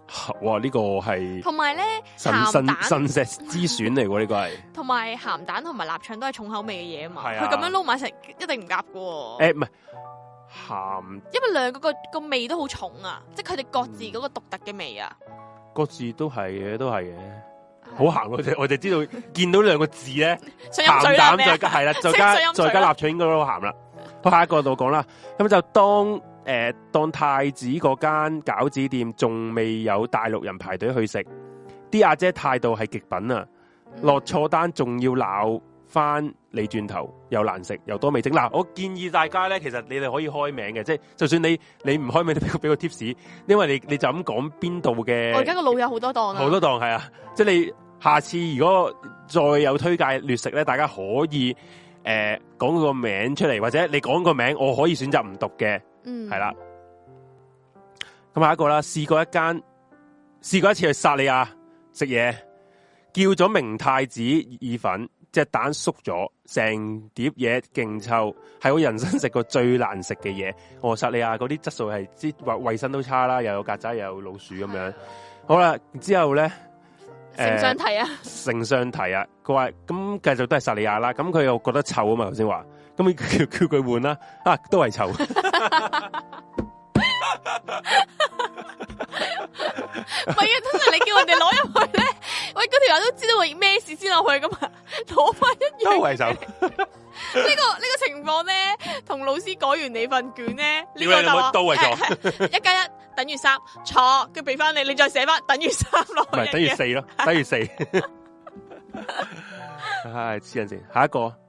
哇！呢、這個係同埋咧神神神石之選嚟喎，呢個係。同埋鹹蛋同埋臘腸都係重口味嘅嘢啊嘛，佢咁、 啊、 樣撈埋食一定唔夾噶。誒、 欸，唔係鹹， 因為兩個個個味都好重啊，即係佢哋各自嗰個獨特嘅味啊。 各自都係嘅，都係嘅。好鹹我哋我哋知道見到兩個字咧，鹹蛋再加係啦，再加再加臘腸應該都好鹹啦。好，下一個度講啦，咁就當誒、呃、當太子嗰間餃子店仲未有大陸人排隊去食，啲阿姐態度係極品啊！落錯單仲要鬧翻你轉頭，又難食又多味精。嗱，我建議大家咧，其實你哋可以開名嘅，即係就算你你唔開名，都俾個俾個 tips，因為你你就咁講邊度嘅。我而家個腦有好多檔啊， 好多檔係啊，即係你下次如果再有推介劣食咧，大家可以。誒、呃，講個名出嚟，或者你講個名，我可以選擇唔讀嘅，嗯，係啦。咁下一個啦，試過一間，試過一次去薩莉亞食嘢，叫咗明太子意粉，隻蛋縮咗，成碟嘢勁臭，係我人生食過最難食嘅嘢。我薩莉亞嗰啲質素係之衛衛生都差啦，又有曱甴又有老鼠咁樣。好啦，之後咧。 成上題啊！ 成上題啊！佢話咁繼續都係薩莉亞啦，咁佢又覺得臭啊嘛，頭先話，咁叫叫佢換啦，啊都係臭。唔係啊，通常你叫人哋攞入去咧，喂嗰條友都知道會咩事先落去噶嘛，攞翻一樣。都係臭。呢、這個呢、這個情況咧，同老師改完你份卷咧，呢、這個就話都係錯， 一加一等於三，錯，跟住俾翻你，你再寫翻等於三落去， 唔係等於四咯，等於四。唉，黐人先，下一個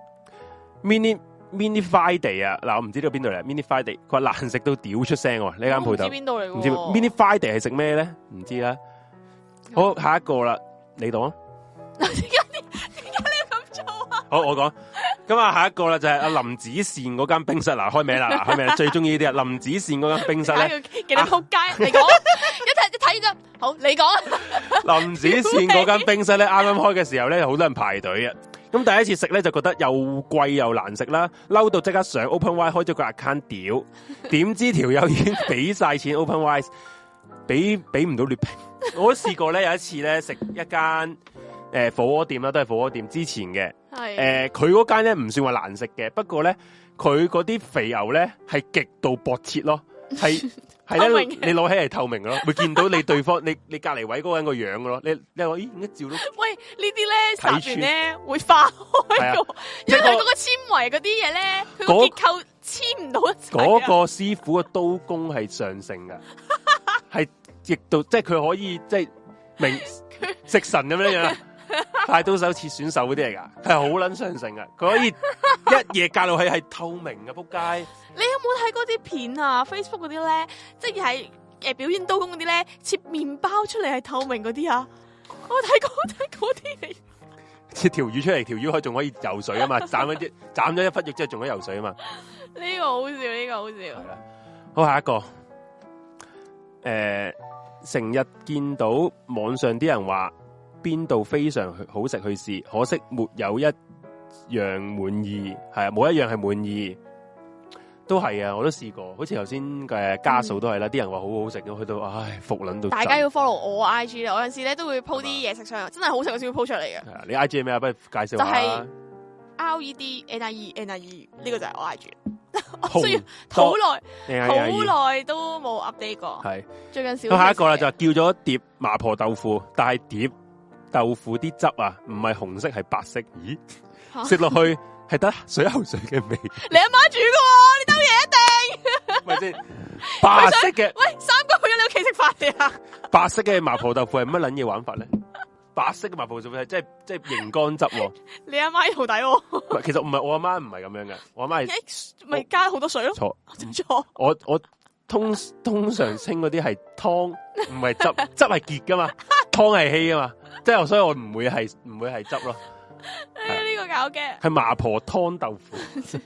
mini mini Friday 啊，嗱我唔知道邊度嚟 mini Friday， 佢話難食到屌出聲喎，呢間鋪頭。唔知邊度嚟？唔知 mini Friday 係食咩咧？唔知啦。好，下一個啦，你講。點解點解你要咁做啊？好，我講。咁啊，下一個啦就係阿林子善嗰間冰室嗱，開名啦，開名最中意呢啲啊，林子善嗰間冰室咧， 幾多仆街？你講，一睇一睇就好，你講。林子善嗰間冰室咧，啱啱開嘅時候咧，好多人排隊啊。咁第一次食咧，就覺得又貴又難食啦，嬲到即刻上 OpenRice 開咗個 account 屌，點知條友已經俾晒錢 OpenRice，俾俾唔到劣評。我都試過咧，有一次咧食一間。誒、呃，火鍋店啦，都係火鍋店之前嘅。係誒，佢嗰間咧唔算話難食嘅，不過咧佢嗰啲肥牛咧係極度薄切咯，係係咧你攞起嚟透明嘅咯，會見到你對方你你隔籬位嗰個人個樣嘅咯。你你話咦，一照到喂呢啲咧睇完咧會化開個，因為佢嗰個纖維嗰啲嘢咧，佢個結構黐唔到一齊。嗰個師傅嘅刀工係上乘嘅，係極度即係佢可以即係明食神咁樣樣。快刀手切選手嗰啲嚟噶，係好撚上乘噶，佢可以一夜隔落去係透明嘅，仆街！你有冇睇嗰啲片啊 ？Facebook 嗰啲咧，即係誒表演刀工嗰啲咧，切麵包出嚟係透明嗰啲啊！我睇過睇嗰啲嚟，切條魚出嚟，條魚可仲可以游水啊嘛！斬咗啲斬咗一忽肉之後仲可以游水啊嘛！呢個好笑，呢、這個好笑。係啦，好下一個，誒、呃，成日見到網上啲人話。邊度非常好食去試，可惜沒有一樣滿意，係啊，冇一樣係滿意，都係啊，我都試過，好似頭先嘅家數都係啦，啲、嗯、人話好好食，咁去到唉服撚到。大家要 follow 我 I G 啦，我有陣時咧都會 po 啲嘢食上，真係好食我先會 po 出嚟嘅。你 I G 係咩啊？不如介紹下。就係、是、R E D N I E N I E 呢個就係我 I G。我需要好耐，好耐都冇 update 過。係最近少。咁下一個啦，就叫咗一碟麻婆豆腐，但係碟。豆腐啲汁啊，唔係紅色係白色，咦？食落去係得水喉水嘅味。你阿媽煮嘅喎，呢兜嘢一定。咪先白色嘅。喂，三個去咗你屋企食飯嘅啊？白色嘅麻婆豆腐係乜撚嘢玩法咧？白色嘅麻婆豆腐係即係即係熒光汁。你阿媽徒弟喎。其實唔係我阿媽唔係咁樣嘅，我阿媽係咪加好多水咯？錯，錯。我我通通常稱嗰啲係湯，唔係汁，汁係結噶嘛，湯係稀噶嘛。即係，所以我唔會係唔會係汁咯。誒，呢個搞嘅係麻婆湯豆腐。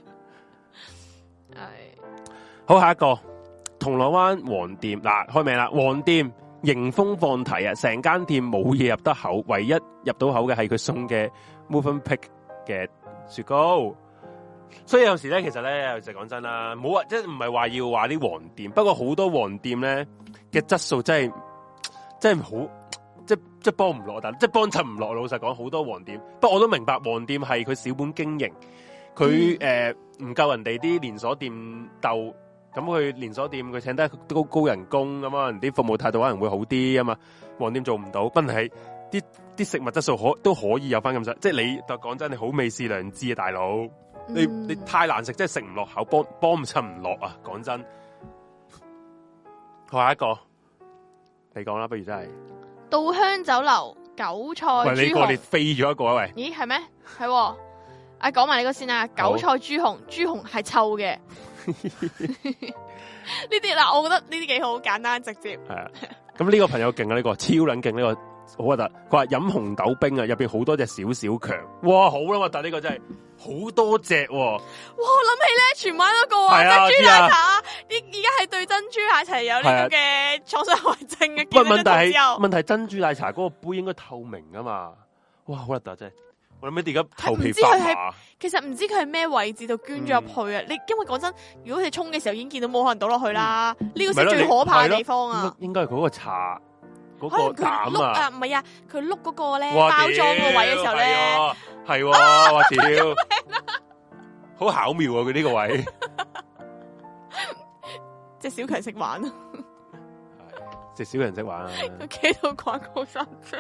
係好，下一個銅鑼灣黃店嗱，開名啦，黃店迎風放題啊！成間店冇嘢入得口，唯一入到口嘅係佢送嘅 Movenpick 嘅雪糕。所以有時咧，其實咧就講真啦，冇話即係唔係話要話啲黃店，不過好多黃店咧嘅質素真係。 真係好，即係即係幫唔落，但即係幫襯唔落。老實講，好多黃店，不過我都明白黃店係佢小本經營，佢誒唔夠人哋啲連鎖店鬥。咁佢連鎖店佢請得高高人工咁啊，啲服務態度可能會好啲啊嘛。黃店做唔到，不過係啲啲食物質素可都可以有翻咁上，即係你講真，你好美是良知啊，大佬，嗯、你你太難食，即係食唔落口，幫幫唔襯唔落啊！講真，下一個你講啦，不如真係稻香酒樓韭菜豬紅。 喂，你個你飛咗一個啊喂？ 咦，係咩？係、啊，啊講埋呢個先啦。韭菜豬紅，豬紅係臭嘅。呢啲嗱，我覺得呢啲幾好，簡單直接。係啊，咁呢個朋友勁啊，呢、這個超撚勁，呢、這個好核突。佢話飲紅豆冰啊，入邊好多隻小小強，哇，好啦核突，呢個真係好多隻、啊。哇，我諗起咧，荃灣嗰個啊，珍珠奶茶，啲而家係對珍珠奶茶有呢個嘅創傷後遺症嘅。不、啊、問題係問題，珍珠奶茶嗰個杯應該透明噶嘛？哇，好核突真係。我諗起而家頭皮發麻。其實唔知佢係咩位置度捐咗入去啊！嗯、你因為講真，如果你沖嘅時候已經見到冇可能倒落去啦，呢、嗯、個先最可怕嘅地方啊！應該係嗰個茶嗰、嗰個膽啊！唔係啊，佢碌嗰個咧包裝個位嘅時候咧，係我屌，好巧妙啊！佢呢個位，隻小強識玩啊！隻小強識玩啊！佢企到廣告山出。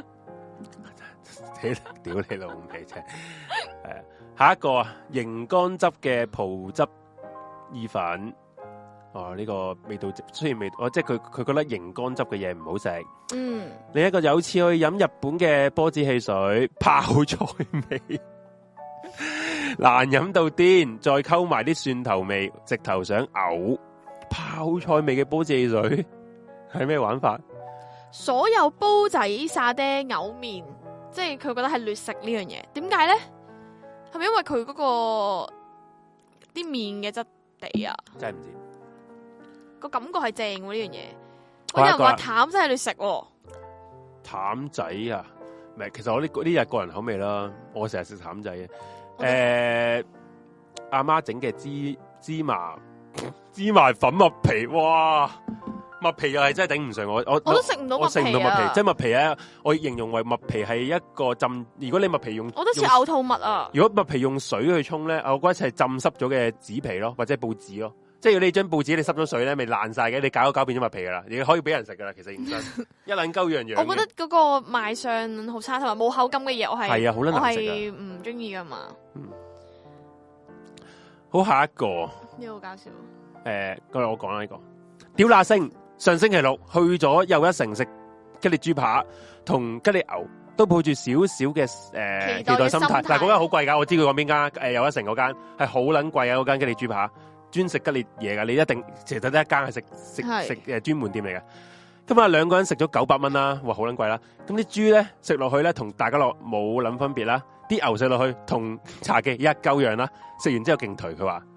屌你老味啫！係啊，下一個啊，熒光汁嘅葡汁意粉，哦呢、這個味道雖然味，哦即係佢佢覺得熒光汁嘅嘢唔好食。嗯，另一個有次去飲日本嘅波子汽水，泡菜味，難飲到癲，再溝埋啲蒜頭味，直頭想嘔。泡菜味嘅波子汽水係咩玩法？所有煲仔沙爹牛麵。即係佢覺得係劣食呢樣嘢，點解咧？係咪因為佢嗰、嗰個啲麵嘅質地啊？真係唔知，個感覺係正喎呢樣嘢。有人話淡真係劣食、啊，淡仔啊？唔係，其實我呢呢日個人口味啦，我成日食淡仔嘅。誒、呃，阿媽整嘅芝芝麻芝麻粉麥皮，哇！麥皮又係真係頂唔順，我我我都食唔到麥皮，我食唔到麥皮，即係麥皮咧，我形容為麥皮係一個浸。如果你麥皮用，我都似嘔吐物啊！如果麥皮用水去沖咧，我覺得係浸濕咗嘅紙皮咯，或者係報紙咯。即係如果你張報紙你濕咗水咧，咪爛晒嘅，你搞一搞變咗麥皮噶啦，你可以俾人食噶啦。其實認真一撚鳩樣樣。我覺得嗰個賣相好差，同埋冇口感嘅嘢，我係係啊，好撚難食啊，我係唔中意噶嘛。嗯，好，下一個呢個好搞笑。誒、呃，今日我講啦呢個屌乸星。上星期六去咗又一城食吉列豬扒同吉列牛，都抱住少少嘅誒期待心態。但係嗰間好貴噶，我知佢講邊間誒又一城嗰間係好撚貴啊！嗰間吉列豬扒專食吉列嘢噶，你一定其實得一間係食食食誒專門店嚟嘅。咁啊兩個人食咗九百蚊啦，哇好撚貴啦！咁啲豬咧食落去咧同大家樂冇撚分別啦，啲牛食落去同茶記一鳩樣啦，食完之後勁頹佢話。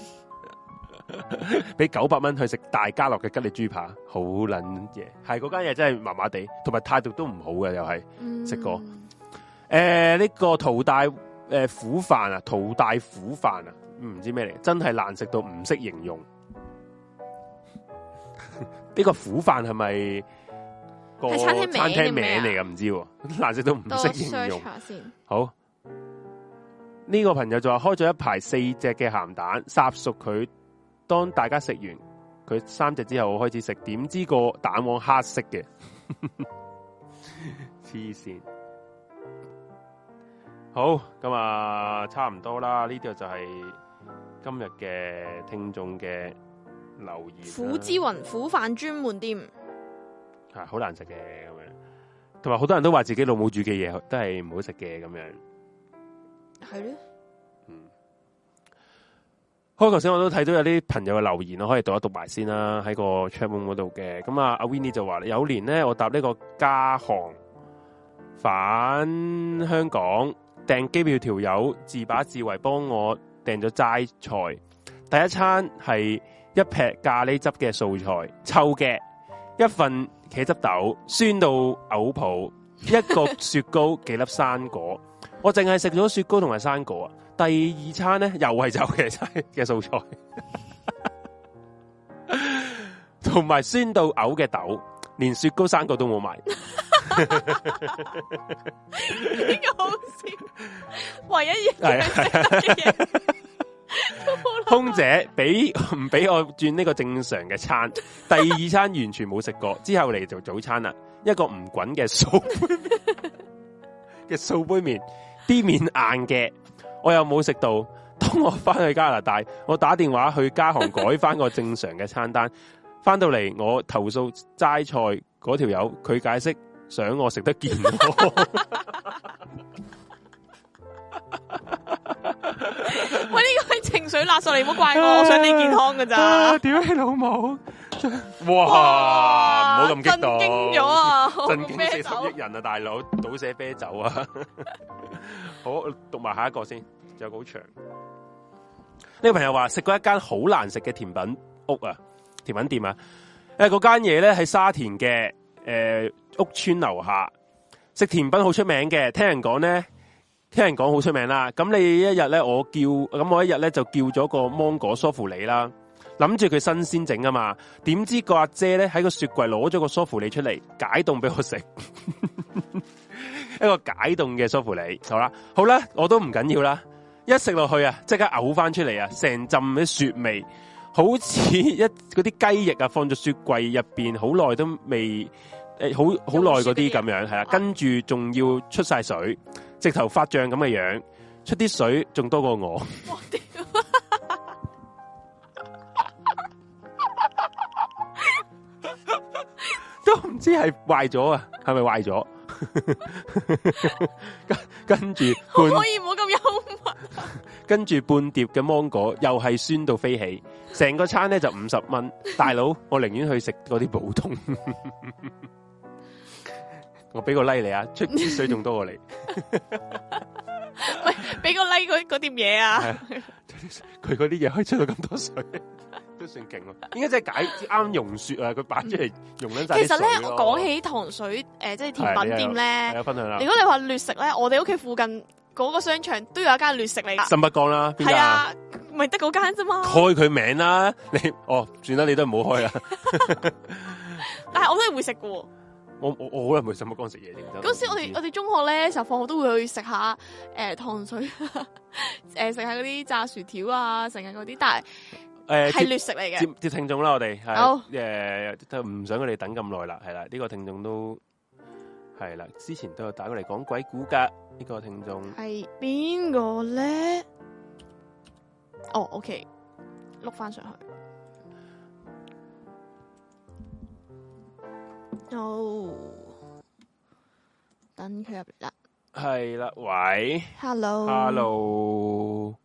俾九百蚊去食大家樂嘅吉列豬扒，好撚嘢，係嗰間嘢真係麻麻地，同埋態度都唔好嘅，又係食過。誒、嗯，呢、呃這個淘大誒苦飯啊，淘大苦飯啊，唔知咩嚟，真係難食到唔識形容。呢個苦飯係咪個餐廳名嚟㗎？唔知道，難食到唔識形容。好，呢、這個朋友就話開咗一排四隻嘅鹹蛋，烚熟佢。當大家食完佢三隻之後，我開始食，點知個蛋黃黑色嘅，黐線。好，咁啊，差唔多啦。呢度就係今日嘅聽眾嘅留言。苦之雲苦飯專門店，係好難食嘅咁樣，同埋好多人都話自己老母煮嘅嘢都係唔好食嘅咁樣，係咧。開頭先我都睇到有啲朋友嘅留言，我可以讀一讀埋先啦，喺個 chat room 嗰度嘅。咁啊，阿 Winnie 就話：有年咧，我搭呢個加航返香港，訂機票條友自把自為幫我訂咗齋菜。第一餐係一劈咖喱汁嘅素菜，臭嘅；一份茄汁豆，酸到嘔泡；一個雪糕，幾粒生果。我淨係食咗雪糕同埋生果啊！第二餐咧又係走嘅菜嘅素菜，同埋酸到嘔嘅豆。 連雪糕三個都冇買。 呢個好笑，唯一嘢係空姐俾唔俾我轉呢個正常嘅餐，第二餐完全冇食過，之後嚟做早餐啦，一個唔滾嘅素嘅素杯麵，啲麵硬嘅，我又冇食到。當我翻去加拿大，我打電話去加行改翻個正常嘅餐單，翻到嚟我投訴齋菜嗰條友，佢解釋想我食得健康。 喂，呢個係情緒勒索，你唔好怪我，我想你健康噶咋？ 屌你老母！哇，唔好咁激動， 震驚咗啊！ 震驚四十億人啊，大佬，倒瀉啤酒啊！好，讀埋下一個先，仲有個好長。呢個朋友話食過一間好難食嘅甜品屋啊，甜品店啊，誒，嗰間嘢咧喺沙田嘅誒、呃、屋村樓下，食甜品好出名嘅，聽人講咧。聽人講好出名啦，咁你一日咧，我叫咁我一日咧就叫咗個芒果梳芙梨啦，諗住佢新鮮整啊嘛，點知個阿姐咧喺個雪櫃攞咗個梳芙梨出嚟解凍俾我食，一個解凍嘅梳芙梨，好啦，好啦，我都唔緊要啦，一食落去啊，即刻嘔翻出嚟啊，成浸啲雪味，好似一嗰啲雞翼啊，放咗雪櫃入邊好耐都未誒，好好耐嗰啲咁樣係啦，跟住仲要出晒水。直頭發脹咁嘅樣，出啲水仲多過我。我屌！都唔知係壞咗啊，係咪壞咗？跟跟住半可以唔好咁幽默。 跟住半碟嘅芒果又係酸到飛起，成個餐咧就五十蚊。大佬，我寧願去食嗰啲普通。我俾個 like 你啊，出啲水仲多過你。 喂，俾個 like 嗰嗰碟嘢啊！ 佢嗰啲嘢可以出到咁多水，都算勁咯。應該真係解啱溶雪啊！佢擺出嚟溶緊晒。其實咧， 我講起糖水誒、呃，即係甜品店咧， 有分享啦。 如果你話劣食咧，我哋屋企附近嗰個商場都有一間劣食嚟噶。 新北江啦，邊間？係啊， 咪得嗰間啫嘛。 開佢名啦，你哦，算啦，你都唔好開啦。 但係我都係會食噶。 我我我好耐冇喺新北江食嘢， 嗰時我哋我哋中學咧，時候放學都會去食下誒、呃、糖水，誒食下嗰啲炸薯條啊，成日嗰啲，但係誒係劣食嚟嘅。接接聽眾啦，我哋係好誒，就唔想佢哋等咁耐啦，係啦，呢、這個聽眾都係啦，之前都有打過嚟講鬼故噶，呢、這個聽眾係邊個咧？哦 ，OK， 碌翻上去。哦，等佢入嚟啦。 係啦，喂 ，Hello，Hello，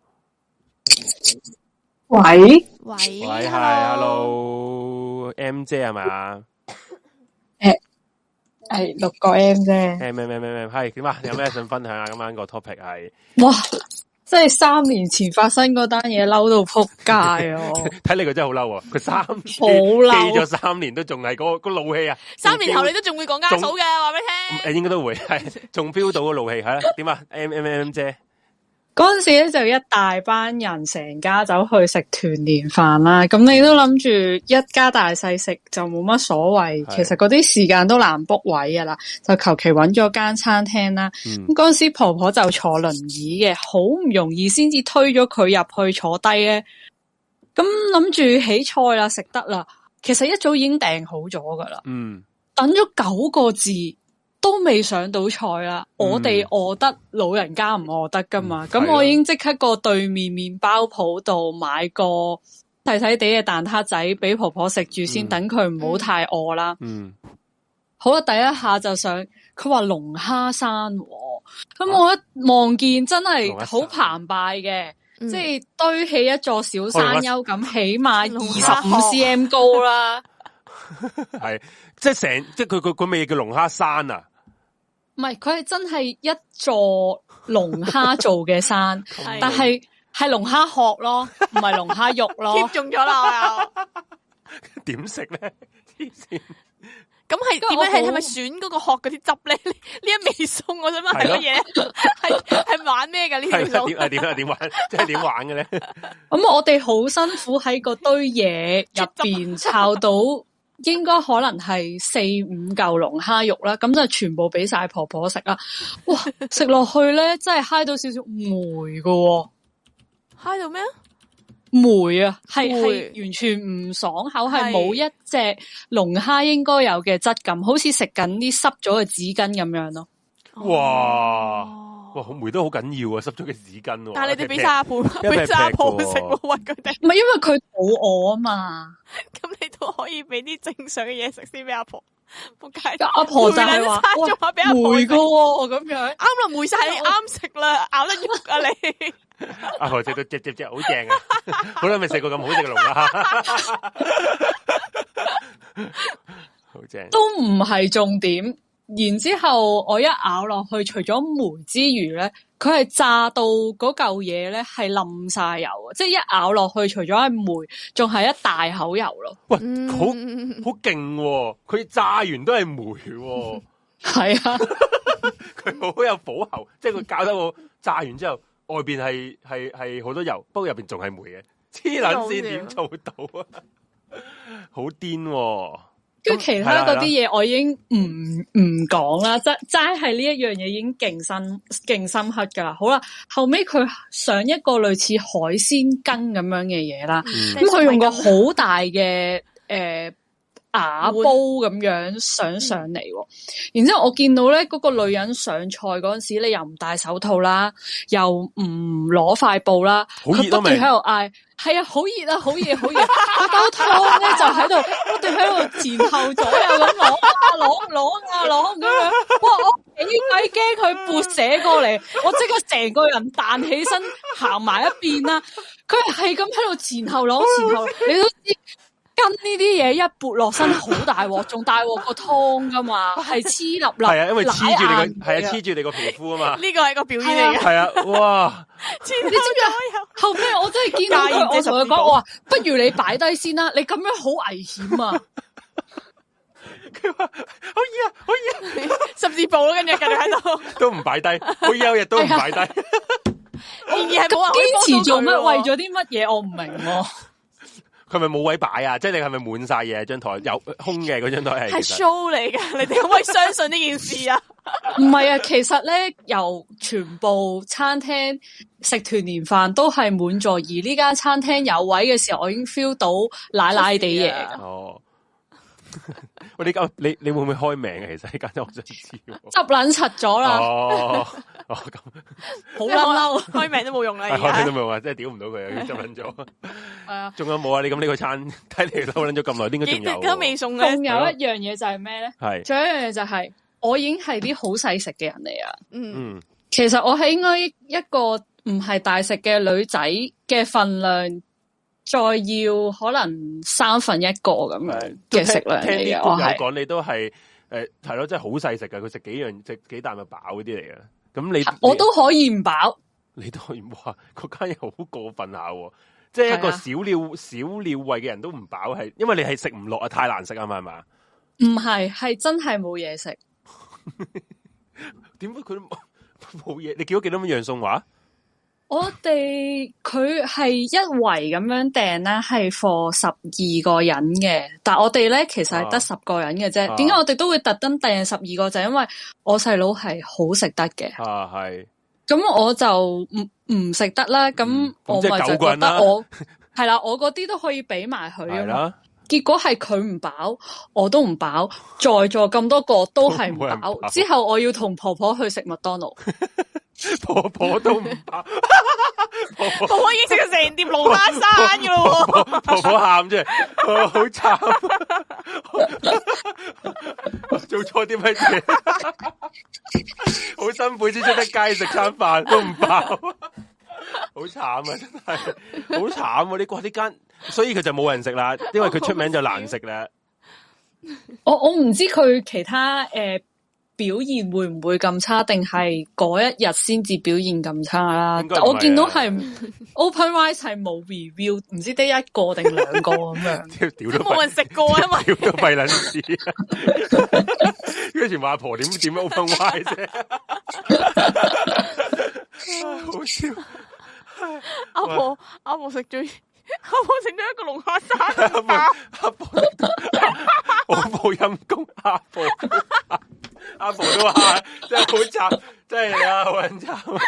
喂， 喂， 喂，係 ，Hello，M 姐係嘛？ 誒，係六個 M 啫。 誒，咩咩咩咩，係點啊？有咩想分享啊？今晚個 topic 係哇，即係三年前發生嗰單嘢，嬲到扑街啊！ 睇你佢真係好嬲啊！佢三好嬲， 記咗三年都仲係嗰個怒氣啊！ 三年後你都仲會講家嫂嘅，話俾你聽。 誒，應該都會係，仲 feel 到個怒氣係啦。點啊？M M M 姐。 嗰陣時咧就一大班人成家走去食團年飯啦，咁你都諗住一家大細食就冇乜所謂，其實嗰啲時間都難 book 位噶啦，就求其揾咗間餐廳啦。咁嗰陣時婆婆就坐輪椅嘅，好唔容易先至推咗佢入去坐低咧。咁諗住起菜啦，食得啦，其實一早已經訂好咗噶啦。嗯，等咗九個字。都未上到菜啦，嗯、我哋餓得，老人家唔餓得噶嘛。咁、嗯、我已經即刻過對面麵包鋪度買個細細地嘅蛋撻仔俾婆婆食住先，等佢唔好太餓啦。嗯，好啦，第一下就上，佢話龍蝦山，咁我一望見真係好澎湃嘅，即係堆起一座小山丘咁，起碼二十五 cm 高啦。 係，即係成，即係佢佢佢咩叫龍蝦山啊？ 唔係，佢係真係一座龍蝦做嘅山，但係係龍蝦殼咯，唔係龍蝦肉咯。 貼中咗啦，我又點食咧？黐線！ 咁係點樣？係係咪選嗰個殼嗰啲汁咧？呢一味餸，我想問係乜嘢？係係玩咩噶呢條餸？ 點啊點啊點玩？即係點玩嘅咧？ 咁我哋好辛苦喺個堆嘢入邊抄到應該可能係四五嚿龍蝦肉啦，咁就全部俾晒婆婆食啦。哇，食落去咧，真係嗨到少少霉噶、哦， 嗨到咩啊？ 霉啊，係係完全唔爽口，係冇一隻龍蝦應該有嘅質感，好似食緊啲濕咗嘅紙巾咁樣咯。 哇！哇，好霉都好緊要啊，濕咗嘅紙巾。 但係你哋俾晒阿婆，俾晒阿婆食，喂佢哋。 唔係因為佢肚餓啊嘛， 咁你都可以俾啲正常嘅嘢食先俾阿婆。仆街， 阿婆就係話， 哇，俾阿婆霉噶咁樣， 啱啦，霉晒你啱食啦，咬得喐啊你。 阿婆食到只只只好正啊，好耐未食過咁好食嘅龍蝦，好正。 都唔係重點。然之後我一咬落去，除咗霉之餘咧，佢係炸到嗰嚿嘢咧係冧晒油，即係一咬落去，除咗係霉，仲係一大口油咯。 喂，好好勁，佢炸完都係霉， 係啊， 佢好有火候，即係佢搞得我炸完之後，外邊係係係好多油，不過入邊仲係霉嘅，黐撚線點做到啊？好癲！ 跟住其他嗰啲嘢，我已經唔唔講啦，齋齋係呢一樣嘢已經勁深勁深刻噶啦。好啦，後尾佢上一個類似海鮮羹咁樣嘅嘢啦，咁佢、嗯、用個好大嘅誒瓦煲咁樣上上嚟，嗯、然之後我見到咧嗰、嗰個女人上菜嗰陣時，你又唔戴手套啦，又唔攞塊布啦，佢不斷喺度嗌。係啊，好熱啊，好熱，好熱！嗰兜湯咧就喺度，我哋喺度前後左右咁攞啊攞攞啊攞咁樣，哇！我幾鬼驚佢撥瀉過嚟，我即刻成個人彈起身行埋一邊啦。佢係咁喺度前後攞前後，你都知跟呢啲嘢一撥落身好大鑊，仲大鑊個湯噶嘛，係黐粒粒。 係啊，因為黐住你個係啊，黐住你個皮膚啊嘛。呢個係個表演嚟嘅。 係啊，哇！ 你知唔知後尾我真係見到佢，我同佢講，我話不如你擺低先啦，你咁樣好危險啊！ 佢話好熱啊，好熱啊， 十字步咯，跟住繼續喺度， 都唔擺低，好有日都唔擺低。然而係冇人堅持做乜？為咗啲乜嘢？我唔明。 佢咪冇位擺啊？即係你係咪滿晒嘢？張台有空嘅嗰張台係係 show 嚟噶，你哋可唔可以相信呢件事啊？ 唔係啊，其實咧，由全部餐廳食團年飯都係滿座，而呢間餐廳有位嘅時候，我已經 feel 到奶奶地嘢。 哦，喂，你咁你你會唔會開名啊？其實呢間我想知。 執撚柒咗啦。 哦哦咁， 好嬲嬲， 開名都冇用啦， 開名都冇用啊！真係屌唔到佢啊！執撚咗。係啊，仲有冇啊？你咁呢個餐睇嚟嬲撚咗咁耐，應該仲有。 都未送嘅。 仲有一樣嘢就係咩咧？係。仲有一樣嘢就係。我已經係啲好細食嘅人嚟啊！嗯，其實我係應該一個唔係大食嘅女仔嘅份量，再要可能三分一個咁樣嘅食量嚟嘅。我係講你都係誒係咯，即係好細食噶，佢食幾樣食幾啖就飽嗰啲嚟嘅。咁你我都可以唔飽， 你都可以哇！嗰間嘢好過分下，即係一個小鳥小鳥胃嘅人都唔飽，係因為你係食唔落啊，太難食啊嘛，係嘛？ 唔係，係真係冇嘢食。 點解佢冇嘢？你叫咗幾多樣餸話？ 我哋佢係一圍咁樣訂啦，係 for 十二個人嘅。但係我哋咧其實係得十個人嘅啫。點解、啊、我哋都會特登訂十二個？就係因為我細佬係好食得嘅。啊，係。咁我就唔唔食得啦。咁、嗯、我咪就覺得我係啦，我嗰啲都可以俾埋佢啊嘛。結果係佢唔飽，我都唔飽，在座咁多個都係唔飽。之後我要同婆婆去食麥當勞， 婆婆都唔飽， 婆婆已經食咗成碟龍蝦山噶咯。 婆婆喊啫，好慘，做錯啲乜嘢？好辛苦先出得街食餐飯都唔飽，好慘啊！真係好慘啊！你話呢間。所以佢就冇人食啦，因為佢出名就難食啦。 我我唔知佢其他誒、呃、表現會唔會咁差，定係嗰一日先至表現咁差啦。我見到係 OpenRice 係冇 review，唔知得一個定兩個咁樣。 屌都冇人食過啊嘛， 屌都廢撚事。跟住話阿婆點點 OpenRice 啫？ 好笑。阿婆阿婆食咗。 阿婆整咗一個龍蝦山包， 阿婆好冇陰公，阿婆阿婆都話真係好慘，真係啊好撚慘。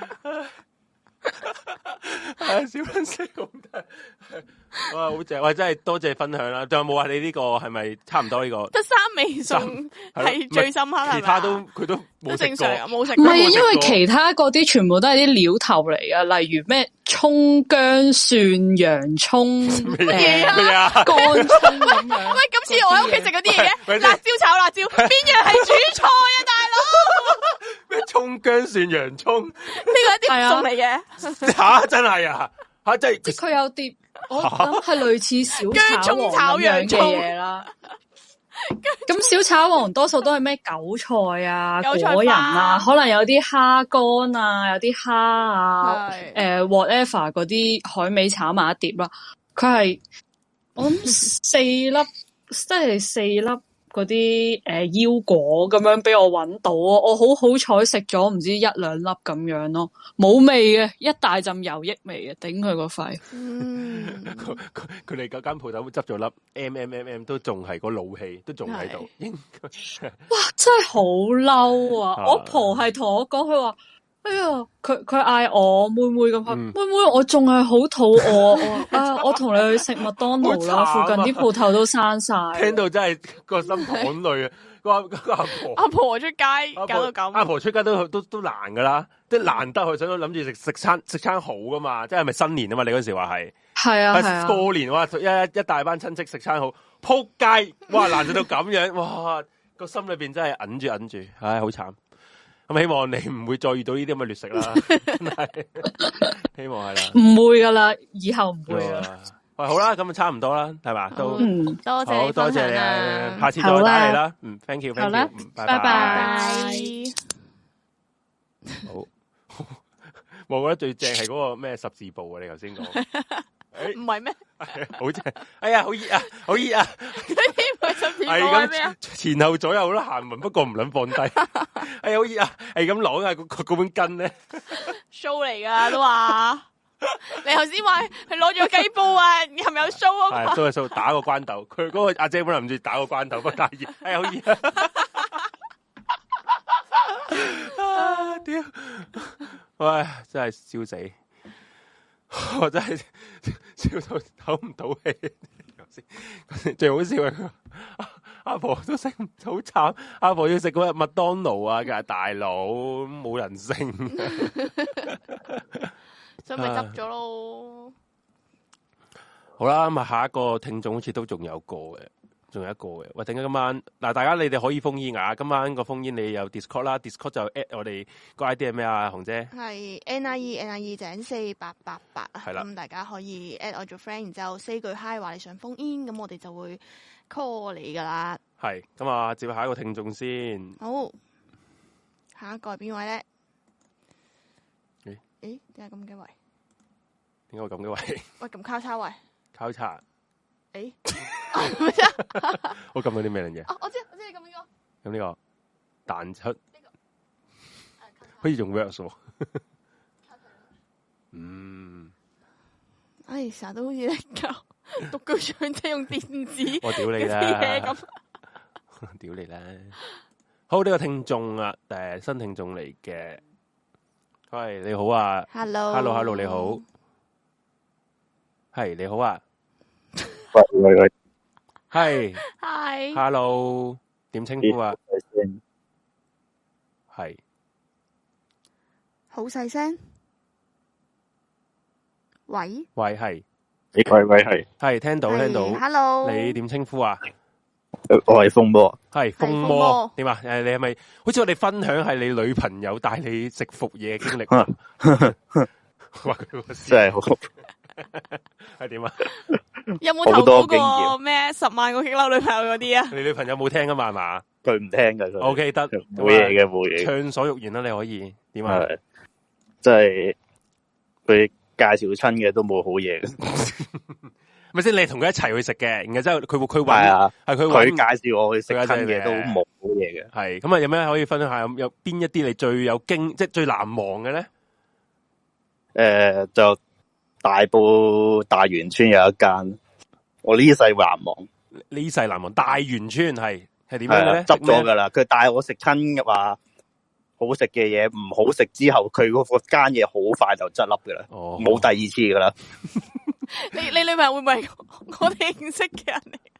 係小粉絲咁得，哇好正！喂，真係多謝分享啦。仲有冇話你呢個係咪差唔多呢個？ 得三味餸係最深刻， 其他都佢都冇正常，冇食。 唔係，因為其他嗰啲全部都係啲料頭嚟噶，例如咩葱姜蒜洋葱咩啊乾葱咁樣。 喂，今次我喺屋企食嗰啲嘢，辣椒炒辣椒，邊樣係主菜啊，大佬？ 咩葱姜蒜洋葱？呢個係啲餸嚟嘅。 吓真係啊！吓真係， 即係佢有碟，我諗係類似小炒王咁樣嘅嘢啦。咁小炒王多數都係咩韭菜啊、果仁啊，可能有啲蝦乾啊、有啲蝦啊，誒、呃、whatever 嗰啲海味炒埋一碟啦。佢係我諗四粒，即係四粒。嗰啲誒腰果咁樣俾我搵到，我好好彩食咗唔知一兩粒咁樣咯，冇味嘅，一大陣油益味嘅，頂佢個肺。嗯， 佢佢佢哋嗰間鋪頭執咗粒 M M M M 都仲係個怒氣，都仲喺度。應該哇，真係好嬲啊！我婆係同我講，佢話。哎呀，佢佢嗌我妹妹咁，嗯、妹妹我仲係好肚餓，我啊我同你去食麥當勞啦，附近啲鋪頭都閂晒。 聽到真係個心淌淚啊！個個阿婆阿婆出街搞到咁， 阿婆出街都都都難噶啦，即係難得去想諗住食食餐食餐好噶嘛，即係咪新年啊嘛？你嗰時話係係啊係啊， 過年哇一一大班親戚食餐好，撲街哇難到到咁樣，哇個心裏邊真係揞住揞住，唉好慘。咁希望你唔會再遇到呢啲咁嘅劣食啦，真係希望係啦， 唔會噶啦，以後唔會啦。 喂，好啦，咁就差唔多啦，係嘛？都嗯， 多謝好多謝你啊，下次再打嚟啦。嗯 ，thank you，thank you，拜拜。好，我覺得最正係嗰個咩十字步啊！你頭先講。 唔係咩？ 好正！哎呀，好熱啊，好熱啊！ 係咁， 前後左右都行勻，不過唔撚放低。哎呀，好熱啊！係咁攞啊，嗰嗰本巾咧 ，show 嚟噶都話。你頭先話佢攞咗雞煲啊，係咪有 show 啊？ 係都係 show 打個關斗。佢嗰個阿姐本來諗住打個關斗，不過太熱。哎呀，好熱啊！屌，喂，真係笑死！我真係笑到唞唔到氣，最好笑係阿婆都食唔好慘，阿婆要食嗰日麥當勞啊，佢係大佬冇人性， 所以咪執咗咯。 好啦，咁啊下一個聽眾好似都仲有個嘅，仲有一個嘅。喂，陣間今晚嗱，大家你哋可以封煙啊！今晚個封煙你有 Discord 啦 ，Discord 就 at 我哋個 I D 係咩啊？紅姐係 N I E N I E 井四八八八啊， 係啦， 咁大家可以 at 我做 friend，然之後 say 句 hi 話你想封煙，咁我哋就會 call 你噶啦。 係咁啊，接下一個聽眾先。 好，下一個係邊位咧？ 誒誒，點解咁嘅位？ 點解會咁嘅位？喂， 咁交叉位？ 交叉。 誒， 我撳到啲咩嘢？ 哦，我知，我知你撳呢個。咁呢個彈出，可以用 words 喎。嗯。 哎，成日都好似咧教獨居長者用電子， 我屌你啦！ 咁， 屌你啦！好，呢個聽眾啊，誒，新聽眾嚟嘅。喂，你好啊 ！Hello，Hello，Hello， 你好。係你好啊！ 喂喂喂， 係 ，Hi，Hello， 點稱呼啊？係， 好細聲。喂喂係， 喂喂係， 係聽到聽到。 Hello， 你點稱呼啊？ 我係風魔， 係風魔。點啊？誒，你係咪好似我哋分享係你女朋友帶你食伏嘢嘅經歷？哇， 真係好。 係點啊？ 有冇投稿過咩十萬個激嬲女朋友嗰啲啊？ 你女朋友冇聽噶嘛？係嘛？ 佢唔聽噶。 O K 得， 冇嘢嘅，冇嘢。 暢所欲言啦，你可以點啊？ 即係佢介紹親嘅都冇好嘢嘅。 咪先，你同佢一齊去食嘅，然後之後佢佢係啊， 係佢佢介紹我去食親嘅都冇好嘢嘅。 係咁啊，有咩可以分享下？有邊一啲你最有經，即係最難忘嘅咧？ 誒，就。 大埔大元村有一間，我呢世難忘。 呢世難忘大元村係係點樣咧？ 執咗噶啦，佢帶我食親嘅話。好食嘅嘢唔好食之後，佢嗰個間嘢好快就執笠噶啦，冇、哦、第二次噶啦。 你你女朋友會唔會我哋認識嘅人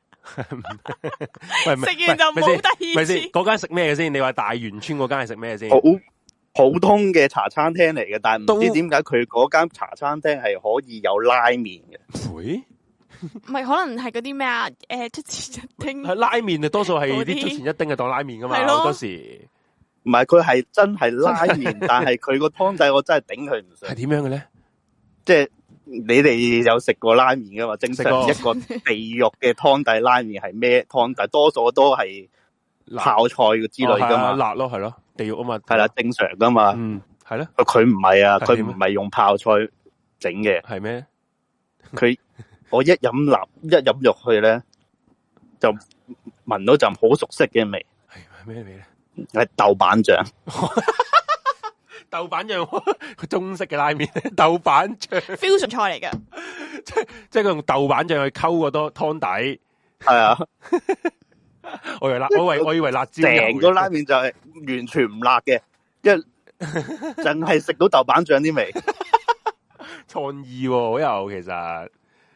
嚟？食完就冇第二次。 嗰間食咩嘅先？你話大元村嗰間係食咩先？ 好普通嘅茶餐廳嚟嘅，但係唔知點解佢嗰間茶餐廳係可以有拉麵嘅。 會？ 唔係可能係嗰啲咩啊？誒，出前一丁係拉麵啊，多數係啲出前一丁係當拉麵噶嘛，好多時。 唔係，佢係真係拉麵，但係佢個湯底我真係頂佢唔順。 係點樣嘅咧？即係你哋有食過拉麵噶嘛？正常一個地獄嘅湯底拉麵係咩湯底？多數都係泡菜之類噶嘛， 哦、辣咯，係咯，地獄啊嘛， 係啦，正常噶嘛。 嗯，係咧。 佢唔係啊，佢唔係用泡菜整嘅。 係咩？佢我一飲辣，一飲入去咧，就聞到陣好熟悉嘅味。 係咩味咧？ 係豆瓣醬， 豆瓣醬，佢中式嘅拉麵，豆瓣醬 fusion 菜嚟嘅， 即係即係佢用豆瓣醬去溝個多湯底， 係啊， 我以為辣，我以為我以為辣椒， 成個拉麵就係完全唔辣嘅，一淨係食到豆瓣醬啲味， 創意好有其實，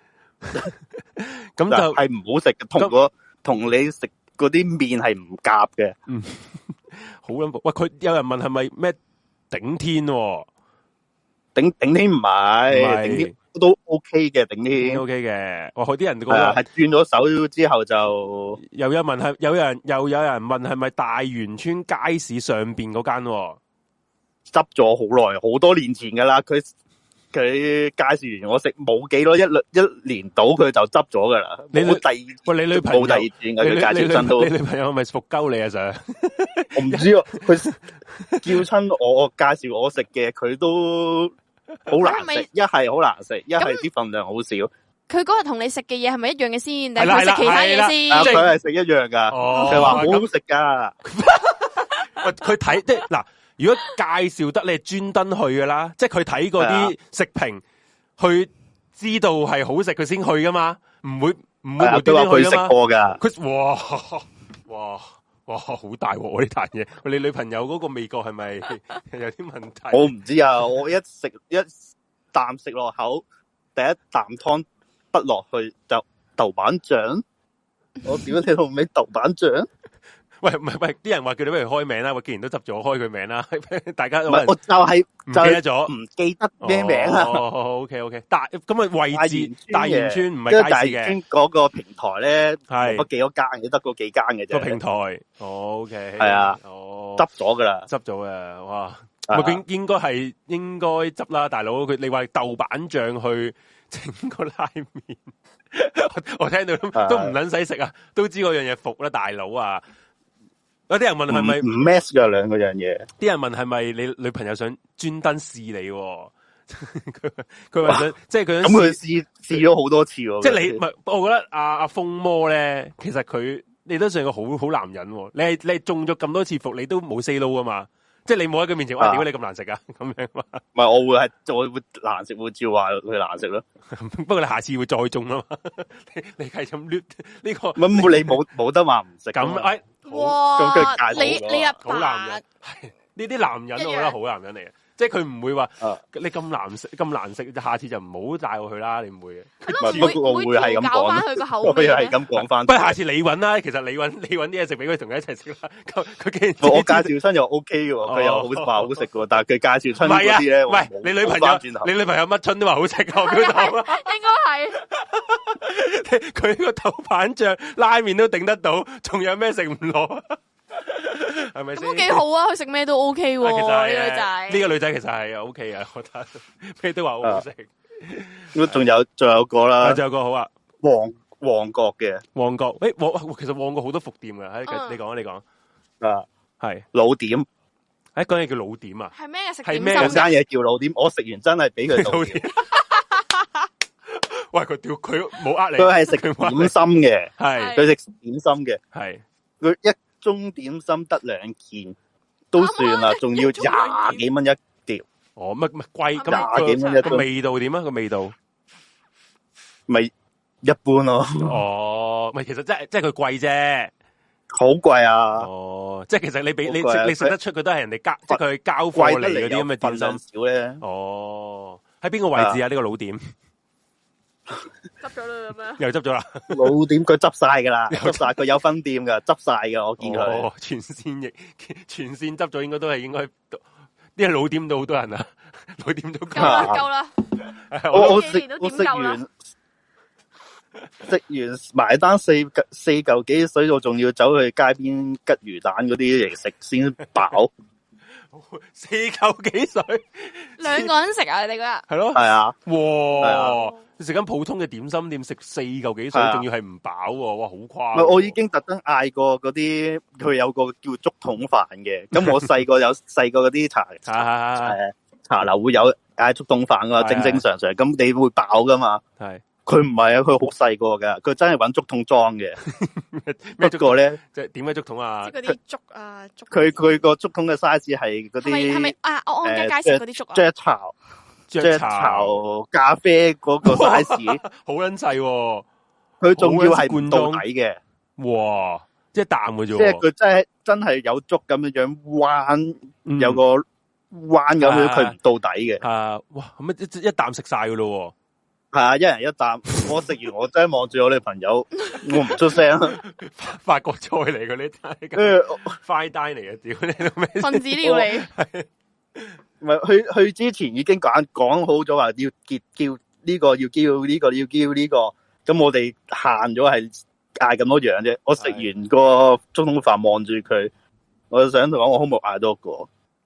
咁就係唔好食嘅，同個同你食。嗰啲麵係唔夾嘅， 嗯，好恐怖。喂，佢有人問係咪咩頂天、哦？ 頂頂天唔係，頂天都 OK 嘅，頂天 OK 嘅。哇，佢啲人講係轉咗手之後就又有問係，有人又有人問係咪大元村街市上邊嗰間？ 執咗好耐，好多年前噶啦，佢。佢介紹完我食冇幾多一一年到佢就執咗噶啦，冇第二喂你女朋友冇第二轉嘅，佢介紹真都你女朋友係咪服鳩你啊？Sir， 我唔知啊，佢叫親我，我介紹我食嘅，佢都好難食，一係好難食，一係啲份量好少。 佢嗰日同你食嘅嘢係咪一樣嘅先？定係佢食其他嘢先？ 佢係食一樣噶，佢話好好食噶。 喂，佢睇即係嗱。如果介紹得你係專登去噶啦，即係佢睇嗰啲食評，去知道係好食佢先去噶嘛，唔會唔會無端端去噶嘛。佢話佢食過噶，佢哇哇哇好大鑊呢壇嘢！你女朋友嗰個味覺係咪有啲問題？ 我唔知啊，我一食一啖食落口，第一啖湯不落去就豆瓣醬，我屌你老味豆瓣醬！ 喂，唔係喂，啲人話叫你不如開名啦，我既然都執咗開佢名啦，大家唔係我就係唔記得咗， 唔記得咩名啊？ 哦 ，OK OK，大咁啊位置大元村唔係街市嘅， 大元村嗰個平台咧係嗰幾多間嘅，得嗰幾間嘅啫。個平台 ，OK， 係啊， 哦， 執咗噶啦， 執咗嘅，哇，咁應應該係應該執啦，大佬佢你話豆瓣醬去整個拉麵，我聽到都唔撚使食啊，都知嗰樣嘢服啦，大佬啊！有啲人問係咪唔 match 噶兩個樣嘢？ 啲人問係咪你女朋友想專登試你？佢佢話想，即係佢咁佢試試咗好多次喎。 即係你唔係，我覺得阿阿風魔咧，其實佢你都算個好好男人。你係你係中咗咁多次伏，你都冇 say no 啊嘛。即係你冇喺佢面前話，點解你咁難食啊？咁樣嘛。 唔係，我會係我會難食，會照話佢難食咯。 不過你下次會再中啊嘛。你你係咁捋呢個？ 咁你冇冇得話唔食？ 咁誒。 哇！你你阿爸好男人，呢啲男人我覺得好男人嚟嘅，即係佢唔會話你咁難食咁難食，下次就唔好帶我去啦。你唔會嘅， 我會係咁講翻佢個口味， 係咁講翻。 不過下次你搵啦，其實你搵你搵啲嘢食俾佢同佢一齊食啦。佢佢既然我介紹親又 OK 嘅，佢又好話好食嘅，但係佢介紹親嗰啲咧， 唔係你女朋友，你女朋友乜春都話好食，我表達應該係佢個豆瓣醬拉麵都頂得到，仲有咩食唔落？係咪先？ 都幾好啊！佢食咩都 OK 喎。呢個女仔， 呢個女仔其實係 OK 啊，我覺得咩都話好好食。 咁仲有仲有個啦， 仲有個好啊， 旺旺角嘅旺角。誒，旺其實旺角好多伏店嘅，喺你講你講啊，係老點。 誒，嗰嘢叫老點啊？ 係咩食？ 係咩？ 嗰間嘢叫老點，我食完真係俾佢老點。 喂，佢屌佢冇呃你， 佢係食點心嘅， 係佢食點心嘅， 係佢一盅點心得兩件都算啦，仲要廿幾蚊一碟， 哦，乜乜貴咁廿幾蚊一個味道點啊？個味道咪一般咯。 哦，咪其實即係即係佢貴啫， 好貴啊！ 哦，即係其實你俾你食你食得出佢都係人哋交，即係佢交貨嚟嗰啲咁嘅點心少咧。 哦，喺邊個位置啊？呢個老店執咗啦咁樣， 又執咗啦。 老店佢執晒噶啦，執晒佢有分店噶，執晒噶，我見佢。 哦，全線亦全線執咗，應該都係應該。啲老店都好多人啊，老店都夠啦夠啦。 我我食我食完食完埋單四四嚿幾水，我仲要走去街邊吉魚蛋嗰啲嚟食先飽。 四嚿幾水， 兩個人食啊！你哋嗰日係咯， 係啊， 哇！你食緊普通嘅點心店，食四嚿幾水，仲要係唔飽喎，哇！好誇。 我已經特登嗌過嗰啲，佢有個叫竹筒飯嘅。咁我細個有細個嗰啲茶茶茶樓會有嗌竹筒飯噶，正正常常。咁你會飽噶嘛？係。佢唔係啊，佢好細個噶，佢真係搵竹筒裝嘅。不過咧， 即係點解竹筒啊？ 即係嗰啲竹啊，竹。 佢佢個竹筒嘅 size 係嗰啲。係咪係咪啊？我安家街食嗰啲竹啊？ 雀巢。雀巢咖啡嗰個 size 好撚細， 佢仲要係唔到底嘅， 哇！即係淡嘅啫， 即係佢真係真係有竹咁樣樣彎，嗯、有個彎咁樣，佢唔到底嘅。 啊！哇！咁一一啖食晒嘅咯， 係啊，一人一啖。我食完，我真係望住我女朋友，我唔出聲。 法國菜嚟嘅呢啲，跟住快單嚟嘅，屌你老味！ 分子料理。 唔係去去之前已經講講好咗話要叫叫呢個要叫呢個要叫呢個，咁我哋限咗係嗌咁多樣啫。我食完個竹筒飯望住佢，我就想同講我可唔可以嗌多個？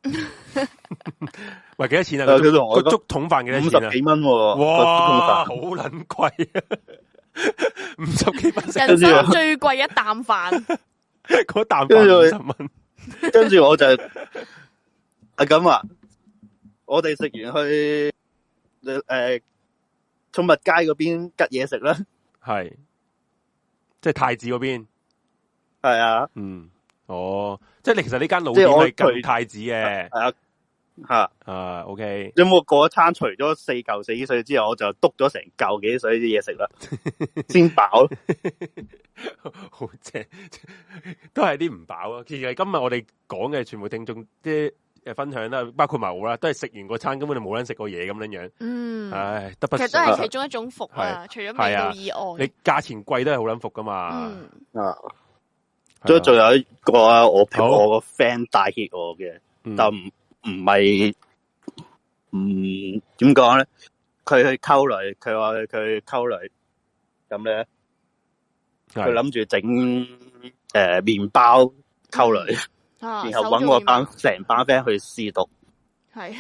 喂，幾多錢啊？佢同我個竹筒飯幾多錢啊？ 五十幾蚊， 哇，好撚貴啊！五十幾蚊， 人生最貴一啖飯， 嗰啖飯五十蚊。 跟住我就啊咁啊。我哋食完去誒寵物街嗰邊吉嘢食啦，係， 即係太子嗰邊， 係啊， 嗯，哦，即係你其實呢間老店係吉太子嘅， 係啊，吓啊 ，OK， 有冇嗰一餐除咗四嚿四水之後，我就篤咗成嚿幾水啲嘢食啦，先飽， 好正，都係啲唔飽啊！其實今日我哋講嘅全部聽眾啲。誒，分享啦，包括埋我啦，都係食完個餐根本就冇人食過嘢咁樣樣。嗯，唉，得不其實都係其中一種服啊，除咗味道以外， 你價錢貴都係好撚服噶嘛。嗯啊， 仲仲有一個啊，我我個 friend 帶挈我嘅，但唔唔係，唔點講咧？佢去溝女，佢話佢去溝女，咁咧，佢諗住整誒麵包溝女。啊、然後搵我班成班 friend 去試毒， 係，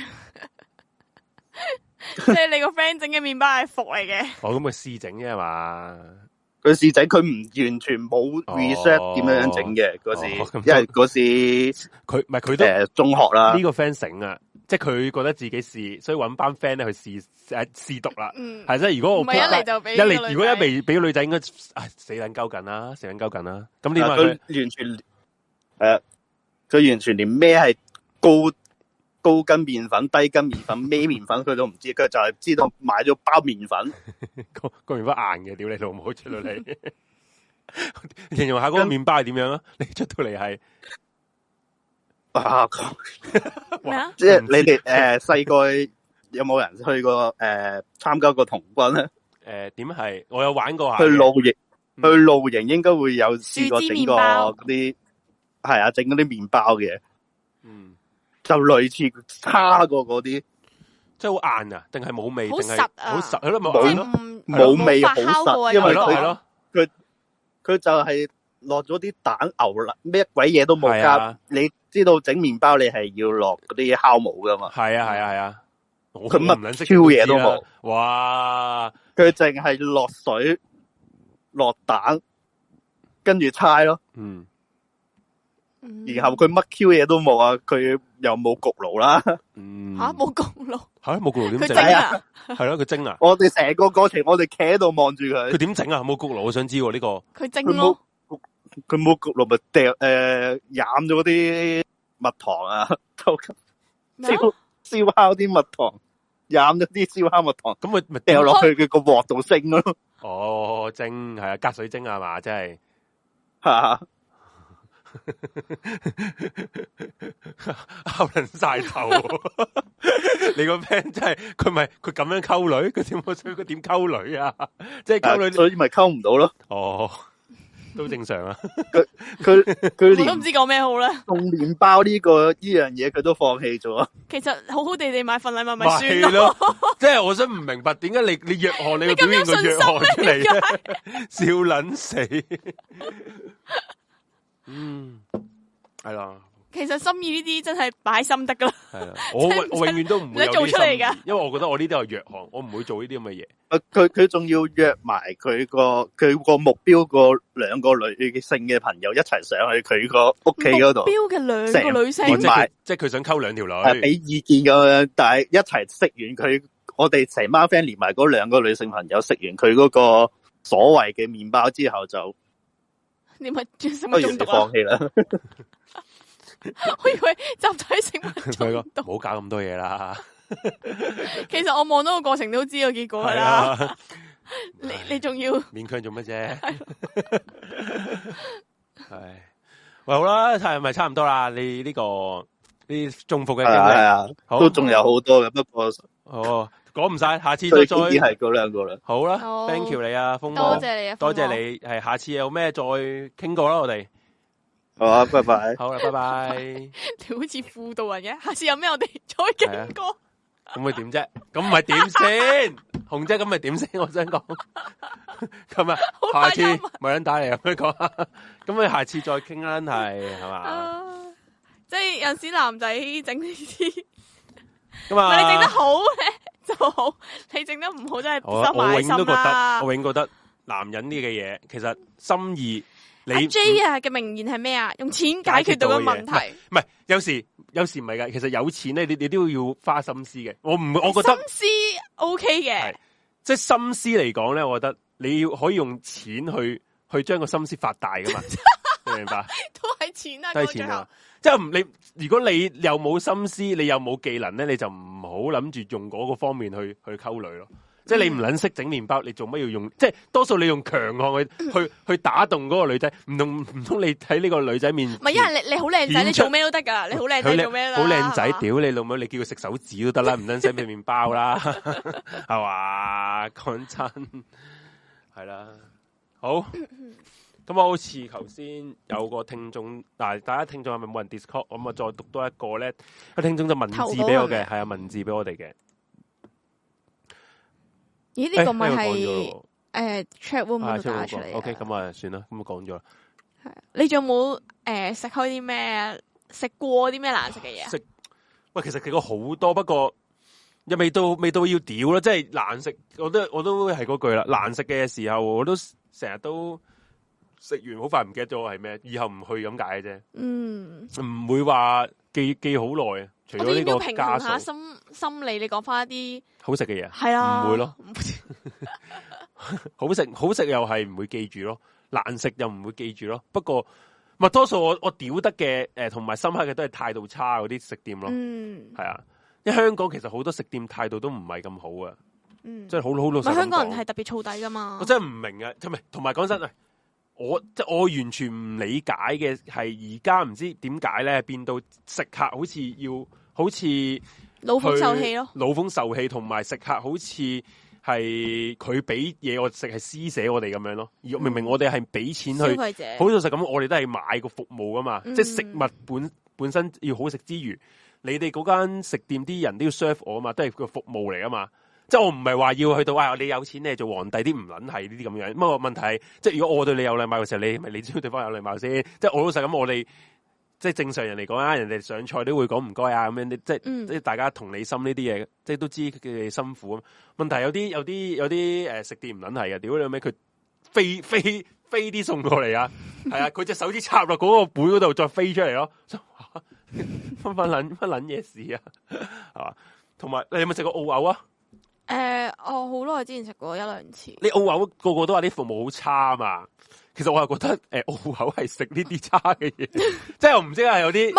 即係你個 friend 整嘅麵包係服嚟嘅。 哦，咁佢試整啫嘛， 佢試整，佢唔完全冇 research 點樣樣整嘅嗰時，哦、因為嗰時佢唔係佢都誒中學啦。呢個 friend 醒啊，即係佢覺得自己試，所以搵班 friend 咧去試誒試毒啦。嗯，係即係如果我唔係一嚟就俾一嚟，如果一嚟俾個女仔，應該啊死撚鳩緊啦，死撚鳩緊啦。咁點解佢完全誒？呃佢完全連咩係高高筋麵粉、低筋麵粉、咩麵粉佢都唔知，佢就係知道買咗包麵粉， 個個麵包硬嘅，屌你老母出到嚟，形容下嗰個麵包係點樣啊？你出到嚟係啊，即係你哋誒細個有冇人去過誒參加過童軍咧？ 誒點係？我有玩過下。 去露營，去露營應該會有試過整個嗰啲。係啊，整嗰啲麵包嘅，嗯，就類似差過嗰啲， 即係好硬啊，定係冇味， 好實啊， 好實，係咯， 冇冇味，好實，因為佢佢佢就係落咗啲蛋牛奶，咩鬼嘢都冇加。你知道整麵包你係要落嗰啲酵母噶嘛？ 係啊係啊係啊， 佢乜 Q 嘢都冇， 哇！ 佢淨係落水、落蛋，跟住猜咯，嗯。然後佢乜 Q 嘢都冇啊，佢又冇焗爐啦， 吓冇焗爐， 吓冇焗爐點整啊？ 係咯，佢蒸啊！ 我哋成個過程，我哋企喺度望住佢。 佢點整啊？冇焗爐，我想知呢個。 佢蒸咯， 佢冇焗爐咪掉誒，染咗嗰啲蜜糖啊， 燒烤啲蜜糖，飲咗啲燒烤蜜糖， 咁咪咪掉落去佢個鑊度蒸咯。 哦，蒸係啊，隔水蒸係嘛，真係吓。 拗撚晒頭，你個 friend 真係佢咪佢咁樣溝女，佢點佢點溝女啊？即係溝女， 所以咪溝唔到咯。 哦，都正常啊。 佢佢佢連都唔知講咩好咧。 送麵包呢個呢樣嘢佢都放棄咗。 其實好好地地買份禮物咪算咯。即係我想唔明白點解你你約翰你會表現個約翰出嚟咧？笑撚死。嗯，係啦。 其實心意呢啲真係擺心得噶啦。 係啦，我我永遠都唔會有做出嚟噶， 因為我覺得我呢啲係弱項，我唔會做呢啲咁嘅嘢。 佢佢仲要約埋佢個佢個目標個兩個女性嘅朋友一齊上去佢個屋企嗰度。目標嘅兩個女性， 即係佢想溝兩條女， 係俾意見咁樣，但係一齊食完佢，我哋成班 friend 連埋嗰兩個女性朋友食完佢嗰個所謂嘅麵包之後就。 你咪食物中毒啊！ 放棄啦！ 我以為集體食物中毒， 唔好搞咁多嘢啦。 其實我望到個過程都知個結果噶啦。啊、你你仲要勉強做乜啫？係喂，好啦，係咪差唔多啦？你呢、這個啲中伏嘅經歷係啊， 好都仲有好多嘅，不過哦。講唔晒，下次再再係嗰兩個啦。 好啦 ，thank you 你啊，風多謝你啊， 多謝你，係下次有咩再傾過啦，我哋。 好啊，拜拜。 好啦，拜拜。 你好似輔導人嘅，下次有咩我哋再傾過。 咁咪點啫？咁咪點先？紅姐咁咪點先？我想講。咁啊，下次冇人打嚟咁樣講。咁你下次再傾啦，係係嘛？ 即係有時男仔整呢啲， 咁啊， 你整得好咧。就好，你整得唔好真係收埋心啦。 我永覺得男人呢嘅嘢，其實心意。你阿 J 啊嘅名言係咩啊？用錢解決到個問題。 唔係，有時有時唔係噶。其實有錢咧，你你都要花心思嘅。我唔，我覺得心思 OK 嘅。 即係心思嚟講咧，我覺得你要可以用錢去去將個心思發大噶嘛。你明白？ 都係錢啊， 都係錢啊。即係你，如果你又冇心思，你又冇技能咧，你就唔好諗住用嗰個方面去去溝女咯。即係你唔撚識整麵包，你做乜要用？即係多數你用強項去去去打動嗰個女仔，唔通唔通你睇呢個女仔面？唔係， 因為你你好靚仔，你做咩都得噶，你好靚仔做咩都得。 好靚仔，屌你老母！你叫佢食手指都得啦，唔撚使俾麵包啦，係嘛？講真，係啦，好。咁我好似頭先有個聽眾，嗱，大家聽眾係咪冇人 Discord？咁啊，再讀多一個咧，個聽眾就文字俾我嘅，係啊，文字俾我哋嘅。 咦？呢、這個咪係誒 chat room 度打出嚟 ？OK，咁啊，算啦，咁啊講咗啦。 係，你仲有冇誒食開啲咩？食過啲咩難食嘅嘢？ 食喂，其實食過好多，不過又未到未到要屌啦，即係難食。我都我都係嗰句啦，難食嘅時候我都成日都。食完好快唔記得咗係咩，以後唔去咁解嘅啫。嗯，唔會話記記好耐啊。除咗呢個平衡下心心理，你講翻一啲好食嘅嘢， 係啊， 唔會咯。好食好食又係唔會記住咯，難食又唔會記住咯。不過咪多數我我屌得嘅誒，同埋深刻嘅都係態度差嗰啲食店咯。嗯，係啊，因為香港其實好多食店態度都唔係咁好啊。嗯，即係好好老實。 香港人係特別燥底噶嘛。 我真係唔明啊，同埋同埋講真啊。我即係我完全唔理解嘅係而家唔知點解咧變到食客好似要好似老風受氣咯， 老風受氣同埋食客好似係佢俾嘢我食係施捨我哋咁樣咯，而明明我哋係俾錢去消費者，好老實咁，我哋都係買個服務噶嘛，嗯、即係食物本本身要好食之餘，你哋嗰間食店啲人都要 serve 我啊嘛，都係個服務嚟啊嘛。即係我唔係話要去到啊、哎！你有錢你做皇帝啲唔撚係呢啲咁樣。不過問題係，即係如果我對你有禮貌嘅時候，你咪你知道對方有禮貌先。即係我老實咁，我哋即係正常人嚟講啊，人哋上菜都會講唔該啊咁樣。即係、嗯、即係大家同理心呢啲嘢，即係都知佢哋辛苦啊。問題有啲有啲有啲誒、呃、食店唔撚係嘅，屌你咩佢飛飛飛啲送過嚟啊！係啊，佢隻手指插落嗰個碗嗰度再飛出嚟咯，分分撚分撚嘢事啊，係嘛？同埋你有冇食過澳牛啊？ 誒、呃，我好耐之前食過一兩次。 你澳牛個個都話啲服務好差啊嘛，其實我係覺得誒、呃、澳牛係食呢啲差嘅嘢，即係我唔知係有啲。 唔係，我覺得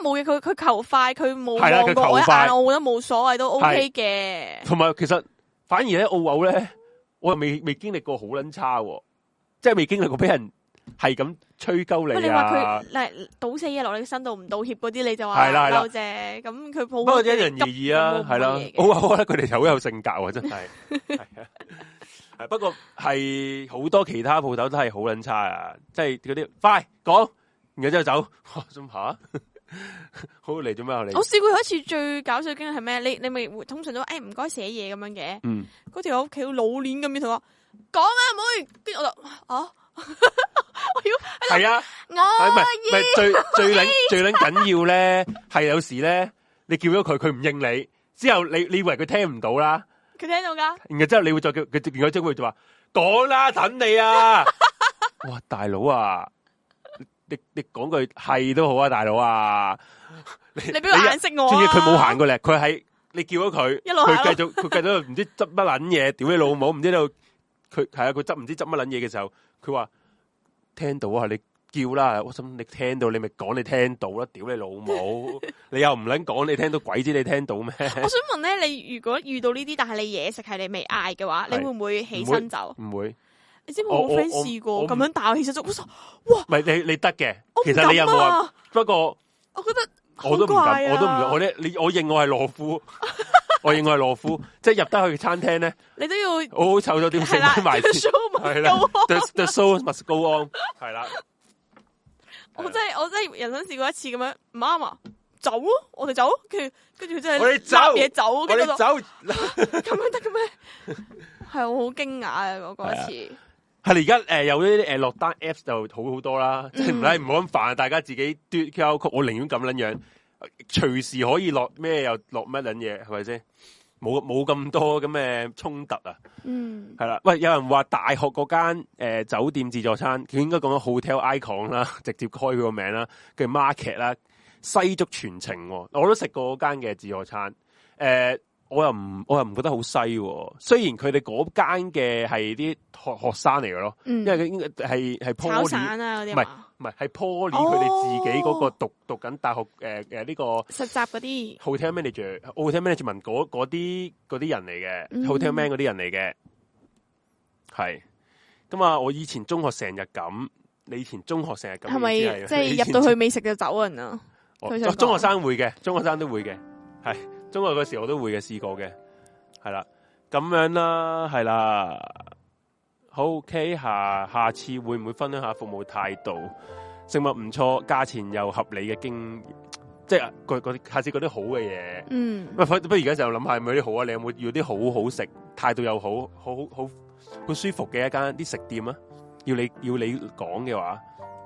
冇嘢，佢佢求快，佢冇係啦，佢求快， 我覺得冇所謂都 OK 嘅。 同埋其實反而咧澳牛咧，我又未未經歷過好撚差，即係未經歷過俾人係咁吹鳩你啊！ 你話佢嗱倒死嘢落你身度唔道歉嗰啲，你就話嬲啫。咁佢抱不過因人而異啊，係啦。我覺得佢哋好有性格喎，真係。係啊，係不過係好多其他鋪頭都係好撚差啊！即係嗰啲快講，然後之後走，咁吓。好嚟做咩啊？你我試過有一次最搞笑嘅經歷係咩？你你咪通常都誒唔該寫嘢咁樣嘅。嗯，嗰條友屋企老鏈咁樣同我講啊妹，跟住我就啊，我要係啊，我唔係唔係最最撚最撚緊要咧，係有時咧你叫咗佢，佢唔應你，之後你你以為佢聽唔到啦， 佢聽到噶， 然後之後你會再叫佢，然後之後佢就話講啦，等你啊，哇大佬啊！你你講句係都好啊，大佬啊！ 你俾個眼色我啊！ 仲要佢冇行過嚟，佢喺你叫咗佢， 一路佢繼續佢繼續唔知執乜撚嘢，屌你老母！唔知道佢係啊，佢執唔知執乜撚嘢嘅時候，佢話聽到啊，你叫啦！我心你聽到，你咪講你聽到啦！屌你老母！你又唔撚講，你聽到鬼知你聽到咩？ 我想問咧，你如果遇到呢啲，但係你嘢食係你未嗌嘅話，你會唔會起身走？ 唔會。 你知唔知我 friend 試過咁樣打我起身就，哇！唔係你你得嘅，其實你有冇話？不過我覺得我都唔敢，我都唔我咧，你我認我係懦夫，我認我係懦夫，即係入得去餐廳咧， 你都要好好湊咗點食埋先，係啦 ，the the show must go on，係啦。 我真係我真係人生試過一次咁樣唔啱啊，走咯，我哋走，跟住跟住佢真係我哋走嘢走， 我哋走， 咁樣得嘅咩？係我好驚訝啊！嗰個一次。 係你而家誒有呢啲誒落單 apps 就好好多啦，即係唔使唔好咁煩，大家自己嘟 Q R code，我寧願咁撚樣，隨時可以落咩又落乜撚嘢，係咪先？冇冇咁多咁嘅衝突啊！嗯，係啦。喂，有人話大學嗰間誒酒店自助餐，佢應該講咗 hotel icon 啦，直接開佢個名啦，叫 market 啦，西竹全程，我都食過嗰間嘅自助餐，誒、呃。我又唔，我又唔覺得好西喎。雖然佢哋嗰間嘅係啲學學生嚟嘅咯，嗯、因為佢應該係係 Poly 散啊嗰啲， 唔係唔係係 Poly 佢哋自己嗰個讀讀緊大學誒誒呢個實習嗰啲 hotel manager、hotel management 嗰嗰啲嗰啲人嚟嘅、嗯、hotel man 嗰啲人嚟嘅，係咁啊！我以前中學成日咁，你以前中學成日咁， 係咪即係入到去未食就走人啊？ 哦、中學生會嘅，中學生都會嘅，係。中學嗰時我都會嘅，試過嘅，係啦，咁樣啦，係啦，好 OK，下下次會唔會分享下服務態度？食物唔錯，價錢又合理嘅經驗，即係嗰啲下次嗰啲好嘅嘢。嗯，不不如而家就諗下有冇啲好啊？你有冇要啲好好食、態度又好、好好好舒服嘅一間啲食店啊？要你要你講嘅話，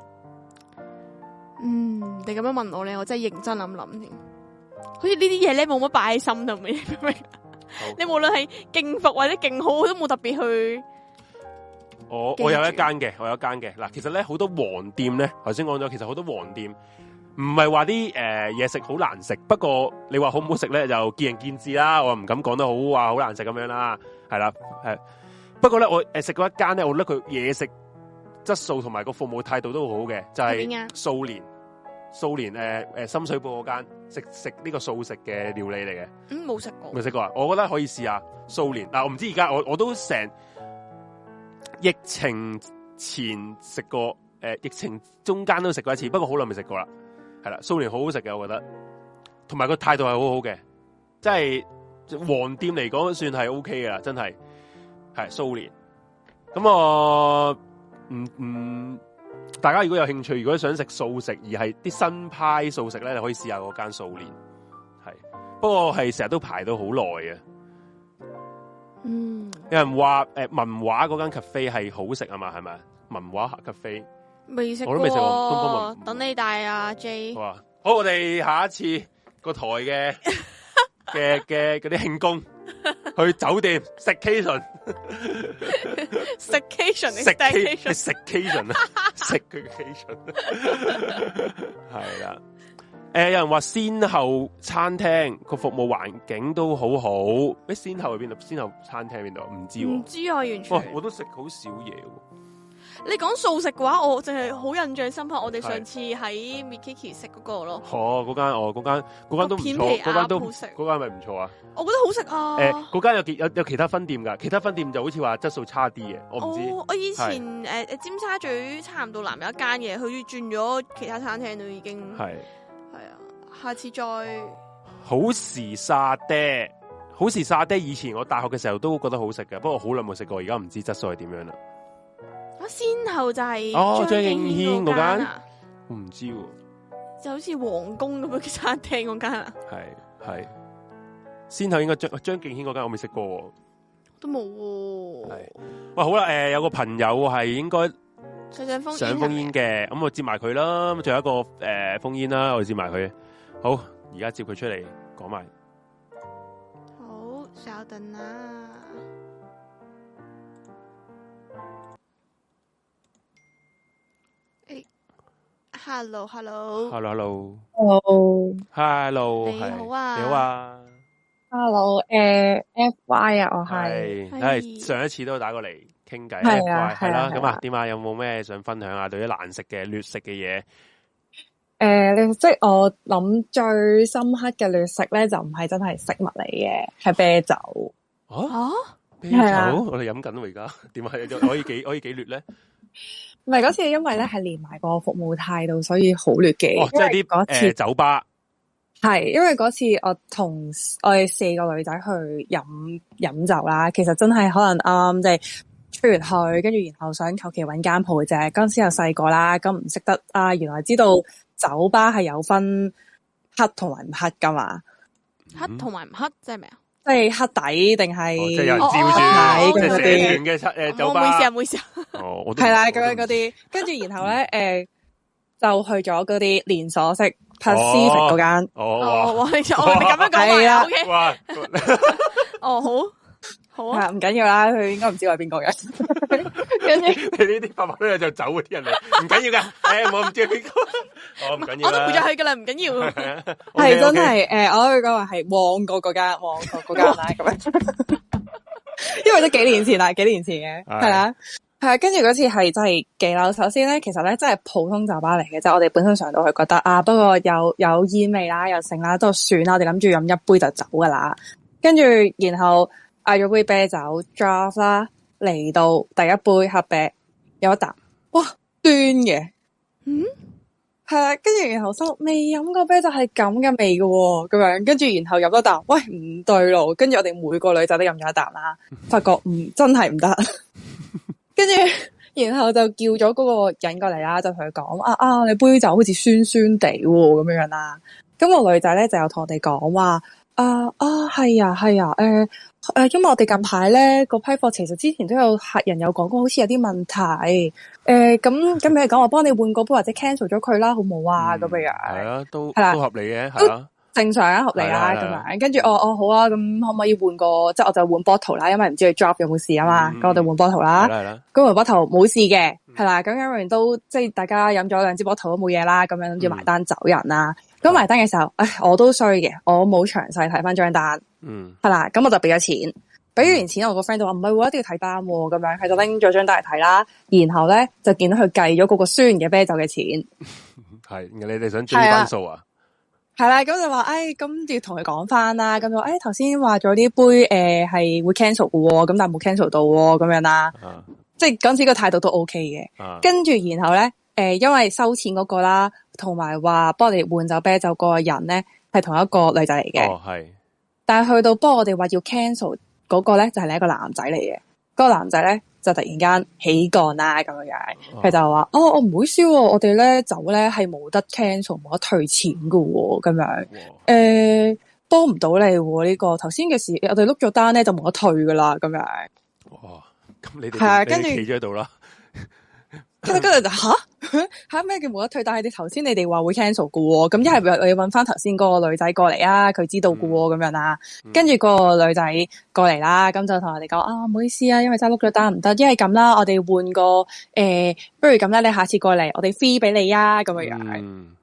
嗯，你咁樣問我咧，我真係認真諗諗添。好似呢啲嘢咧，冇乜擺喺心度，明唔明？你無論係勁服或者勁好，都冇特別去。 我我有一間嘅，我有一間嘅。嗱，其實咧好多黃店咧，頭先講咗，其實好多黃店唔係話啲誒嘢食好難食，不過你話好唔好食咧，就見仁見智啦。我唔敢講得好話好難食咁樣啦，係啦，係。不過咧，我誒食過一間咧，我覺得佢嘢食質素同埋個服務態度都好好嘅，就係素年。素年誒誒深水埗嗰間食食呢個素食嘅料理嚟嘅， 嗯，冇食過， 未食過啊！我覺得可以試下素年。嗱，我唔知而家我我都成疫情前食過，誒、呃、疫情中間都食過一次，不過好耐未食過啦。係啦，素年好好食嘅，我覺得，同埋個態度係好好嘅，即係黃店嚟講算係 O K 嘅啦，真係係素年。咁我唔唔。嗯大家如果有興趣，如果想食素食而係啲新派素食咧，你可以試下嗰間素年。係，不過係成日都排到好耐嘅。嗯，有人話誒、呃、文華嗰間 cafe 係好食啊嘛，係咪？文華 cafe 未食過， 我都未食過。東方文等你帶啊 J。好啊， 好，我哋下一次個台嘅嘅嘅嗰啲慶功。去酒店食 Cation， 食 Cation， 食 Cation，食 Cation 啊，食佢 Cation，係啦。誒，有人話先後餐廳個服務環境都好好。誒，先後喺邊度？先後餐廳喺邊度？唔知喎。 唔知啊，完全。 哦、我都食好少嘢。 你講素食嘅話，我淨係好印象深刻。我哋上次喺 Mikiki 食嗰個咯。 哦，嗰間哦，嗰間嗰間都唔錯，嗰間都嗰間咪唔錯啊。 我覺得好食啊。 誒，嗰間有幾有有其他分店㗎，其他分店就好似話質素差啲嘅，我唔知。 哦，我以前誒誒尖沙咀差唔多南有一間嘅，佢轉咗其他餐廳都已經係係啊。下次再好時沙爹，好時沙爹，以前我大學嘅時候都覺得好食嘅，不過好耐冇食過，而家唔知質素係點樣啦。先後就係哦張敬軒嗰間，我唔知喎， 就好似皇宮咁樣嘅餐廳嗰間啊。 係係，先後應該張張敬軒嗰間我未食過， 都冇喎。係， 喂好啦，誒、呃、有個朋友係應該上上封上封煙嘅，咁我接埋佢啦，咁仲有一個誒、呃、封煙啦，我接埋佢。好，而家接佢出嚟講埋。 好，稍等啦。 Hello，Hello，Hello，Hello， 你好啊， 你好啊 ，Hello，誒 ，F Y 啊，我係， 係上一次都打過嚟傾偈， 係啊， 係啦，咁啊，點啊，有冇咩想分享啊？對於難食嘅、劣食嘅嘢， 誒，即係我諗最深刻嘅劣食咧，就唔係真係食物嚟嘅，係啤酒。 啊？啤酒？我哋飲緊喎，而家點啊？可以幾可以幾劣咧？ 唔係嗰次，因為咧係連埋個服務態度，所以好劣嘅。 哦，即係啲嗰次酒吧係，因為嗰次我同我哋四個女仔去飲飲酒啦，其實真係可能啱啱即係出完去，跟住然後想求其搵間鋪啫。嗰陣時又細個啦，咁唔識得啊，原來知道酒吧係有分黑同埋唔黑噶嘛？ 黑同埋唔黑即係咩啊？ 即係黑底定係即係有人照住睇嗰啲嘅誒酒吧。 唔好意思啊，唔好意思啊。 哦，我係啦，咁樣嗰啲，跟住然後咧，誒、呃，就去咗嗰啲連鎖式 Pacific 嗰間。 哦， 哇！你咁樣講啊，OK。 哇！ 哦，好，好啊， 唔緊要啦，佢應該唔知我係邊個嘅。跟住你呢啲百百都有就走嗰啲人嚟，唔緊要噶。誒，我唔知邊個。我唔緊要， 我都唔再去噶啦，唔緊要。 係真係誒，我去講話係旺角嗰間，旺角嗰間啦，咁樣。因為都幾年前啦，幾年前嘅係啦，係啊。跟住嗰次係真係幾樓。首先咧，其實咧真係普通酒吧嚟嘅，即係我哋本身上到去覺得啊，不過有有煙味啦，又剩啦，都算啦。我哋諗住飲一杯就走噶啦。跟住然後嗌咗杯啤酒 draft 啦，嚟到第一杯黑啤有一啖，哇端嘅，嗯。係啦，跟住然後心未飲過啤酒係咁嘅味嘅，咁樣跟住然後飲多啖，喂唔對路，跟住我哋每個女仔都飲咗一啖啦，發覺唔真係唔得，跟住然後就叫咗嗰個人過嚟啦，就同佢講啊啊，你杯酒好似酸酸地咁樣樣啦，咁個女仔咧就有同我哋講話啊啊係啊係啊，誒誒、呃呃，因為我哋近排咧個批貨其實之前都有客人有講過，好似有啲問題。誒，咁咁你講我幫你換個杯或者 cancel 咗佢啦，好冇啊？咁樣係啊，都係啦， 都合理嘅，係啊， 正常啊，合理啊，咁樣。跟住我我好啊，咁可唔可以換個？即係我就換 bottle 啦，因為唔知佢 drop 有冇事啊嘛。咁我哋換 bottle 啦， 係啦， 咁換 bottle 冇事嘅，係啦。咁因為都即係大家飲咗兩支 bottle 都冇嘢啦，咁樣諗住埋單走人啦。咁埋單嘅時候，唉，我都衰嘅，我冇詳細睇翻張單，嗯，係啦，咁我就俾咗錢。俾完錢，我個 friend 就話唔係喎，一定要睇單喎，咁樣佢就拎咗張單嚟睇啦。然後咧就見到佢計咗嗰個酸嘅啤酒嘅錢。 係，你哋想追翻數啊？ 係啦，咁就話，哎，咁要同佢講翻啦。咁就，哎，頭先話咗呢杯誒係、呃、會 cancel 嘅，咁但係冇 cancel 到咁樣啦。啊、即係嗰陣時個態度都 OK 嘅。啊、跟住然後咧，誒、呃，因為收錢嗰個啦，同埋話幫我哋換酒啤酒嗰個人咧係同一個女仔嚟嘅。哦，係。但係去到幫我哋話要 cancel。嗰個咧就係另一個男仔嚟嘅，嗰、那個男仔咧就突然間起槓啦咁樣樣，佢、哦、就話：哦，我唔好笑，我哋咧走咧係冇得 cancel，冇得退錢噶，咁樣，誒，幫唔到你呢、這個頭先嘅事，我哋碌咗單咧就冇得退噶啦，咁樣。哇，咁你哋係啊，跟住企咗喺度啦。跟住跟住就吓吓咩叫冇得退？但係你頭先你哋話會 cancel 噶喎，咁一係我要搵翻頭先嗰個女仔過嚟啊，佢知道噶喎，咁樣啦。跟住嗰個女仔過嚟啦，咁就同我哋講啊，唔好意思啊，因為真係碌咗單唔得，一係咁啦，我哋換個誒、呃，不如咁啦，你下次過嚟，我哋 free 俾你啊，咁樣樣。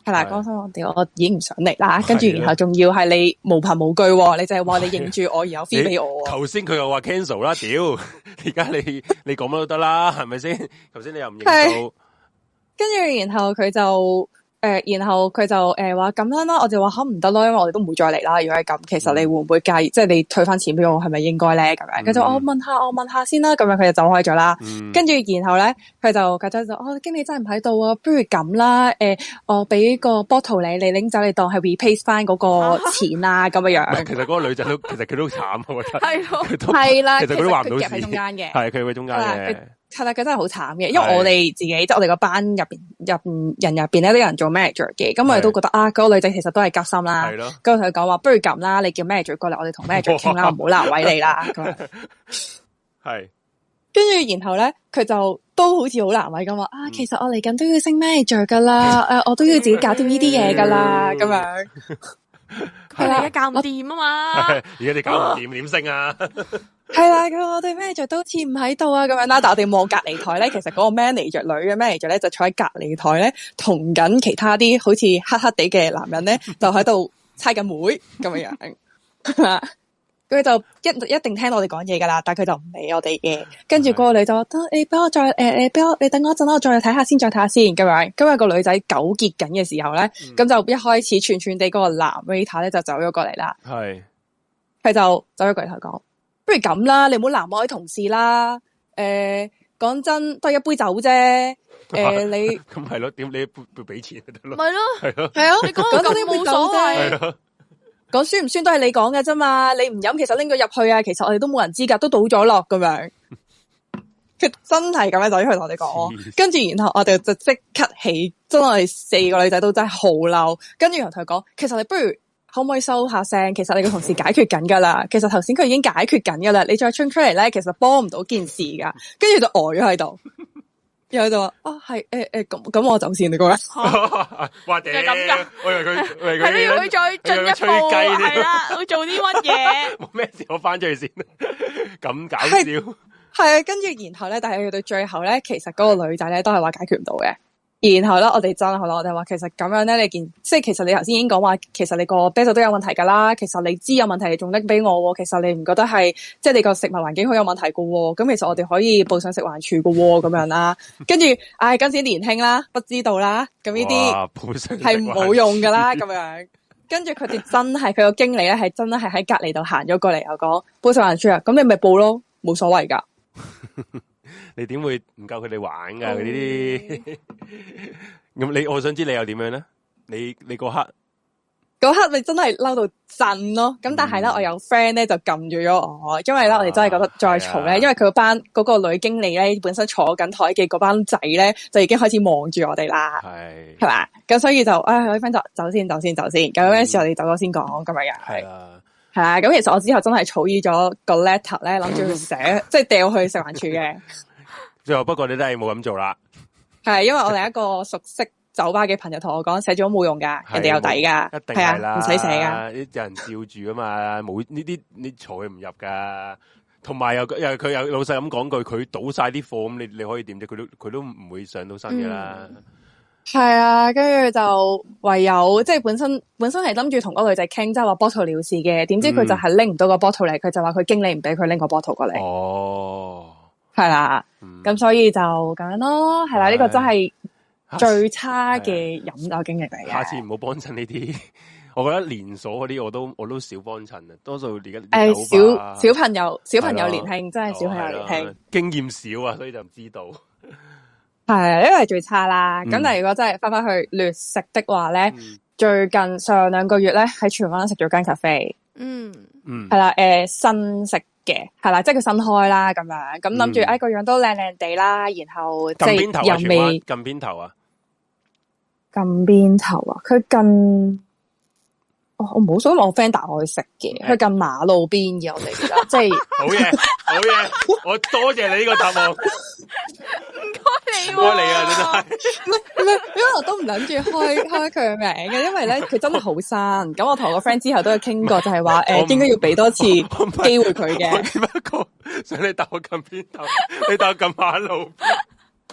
係啦，講聲我屌，我已經唔想嚟啦，跟住然後仲要係你無憑無據，你就係話你認住我，然後 free 俾我。 頭先佢又話 cancel 啦，屌！而家你你講乜都得啦，係咪先？頭先你又唔認到， 跟住然後佢就。誒、呃，然後佢就誒話咁樣啦，我就話吓唔得咯，因為我哋都唔會再嚟啦。如果係咁，其實你會唔會介意？嗯、即係你退翻錢俾我，係咪應該咧？咁樣，佢、嗯、就我問下，我問下先啦。咁樣佢就走開咗啦。跟、嗯、住然後咧，佢就佢就就哦，經理真係唔喺度啊，不如咁啦。誒、呃，我俾個 bottle 你，你拎走，你當係 replace 翻嗰個錢啊，咁樣樣。其實嗰個女仔都，其實佢都慘，我覺得係咯，係啦，其實佢都話唔到事，夾喺中間嘅，係佢喺中間嘅。係啦，佢真係好慘嘅，因為我哋自己即係我哋個班入邊入人入邊咧，都有人做 manager 嘅，咁我哋都覺得啊，嗰、嗰個女仔其實都係急心啦。係咯，跟住同佢講話，不如咁啦，你叫 manager 過嚟，我哋同 manager 傾啦，唔好難為你啦。咁係，跟住然後咧，佢就都好似好難為咁話啊，其實我嚟緊都要升 manager 噶啦，誒、呃，我都要自己搞掂呢啲嘢噶啦，咁樣。 係啦，而家搞唔掂啊嘛， 而家你搞唔掂點升啊？ 係啦，咁我哋 manager 都似唔喺度啊，咁樣啦。但我哋望隔籬台咧，其實嗰個 manager 女嘅 manager 咧就坐喺隔籬台咧，同緊其他啲好似黑黑地嘅男人咧，就喺度猜緊妹咁樣樣。佢就一一定聽到我哋講嘢噶啦，但係佢就唔理我哋嘅。跟住嗰個女就話：得你俾我再誒誒，俾、呃、我你等我一陣啦，我再睇下先，再睇下先咁樣。今日個女仔糾結緊嘅時候咧，咁、嗯、就一開始串串地嗰個男 waiter 咧就走咗過嚟啦。係，佢就走咗過嚟同佢講。不如咁啦，你唔好難為我啲同事啦。誒、呃，講真，都係一杯酒啫。誒、呃，你咁係咯？點你要俾錢就得咯？ 咪咯， 係咯， 係啊。你講咁啲冇所謂。講酸唔酸都係你講嘅啫嘛。你唔飲，其實拎佢入去啊。其實我哋都冇人知噶，都倒咗落咁樣。佢真係咁樣走咗去同我哋講，跟住然後我哋就即刻起，真係四個女仔都真係好嬲。跟住然後同佢講，其實你不如。可唔可以收下聲？其實你個同事解決緊噶啦，其實頭先佢已經解決緊噶啦，你再衝出嚟咧，其實幫唔到件事噶。跟住就呆咗喺度，然後就話啊係誒誒咁咁我走先你講啦。 哇屌！咁噶？我以為佢係咯，佢再進一步係啦，會做啲乜嘢？ 冇咩事，我翻出去先。咁搞笑係啊，跟住然後咧，但係去到最後咧，其實嗰個女仔咧都係話解決唔到嘅。然後咧，我哋真係好啦，我哋話其實咁樣咧，你見即係其實你頭先已經講話，其實你個啤酒都有問題噶啦。其實你知有問題，你仲拎俾我，其實你唔覺得係即係你個食物環境好有問題噶？咁其實我哋可以報上食環署噶咁樣啦。跟住，唉，嗰陣時年輕啦，不知道啦，咁呢啲係冇用噶啦，咁樣。跟住佢哋真係佢個經理咧，係真係喺隔籬度行咗過嚟，又講報食環署啊，咁你咪報咯，冇所謂噶。 你點會唔夠佢哋玩噶？佢呢啲咁你，我想知你又點樣咧？你你嗰刻嗰刻你真係嬲到震咯！咁但係咧，我有 friend 咧就撳住咗我，因為咧我哋真係覺得再嘈咧，因為佢班嗰個女經理咧本身坐緊台嘅嗰班仔咧就已經開始望住我哋啦，係係嘛？咁所以就唉，我啲 friend 就走先，走先，走先。咁嗰陣時我哋走咗先講咁樣嘅，係啊。係啊，咁其實我之後真係草擬咗個 letter 咧，諗住去寫，即係掉去食環署嘅。 最後不過你都係冇咁做啦。係， 因為我哋一個熟悉酒吧嘅朋友同我講，寫咗冇用噶，人哋有底噶， 一定係啦， 唔使寫噶。 有人照住啊嘛，冇呢啲你坐佢唔入噶。同埋又又佢又老實咁講句，佢倒晒啲貨咁，你你可以點啫？佢都佢都唔會上到身嘅啦。嗯係啊，跟住就唯有即係本身本身係諗住同嗰個女仔傾，即係話 bottle 了事嘅，點知佢就係拎唔到個 bottle 嚟，佢就話佢經理唔俾佢拎個 bottle 過嚟。哦，係啦，咁、嗯、所以就咁樣咯，係啦，呢、這個真係最差嘅飲酒經歷嚟嘅。 下次唔好幫襯呢啲，我覺得連鎖嗰啲我都我都少幫襯啊，多數而家誒小小朋友小朋友年輕，真係小朋友年輕， 經驗少啊，所以就唔知道。 係，呢個係最差啦。咁、嗯、但係如果真係翻翻去劣食的話咧、嗯，最近上兩個月咧喺荃灣食咗間 cafe，嗯嗯，係啦，誒、呃、新食嘅，係啦，即係佢新開啦咁樣，咁諗住誒個樣都靚靚地啦，然後即係又未近邊頭啊？ 近邊頭啊？佢近。哦、我冇想我 friend 帶我去食嘅，佢近馬路邊嘅我哋而家，即係好嘢，好嘢，我多謝你呢個答案， 唔該你， 唔該你啊，真係， 唔係唔係，因為我都唔諗住開開佢嘅名嘅，因為咧佢真係好新，咁我同我個 friend 之後都有傾過，就係話誒應該要俾多次機會佢嘅。 只不過想你帶我近邊頭，你帶我近馬路。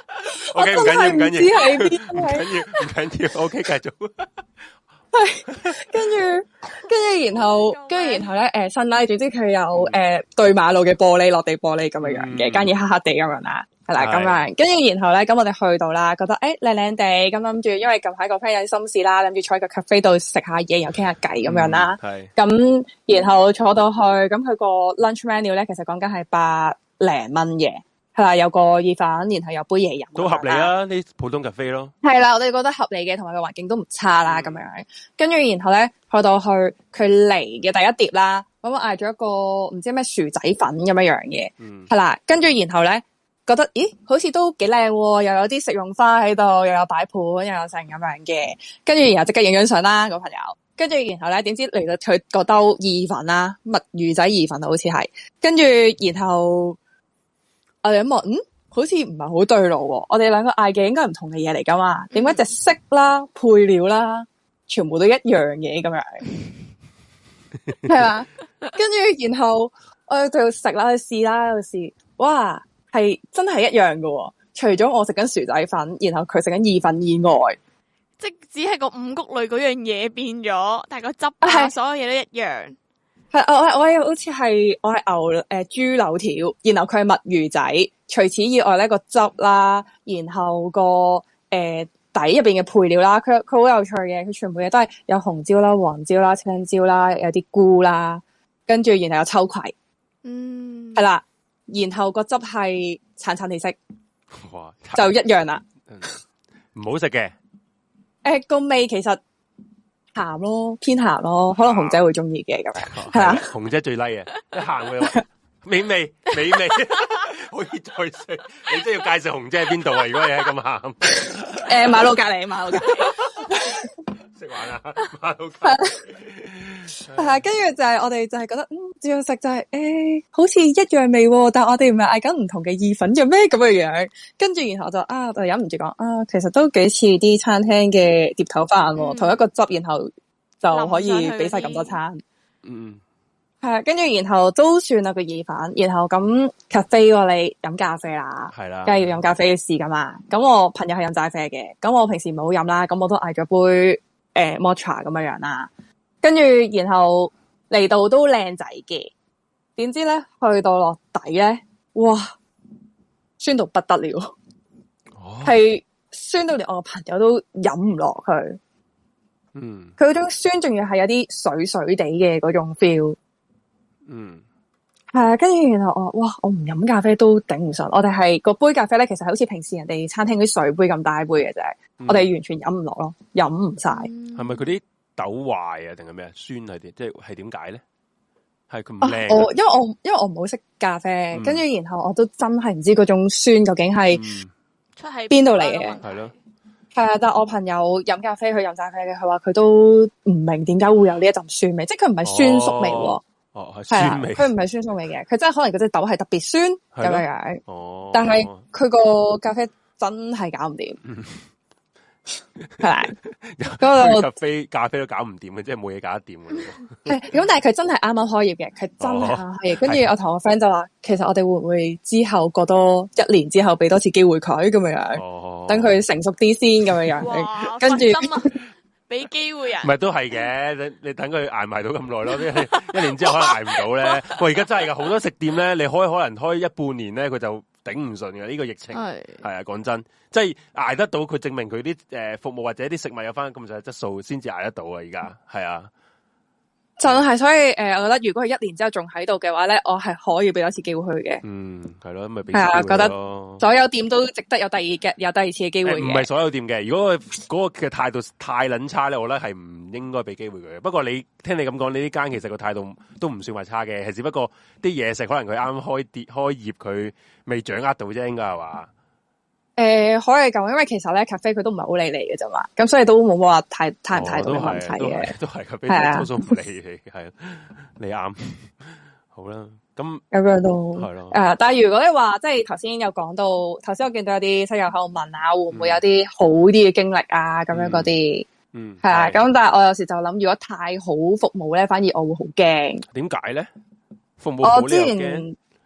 O K， 唔緊要，唔緊要， 唔知喺邊， 唔緊要，唔緊要。O K， 繼續。 係，跟住，跟住，然後，跟住，然後咧，誒，新啦，總之佢有誒對馬路嘅玻璃，落地玻璃咁樣樣嘅，間嘢黑黑地咁樣啦。係啦，咁樣，跟住然後咧，咁我哋去到啦，覺得誒靚靚地，咁諗住，因為近排個 friend 有啲心事啦，諗住坐喺個 cafe 度食下嘢，又傾下偈咁樣啦。係。咁然後坐到去，咁佢個 lunch menu 咧，其實講緊係百零蚊嘅，係啦，有個意粉，然後有杯嘢飲。都合理啊，呢普通 cafe 咯。係啦，我哋覺得合理嘅，同埋個環境都唔差啦，咁、嗯、樣。跟住然後咧，去到去佢嚟嘅第一碟啦，咁我嗌咗一個唔知咩薯仔粉咁樣樣嘅，係、嗯、啦，跟住然後咧。覺得咦，好似都幾靚喎，又有啲食用花喺度，又有擺盤，又有成咁樣嘅。跟住然後即刻影張相啦，個朋友。跟住然後咧，點知嚟到佢個兜意粉啦，墨魚仔意粉好似係。跟住然後我哋一望，嗯，好似唔係好對路喎。我哋兩個嗌嘅應該唔同嘅嘢嚟噶嘛？點解隻色啦、配料啦，全部都一樣嘅咁樣？係嘛？跟住然後我哋就食啦，去試啦，去試，哇！係真係一樣喎，除咗我食緊薯仔粉，然後佢食緊意粉以外， 即只係個五穀類嗰樣嘢變咗，但係個汁啊，所有嘢都一樣。 係我我我好似係我係牛誒、呃、豬柳條，然後佢係墨魚仔。除此以外咧，個汁啦，然後個誒、呃、底入邊嘅配料啦，佢佢好有趣嘅，佢全部嘢都係有紅椒啦、黃椒啦、青椒啦，有啲菇啦，跟住然後有秋葵，嗯，係啦。然後個汁係橙橙地色，哇，就一樣啦， 唔好食嘅。 誒，個味其實鹹咯，偏鹹咯，可能紅姐會中意嘅咁樣，係啊， 紅姐最 like 嘅，一鹹嘅美味美味，可以再食。你真係要介紹紅姐喺邊度啊？如果你係咁鹹， 誒，馬路隔籬，馬路隔籬。 食玩啊，馬路隔係，跟住就係我哋就係覺得，嗯，照食就係、是，誒、欸，好似一樣味，但係我哋唔係嗌緊唔同嘅意粉嘅咩咁嘅樣。跟住然後就啊，我就忍唔住講啊，其實都幾似啲餐廳嘅碟頭飯、嗯，同一個汁，然後就可以俾晒咁多餐。嗯，係啊，跟住然後都算啦個意粉，然後咁 cafe 喎，你飲咖啡啦，係啦，梗係要飲咖啡嘅試噶嘛。咁我朋友係飲齋啡嘅，咁我平時唔好飲啦，咁我都嗌咗杯。誒 matcha 咁樣樣啦，跟住然後嚟到都靚仔嘅，點知咧去到落底咧，哇，酸到不得了，係、哦、酸到連我個朋友都飲唔落去。嗯，佢嗰種酸仲要係有啲水水地嘅嗰種 feel。嗯，係啊，跟住然後我哇，我唔飲咖啡都頂唔順。我哋係個杯咖啡咧，其實好似平時人哋餐廳啲水杯咁大杯嘅啫。嗯、我哋完全飲唔落咯，飲唔晒。 係咪佢啲豆壞啊？定係咩啊？酸係點？即係係點解咧？係佢唔靚。 我因為我因為我唔好識咖啡，跟、嗯、住然後我都真係唔知嗰種酸究竟係出喺邊度嚟嘅。係咯，係啊！但係我朋友飲咖啡，佢飲齋啡嘅，佢話佢都唔明點解會有呢一陣酸味，即係佢唔係酸粟味。哦，哦係酸味。佢唔係酸粟味嘅，佢真係可能嗰隻豆係特別酸咁樣樣。哦，但係佢個咖啡真係搞唔掂。嗯係，嗰個咖啡咖啡都搞唔掂嘅，即係冇嘢搞得掂嘅。 係咁，但係佢真係啱啱開業嘅，佢真係啱啱開業。跟、哦、住我同我 friend 就話，其實我哋會唔會之後過多一年之後俾多次機會佢咁樣樣，等、哦、佢成熟啲先咁樣樣。跟住俾機會人， 唔係都係嘅。你你等佢挨埋到咁耐咯，一年之後可能挨唔到咧。喂，而家真係噶，好多食店咧，你開可能開一半年咧，佢就頂唔順嘅。呢、這個疫情係係啊，講真。即係捱得到，佢證明佢啲誒服務或者啲食物有翻咁上下質素，先至捱得到啊！而家係啊， 就係所以誒、呃，我覺得如果佢一年之後仲喺度嘅話咧，我係可以俾多次機會佢嘅。嗯，係咯，咪俾係啊，覺得所有店都值得有第二嘅有第二次嘅機會嘅。唔、欸、係所有店嘅，如果佢嗰個嘅態度太撚差咧，我覺得係唔應該俾機會佢嘅。不過你聽你咁講，你呢間其實個態度都唔算話差嘅，係只不過啲嘢食可能佢啱開跌開業，佢未掌握到啫，應該係話。 誒、呃，可以咁，因為其實咧，咖啡佢都唔係好理你嘅啫嘛，咁所以都冇話太太唔太大嘅問題嘅， 都係咖啡多數唔理你，係你啱，好啦，咁咁樣都係咯。誒、呃，但係如果你話即係頭先有講到，頭先我見到有啲室友喺度問啊，會唔會有啲好啲嘅經歷啊？咁、嗯、樣嗰啲，嗯，係啊，咁但係我有時就諗，如果太好服務咧，反而我會好驚。點解咧？服務好我之前。我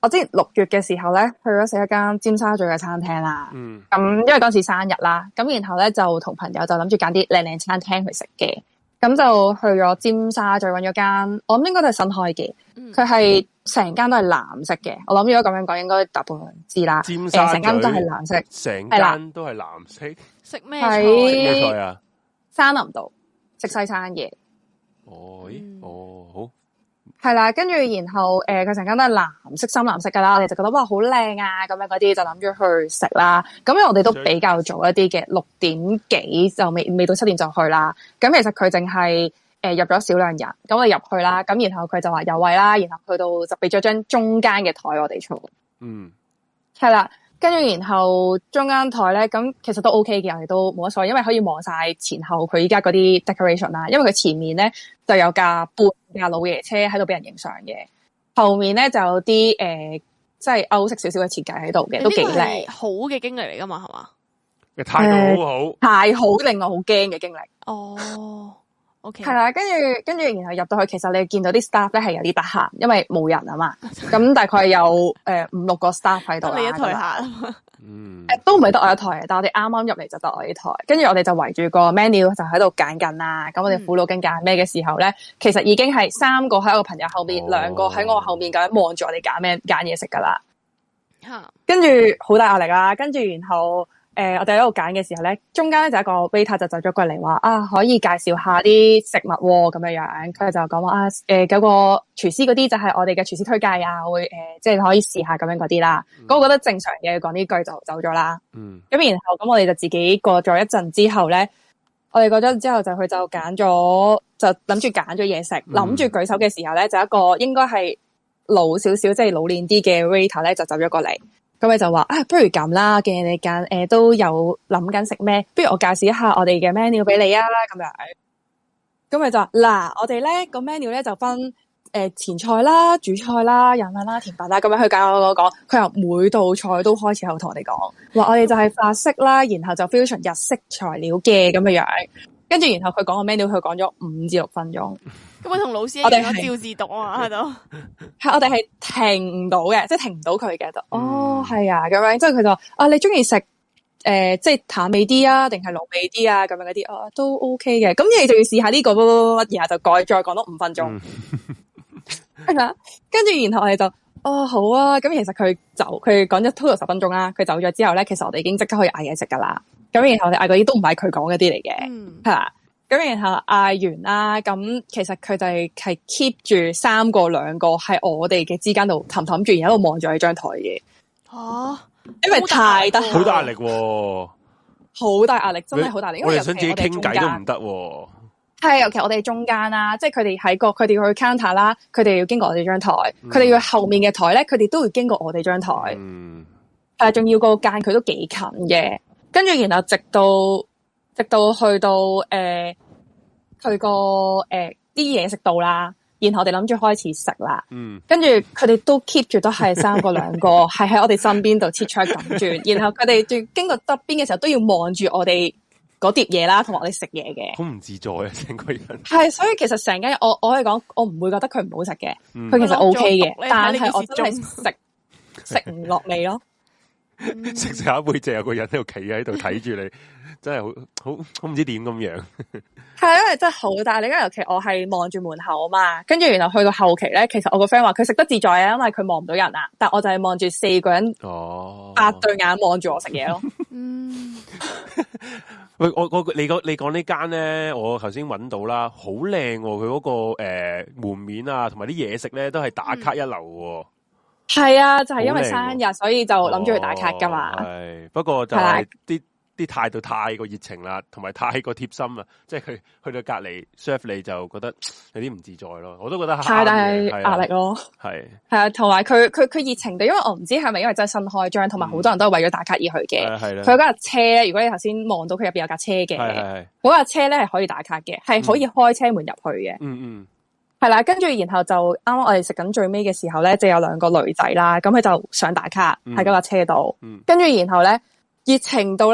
我之前六月嘅時候咧，去咗食一間尖沙咀嘅餐廳啦。 嗯。 咁因為嗰時生日啦，咁然後咧就同朋友就諗住揀啲靚靚餐廳去食嘅。咁就去咗尖沙咀揾咗間，我諗應該都係新開嘅。佢係成間都係藍色嘅。我諗如果咁樣講，應該大部分人知啦。 尖沙咀成間都係藍色， 成間都係藍色。 食咩菜？ 咩菜啊？ 山林道食西餐嘢。 哦，咦，哦，好。 係啦，跟住然後誒，佢成間都係藍色、深藍色噶啦，我哋就覺得哇好靚啊，咁樣嗰啲就諗住去食啦。咁因為我哋都比較早一啲嘅，六點幾就未未到七點就去啦。咁其實佢淨係誒入咗少量人，咁我哋入去啦。咁然後佢就話有位啦，然後去到就俾咗張中間嘅台我哋坐。嗯，係啦。跟住然後中間台咧，咁其實都 OK 嘅，我哋都冇乜所謂，因為可以望晒前後佢依家嗰啲 decoration 啦。因為佢前面咧就有架半架老爺車喺度俾人影相嘅，後面咧就有啲誒、呃，即係歐式少少嘅設計喺度嘅，都幾靚。 好嘅經歷嚟噶嘛，係嘛？ 嘅態度好好， 呃、太好令我好驚嘅經歷。 哦。 係、okay. 啦，跟住跟住，然後入到去，其實你見到啲 staff 咧係有啲得閒，因為冇人啊嘛。咁大概有誒、呃、五六個 staff 喺度啦。你一台下，嗯，誒都唔係得我一台，但係我哋啱啱入嚟就得我一台。跟住我哋就圍住個 menu 就喺度揀緊啦。咁我哋苦惱緊揀咩嘅時候咧，其實已經係三個喺我朋友後面，兩、哦、個喺我後面咁樣望住我哋揀咩揀嘢食噶啦。跟住好大壓力啦，跟住然後。誒、呃，我哋喺度揀嘅時候咧，中間咧就一個 waiter 就走咗過嚟話啊，可以介紹下啲食物喎、哦，咁樣樣。佢就講話啊，誒、呃，嗰個廚師嗰啲就係我哋嘅廚師推介啊，會誒、呃，即係可以試下咁樣嗰啲啦。咁、嗯、我覺得正常嘅講呢句就走咗啦。嗯。咁然後咁我哋就自己過咗一陣之後咧，我哋過咗之後就佢就揀咗，就諗住揀咗嘢食，諗、嗯、住舉手嘅時候咧，就一個應該係老少少，即係老練啲嘅 waiter 咧就走咗過嚟。咁佢就話啊，不如咁啦，既然你揀誒、呃、都有諗緊食咩，不如我介紹一下我哋嘅 menu 俾你啊，咁樣。咁佢就話嗱，我哋咧個 menu 咧就分誒、呃、前菜啦、主菜啦、飲品啦、甜品啦，咁樣去教我講。佢由每道菜都開始喺度同我哋講，話我哋就係法式啦，然後就 fusion 日式材料嘅咁樣樣。跟住然後佢講個 menu，佢講咗五至六分鐘。 咁我同老師一樣照字讀啊喺度， 係我哋係停唔到嘅，即係停唔到佢嘅。哦，係啊，咁樣，即係佢就話啊，你中意食誒，即係淡味啲啊，定係濃味啲啊？咁樣嗰啲，哦，都 OK 嘅。咁你就要試下呢個乜乜乜，然後就改再講多五分鐘，係咪啊？跟住然後我哋就哦好啊。咁其實佢走，佢講咗 total 十分鐘啦。佢走咗之後咧，其實我哋已經即刻可以嗌嘢食噶啦。咁然後我哋嗌嗰啲都唔係佢講嗰啲嚟嘅，係啦。咁然後嗌完啦，咁其實佢哋係 keep 住三個兩個喺我哋嘅之間度氹氹住，然後喺度望住呢張台嘅。吓，因為太得好大壓力喎， 好大壓力，真係好大壓力。 我哋想自己傾偈都唔得喎。 係，尤其我哋中間啦，即係佢哋喺個佢哋要去 counter 啦，佢哋要經過我哋張台，佢、嗯、哋要後面嘅台咧，佢哋都會經過我哋張台。嗯，係仲要個間佢都幾近嘅，跟住然後直到。直到去到誒，佢個誒啲嘢食到啦，然後我哋諗住開始食啦。嗯，跟住佢哋都 keep 住都係三個兩個，係喺我哋身邊度切菜咁轉，然後佢哋仲經過側邊嘅時候都要望住我哋嗰碟嘢啦，同埋我哋食嘢嘅。 好唔自在啊，成個人。 係，所以其實成間我我可以講，我唔會覺得佢唔好食嘅，佢、嗯、其實 O K 嘅，但係我真係食食唔落味咯。 食食下一杯，就有個人喺度企喺度睇住你。真係好好好唔知點咁樣， 係因為真係好大。你因為尤其我係望住門口啊嘛，跟住然後去到後期咧，其實我個 friend 話佢食得自在啊，因為佢望唔到人啊。但我就係望住四個人，哦，八對眼望住我食嘢咯。嗯， 喂，我我你講你講呢間咧，我頭先揾到啦，好靚喎！佢嗰、那個誒、呃、門面啊，同埋啲嘢食咧都係打卡一流喎。 係、嗯、啊，就係、是、因為生日，所以就諗住去打卡噶嘛。 係、哦，不過就係啲。啲態度太過熱情啦，同埋太過貼心啦，即係佢去到隔離 serve 你就覺得有啲唔自在咯。我都覺得太大壓力咯。 係係啊，同埋佢佢佢熱情地，因為我唔知係咪因為真係新開張，同埋好多人都係為咗打卡而去嘅。係啦，佢嗰架車咧，如果你頭先望到佢入邊有架車嘅，嗰架車咧係可以打卡嘅，係可以開車門入去嘅。嗯嗯，係啦，跟住然後就啱啱我哋食緊最尾嘅時候咧，就有兩個女仔啦，咁佢就想打卡喺嗰架車度。跟住然後咧熱情到咧。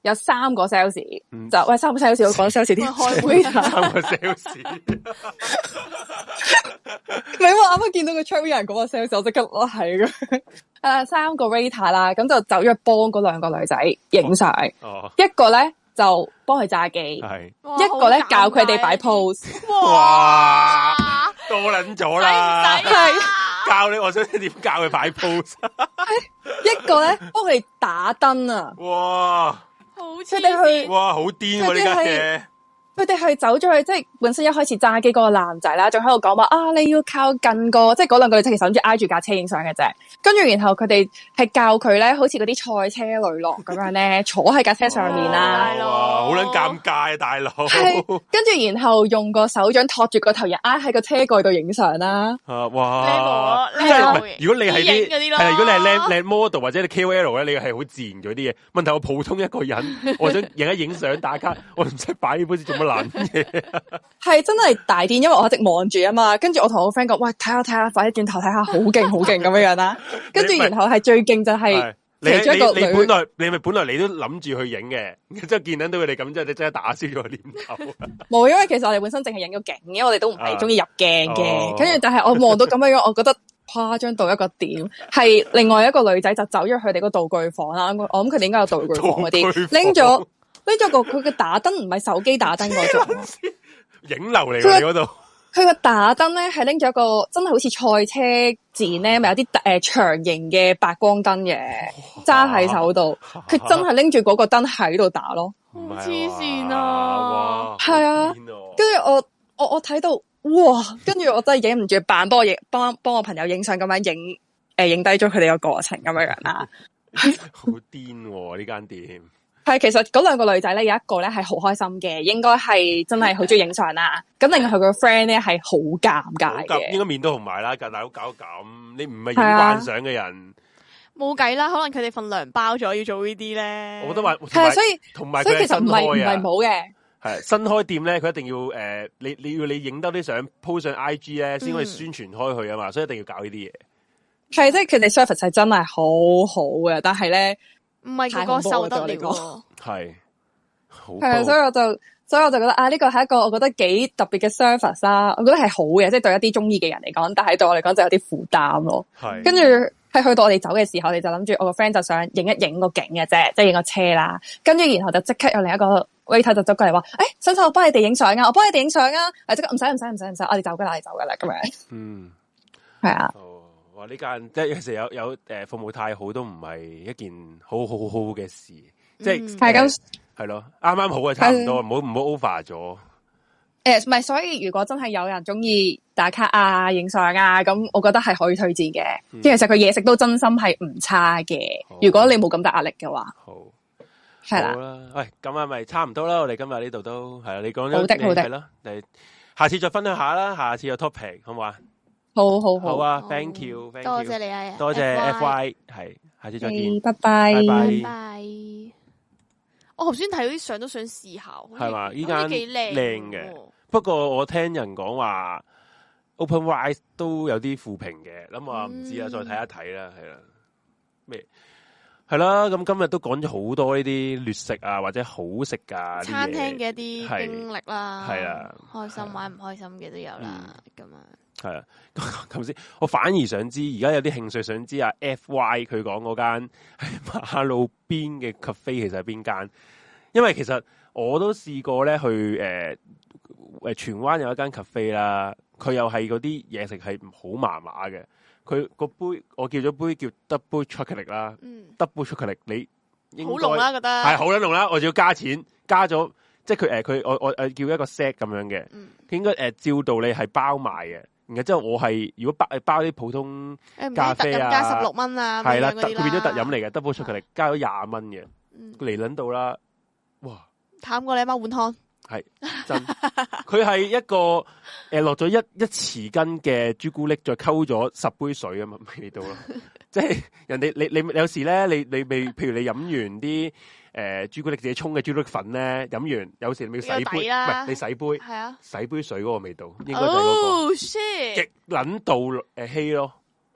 有三個 sales，就喂三個 sales，我講 sales 添，開會三個 sales， 唔係我啱啱見到個窗邊有人講個 sales，我即刻我係嘅，誒三個 waiter 啦，咁就走咗去幫嗰兩個女仔影相，一個咧就幫佢揸機，一個咧教佢哋擺 pose， 哇，多撚咗啦，係教你，我想點教佢擺 pose， 一個咧幫佢哋打燈啊， 哇！ 佢哋去， 哇，好癲喎呢家嘢！ 佢哋係走咗去，即係本身一開始揸機嗰個男仔啦，仲喺度講話啊，你要靠近個，即係嗰兩個女仔其實諗住挨住架車影相嘅啫。跟住然後佢哋係教佢咧，好似嗰啲賽車女郎咁樣咧，坐喺架車上面啦。 哇，好撚尷尬啊，大佬！ 係，跟住然後用個手掌托住個頭，人挨喺個車蓋度影相啦。 啊，哇！即係如果你係啲係啊，如果你係靚靚 model 或者你 K O L 咧，你係好自然咗啲嘢。問題我普通一個人，我想影一影相打卡，我唔使擺呢本先做乜爛嘢？ 係真係大癲，因為我一直望住啊嘛。跟住我同我 friend 講，喂，睇下睇下，快啲轉頭睇下，好勁好勁咁樣樣啦。跟住然後係最勁就係其中一個女， 你本來你咪本來你都諗住去影嘅，即係見到佢哋咁，之後你真係打消咗個念頭。 冇，因為其實我哋本身淨係影咗景，因為我哋都唔係中意入鏡嘅。跟住但係我望到咁樣樣，我覺得誇張到一個點。係另外一個女仔就走咗佢哋個道具房啦。我諗佢哋應該有道具房嗰啲，拎咗拎咗個佢嘅打燈，唔係手機打燈嗰種影樓嚟嘅嗰度。 佢個打燈咧係拎咗一個真係好似賽車展咧，咪有啲誒、呃、長形嘅白光燈嘅，揸喺手度。佢真係拎住嗰個燈喺度打咯， 黐線啊！ 係啊，跟住我我我睇到哇，跟住我真係影唔住，扮幫我影幫幫我朋友影相咁樣影誒影低咗佢哋個過程咁樣樣啦。 好癲呢間店。 係，其實嗰兩個女仔咧，有一個咧係好開心嘅，應該係真係好中意影相啦。咁另外佢個 friend 咧係好尷尬嘅，應該面都紅埋啦，大佬搞咁，你唔係影慣相嘅人， 冇計啦。可能佢哋份糧包咗要做呢啲咧。 我覺得話係啊，所以同埋所以其實唔係唔係冇嘅。 係新開店咧，佢一定要誒、呃，你你要你影多啲相 po 上 I G 咧，先可以宣傳開去啊嘛，嗯、所以一定要搞呢啲嘢。係， 即係佢哋 service 係真係好好嘅，但係咧。 唔係個個受得了， 係， 係啊，所以我就，所以我就覺得啊，呢個係一個我覺得幾特別嘅 service 啦，我覺得係好嘅，即係對一啲中意嘅人嚟講，但係對我嚟講就有啲負擔咯。係，跟住係去到我哋走嘅時候，我哋就諗住我個 friend 就想影一影個景嘅啫，即係影個車啦，跟住然後就即刻有另一個 waiter 就走過嚟話，誒、欸，新手我幫你哋影相啊，我幫你哋影相啊，誒，即刻唔使唔使唔使唔使，我哋走噶啦，我哋走噶啦，咁樣。嗯，係啊。 呢間即係有時有有誒服務太好都唔係一件好好好嘅事，即係係咁係咯，啱啱好啊，差唔多，唔好唔好 over 咗。 誒，唔係，所以如果真係有人中意打卡啊、影相啊，咁我覺得係可以推薦嘅。即係其實佢嘢食都真心係唔差嘅。如果你冇咁大壓力嘅話，好係啦。 喂，咁啊，咪差唔多啦。我哋今日呢度都係啦，你講咗好的好的， 係咯，你下次再分享下啦，下次有 topic 好唔好啊？ 好好好， 好啊 ，thank you，thank you， 多謝你啊， 多謝 F Y， 係，下次再見， 拜拜， 拜拜。我頭先睇到啲相都想試下， 係嘛？依間幾靚靚嘅，不過我聽人講話 OpenRice 都有啲負評嘅，咁我唔知啊，再睇一睇啦，係啦，咩？係啦，咁今日都講咗好多呢啲劣食啊，或者好食噶餐廳嘅一啲經歷啦， 係啊， 開心玩唔開心嘅都有啦，咁啊。 係啊，咁先，我反而想知，而家有啲興趣想知啊 F Y 佢講嗰間喺馬路邊嘅 cafe 其實係邊間？因為其實我都試過咧去誒誒荃灣有一間 cafe 啦，佢又係嗰啲嘢食係好麻麻嘅。佢個杯我叫咗杯叫 double chocolate 啦，嗯，double chocolate 你應該好濃啦，覺得係好濃啦，我仲要加錢加咗，即係佢誒佢我我誒叫一個 set 咁樣嘅，嗯，佢應該誒、呃、照道理係包賣嘅。然後之後我係如果包包啲普通咖啡啊， 加十六蚊啊， 係啦，佢變咗特飲嚟嘅 double chocolate加咗廿蚊嘅，嚟捻到啦，哇！ 淡過你阿媽碗湯， 係真，佢係一個誒落咗一一匙羹嘅朱古力，再溝咗十杯水啊嘛味道咯，即係人哋你你，你有時咧，你你未譬如你飲完啲。誒、呃，朱古力自己沖嘅朱古力粉咧，飲完有時你要洗杯，唔係你洗杯，係啊，洗杯水嗰個味道，應該就係嗰個極撚度誒稀咯，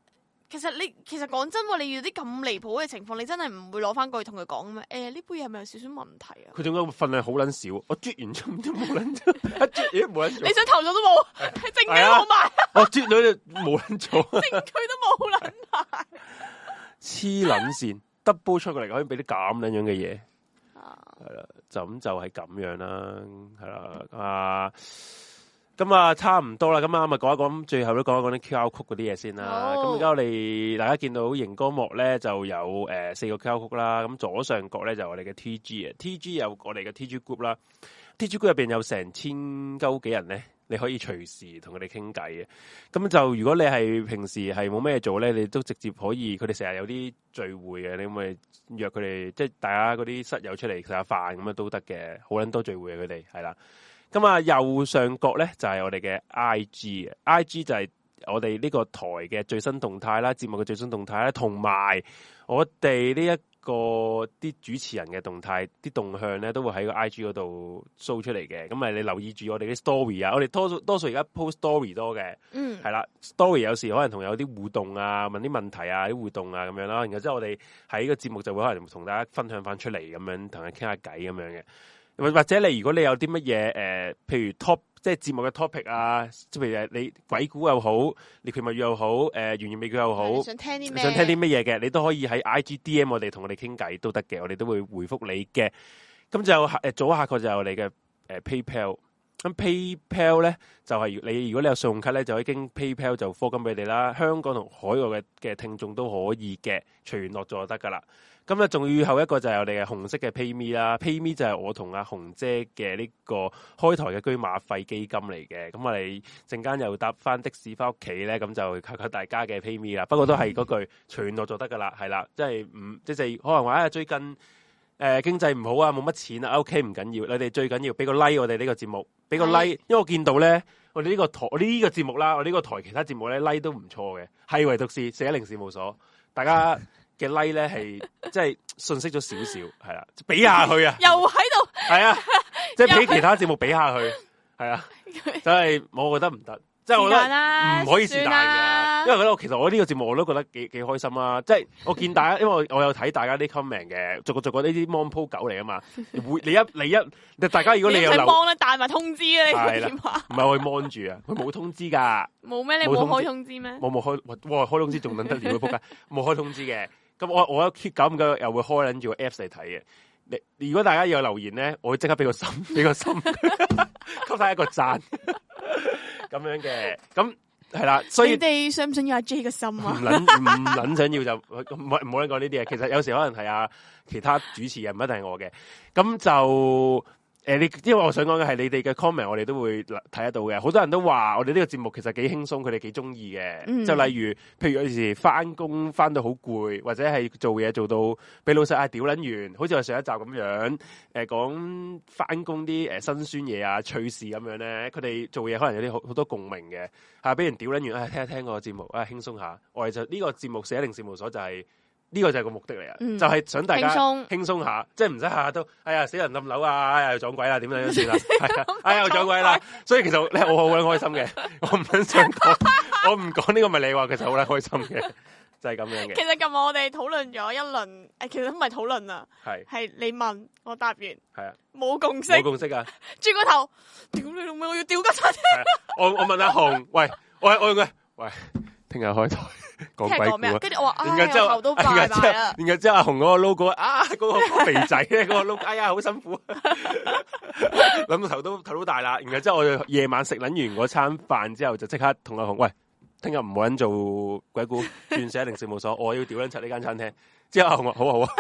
其實你其實講真喎，你遇到啲咁離譜嘅情況，你真係唔會攞翻過去同佢講咩？誒，呢杯嘢係咪有少少問題啊？ 佢點解份量好撚少？我啜完咗都冇撚做，一啜咦冇撚做。 你想投訴都冇，證據都冇埋。 我啜咗就冇撚做， 證據都冇撚埋。 黐撚線 double 出過嚟可以俾啲咁撚樣嘅嘢，係啦，就咁就係咁樣啦，係啦啊。咁啊，差唔多啦，咁啊，咪講一講，最後都講一講啲 Q R code 嗰啲嘢先啦。咁而家我哋大家見到熒光幕咧就有誒、呃、四個 Q R code 啦。咁左上角咧就我哋嘅 T G 啊 ，T G 有我哋嘅 T G group 啦。T G group 入邊有成千鳩幾人咧，你可以隨時同佢哋傾偈嘅。咁就如果你係平時係冇咩做咧，你都直接可以，佢哋成日有啲聚會嘅，你咪約佢哋，即係大家嗰啲室友出嚟食下飯咁樣都得嘅，好撚多聚會嘅佢哋係啦。咁啊，右上角咧就係、是、我哋嘅 I G 嘅 ，I G 就係我哋呢個台嘅最新動態啦，節目嘅最新動態啦，同埋我哋呢一個啲主持人嘅動態，啲動向咧都會喺個 I G 嗰度 show 出嚟嘅。咁啊，你留意住我哋啲 story 啊，我哋多數多數而家 post story 多嘅，嗯，係啦 ，story 有時可能同有啲互動啊，問啲問題啊，啲互動啊咁樣啦。然後之後我哋喺個節目就會可能同大家分享翻出嚟咁樣，同佢傾下偈咁樣嘅。或或者你如果你有啲乜嘢誒，譬如 top 即係節目嘅 topic 啊，即係譬如你鬼故又好，獵奇物語又好，誒懸疑美劇又好， 想聽啲咩？ 想聽啲乜嘢嘅，你都可以喺 I G D M 我哋同我哋傾偈都得嘅，我哋都會回覆你嘅。咁就誒左下角就係我哋嘅誒 PayPal。咁 PayPal 咧就係、是、你如果你有信用卡咧，就可以經 PayPal 就課金俾你啦。香港同海外嘅嘅聽眾都可以嘅，隨緣落座就得噶啦。咁啊，仲要後一個就係我哋嘅紅色嘅 PayMe 啦 ，PayMe 就係我同阿紅姐嘅呢個開台嘅居馬費基金嚟嘅。咁我哋陣間又搭翻的士翻屋企咧，咁就靠靠大家嘅 PayMe 啦。不過都係嗰句隨緣落座得噶啦，係啦，即係唔即係可能話啊最近誒、呃、經濟唔好啊，冇乜錢啊 ，OK 唔緊要，你哋最緊要俾個 like 我哋呢個節目，俾個 like，因為我見到咧我哋呢個台呢、這個節目啦，我呢個台其他節目咧 like 都唔錯嘅，係唯獨是四一零事務所，大家嘅 like 咧係即係信息咗少少，係啦，比下去啊， 又喺度， 係啊，即係比其他節目比下去，係啊，真係我覺得唔得，即係我覺得唔可以是但嘅，因為覺得其實我呢個節目我都覺得幾幾開心啊，即係我見大家，因為我我有睇大家啲 comment 嘅，逐個逐個呢啲 mon po 狗嚟啊嘛，會你一你一，大家如果你有留 mon 咧，帶埋通知啊，你點話？ 唔係我 mon 住啊，佢冇通知噶，冇咩？你冇開通知咩？ 冇冇開，哇開通知仲撚得了，仆街，冇開通知嘅。咁我我一 keep 咁嘅又會開撚住個 Apps 嚟睇嘅。你如果大家有留言咧，我會即刻俾個心，俾個心，給曬一個讚，咁樣嘅。咁係啦，所以你哋想唔想要阿 J 嘅心啊？ 唔撚唔撚想要就唔好唔好講呢啲嘢。其實有時可能係啊其他主持人，唔一定係我嘅。咁就。誒，你因為我想講嘅係你哋嘅 comment，我哋都會睇得到嘅。好多人都話我哋呢個節目其實幾輕鬆，佢哋幾中意嘅。嗯、就例如，譬如有時翻工翻到好攰，或者係做嘢做到俾老細嗌屌撚完，好似我上一集咁樣，誒講翻工啲誒辛酸嘢啊、趣事咁樣咧，佢哋做嘢可能有啲好好多共鳴嘅，嚇俾人屌撚完，誒、哎、聽一聽個節目，啊輕鬆下。我哋就呢、呢個節目四一零事務所就係、是。呢個就係個目的嚟啊，嗯、就係想大家輕鬆下，即係唔使下下都，哎呀死人冧樓啊，哎呀又撞鬼啦，點樣樣算啦，係啊，哎呀又撞鬼啦，所以其實咧我好鬼開心嘅，我唔想講，我唔講呢個咪你話，其實好鬼開心嘅，就係、是、咁樣嘅。 其實今日我哋討論咗一輪，誒，其實唔係討論啊，係係你問我答完，係啊，冇共識， 冇共識啊， 轉個頭，屌你老味，我要屌個餐廳， 我我問阿紅，喂，我我用佢，喂，聽日開台。講鬼故啊！ 跟住我話， 然後之後， 頭都拜拜啦。 然後之後阿紅嗰個 logo 啊，嗰、嗰個肥仔咧，嗰個 logo，哎呀，好辛苦，諗到頭都頭都大啦。然後之後我哋夜晚食捻完嗰餐飯之後，就即刻同阿紅喂，聽日唔好捻做鬼故，轉四一零事務所，我要屌捻柒呢間餐廳。之後阿紅話好啊好啊，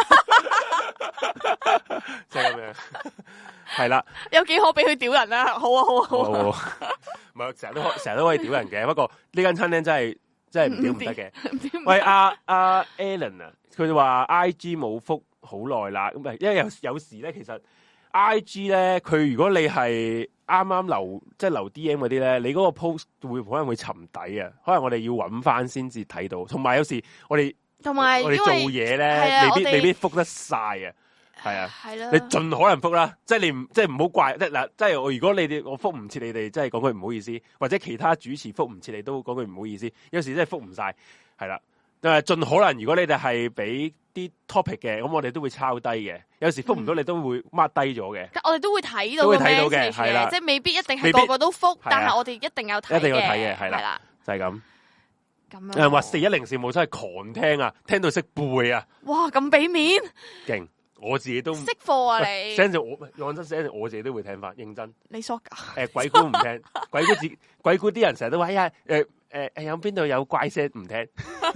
即係咁樣，係啦。 有幾可俾佢屌人啊？好啊好啊好啊， 唔係成日都成日都可以屌人嘅，不過呢間餐廳真係。真係唔屌唔得嘅。喂，阿阿 Alan 啊，佢話 I G 冇覆好耐啦，咁啊，因為有有時咧，其實 I G 咧，佢如果你係啱啱留即係留 D M 嗰啲咧，你嗰個 post 會可能會沉底啊，可能我哋要揾翻先至睇到。同埋有，有時我哋同埋我哋做嘢咧，未必未必覆得晒啊。係啊，係啦，你盡可能覆啦，即係你唔即係唔好怪，即係嗱，即係我如果你哋我覆唔切你哋，即係講句唔好意思，或者其他主持覆唔切你都講句唔好意思，有時真係覆唔晒，係啦， 誒，盡可能如果你哋係俾啲 topic 嘅，咁我哋都會抄低嘅。有時覆唔到你都會 mark 低咗嘅。 我哋都會睇到， 都會睇到嘅，係啦， 即係未必一定係個個都覆，但係我哋一定有睇， 一定有睇嘅，係啦，就係咁。 咁誒，話四一零事務真係狂聽啊，聽到識背啊！ 哇，咁俾面， 勁！我自己都識貨啊你。 聲就我講真聲，我自己都會聽翻，認真。 你傻噶？ 誒，鬼故唔聽，鬼故自鬼故啲人成日都話呀，誒誒誒，有邊度有怪聲唔聽？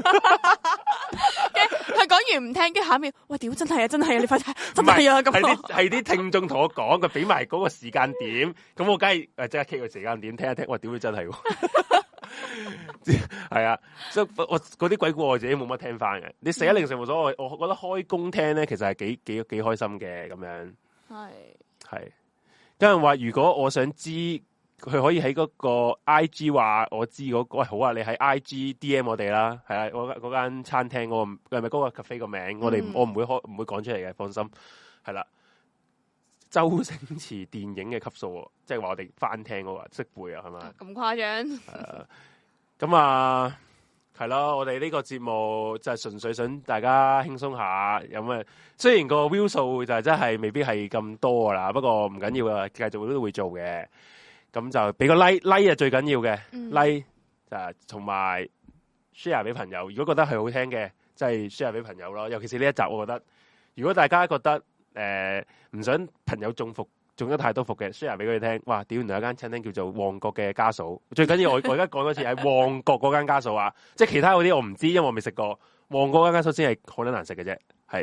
佢講完唔聽，跟住下一秒，喂，屌真係啊，真係啊，你快睇，真係啊，咁係啲係啲聽眾同我講，佢俾埋嗰個時間點，咁我梗係誒即刻 keep 個時間點聽一聽，哇，屌佢真係。係啊，所以我嗰啲鬼故我自己冇乜聽翻嘅。你四一零事務所，我我覺得開工聽咧，其實係幾幾幾開心嘅咁樣。係係，有人話如果我想知，佢可以喺嗰個 I G 話我知嗰、嗰個，喂好啊，你喺 I G D M 我哋啦，係啊，嗰嗰間餐廳嗰、嗰個係咪嗰個 cafe 個名？嗯、我哋我唔會開唔會講出嚟嘅，放心。係啦，周星馳電影嘅級數，即係話我哋翻聽嗰個識背啊，係咪？ 咁誇張？ 係咁啊，係咯，我哋呢個節目就係純粹想大家輕鬆下，有咩？雖然個 view 數就係真係未必係咁多噶啦，不過唔緊要啊，繼續都會做嘅。咁就俾個 like like 係最緊要嘅、嗯、like 就同埋 share 俾朋友。如果覺得係好聽嘅，即係 share 俾朋友咯。尤其是呢一集，我覺得如果大家覺得誒唔、呃、想朋友中伏。中咗太多伏嘅 share 俾佢哋聽，哇！屌，原來有間餐廳叫做旺角嘅家嫂，最緊要我我而家講多次係旺角嗰間家嫂啊，即係其他嗰啲我唔知，因為我未食過。旺角嗰間家嫂先係好撚難食嘅啫，係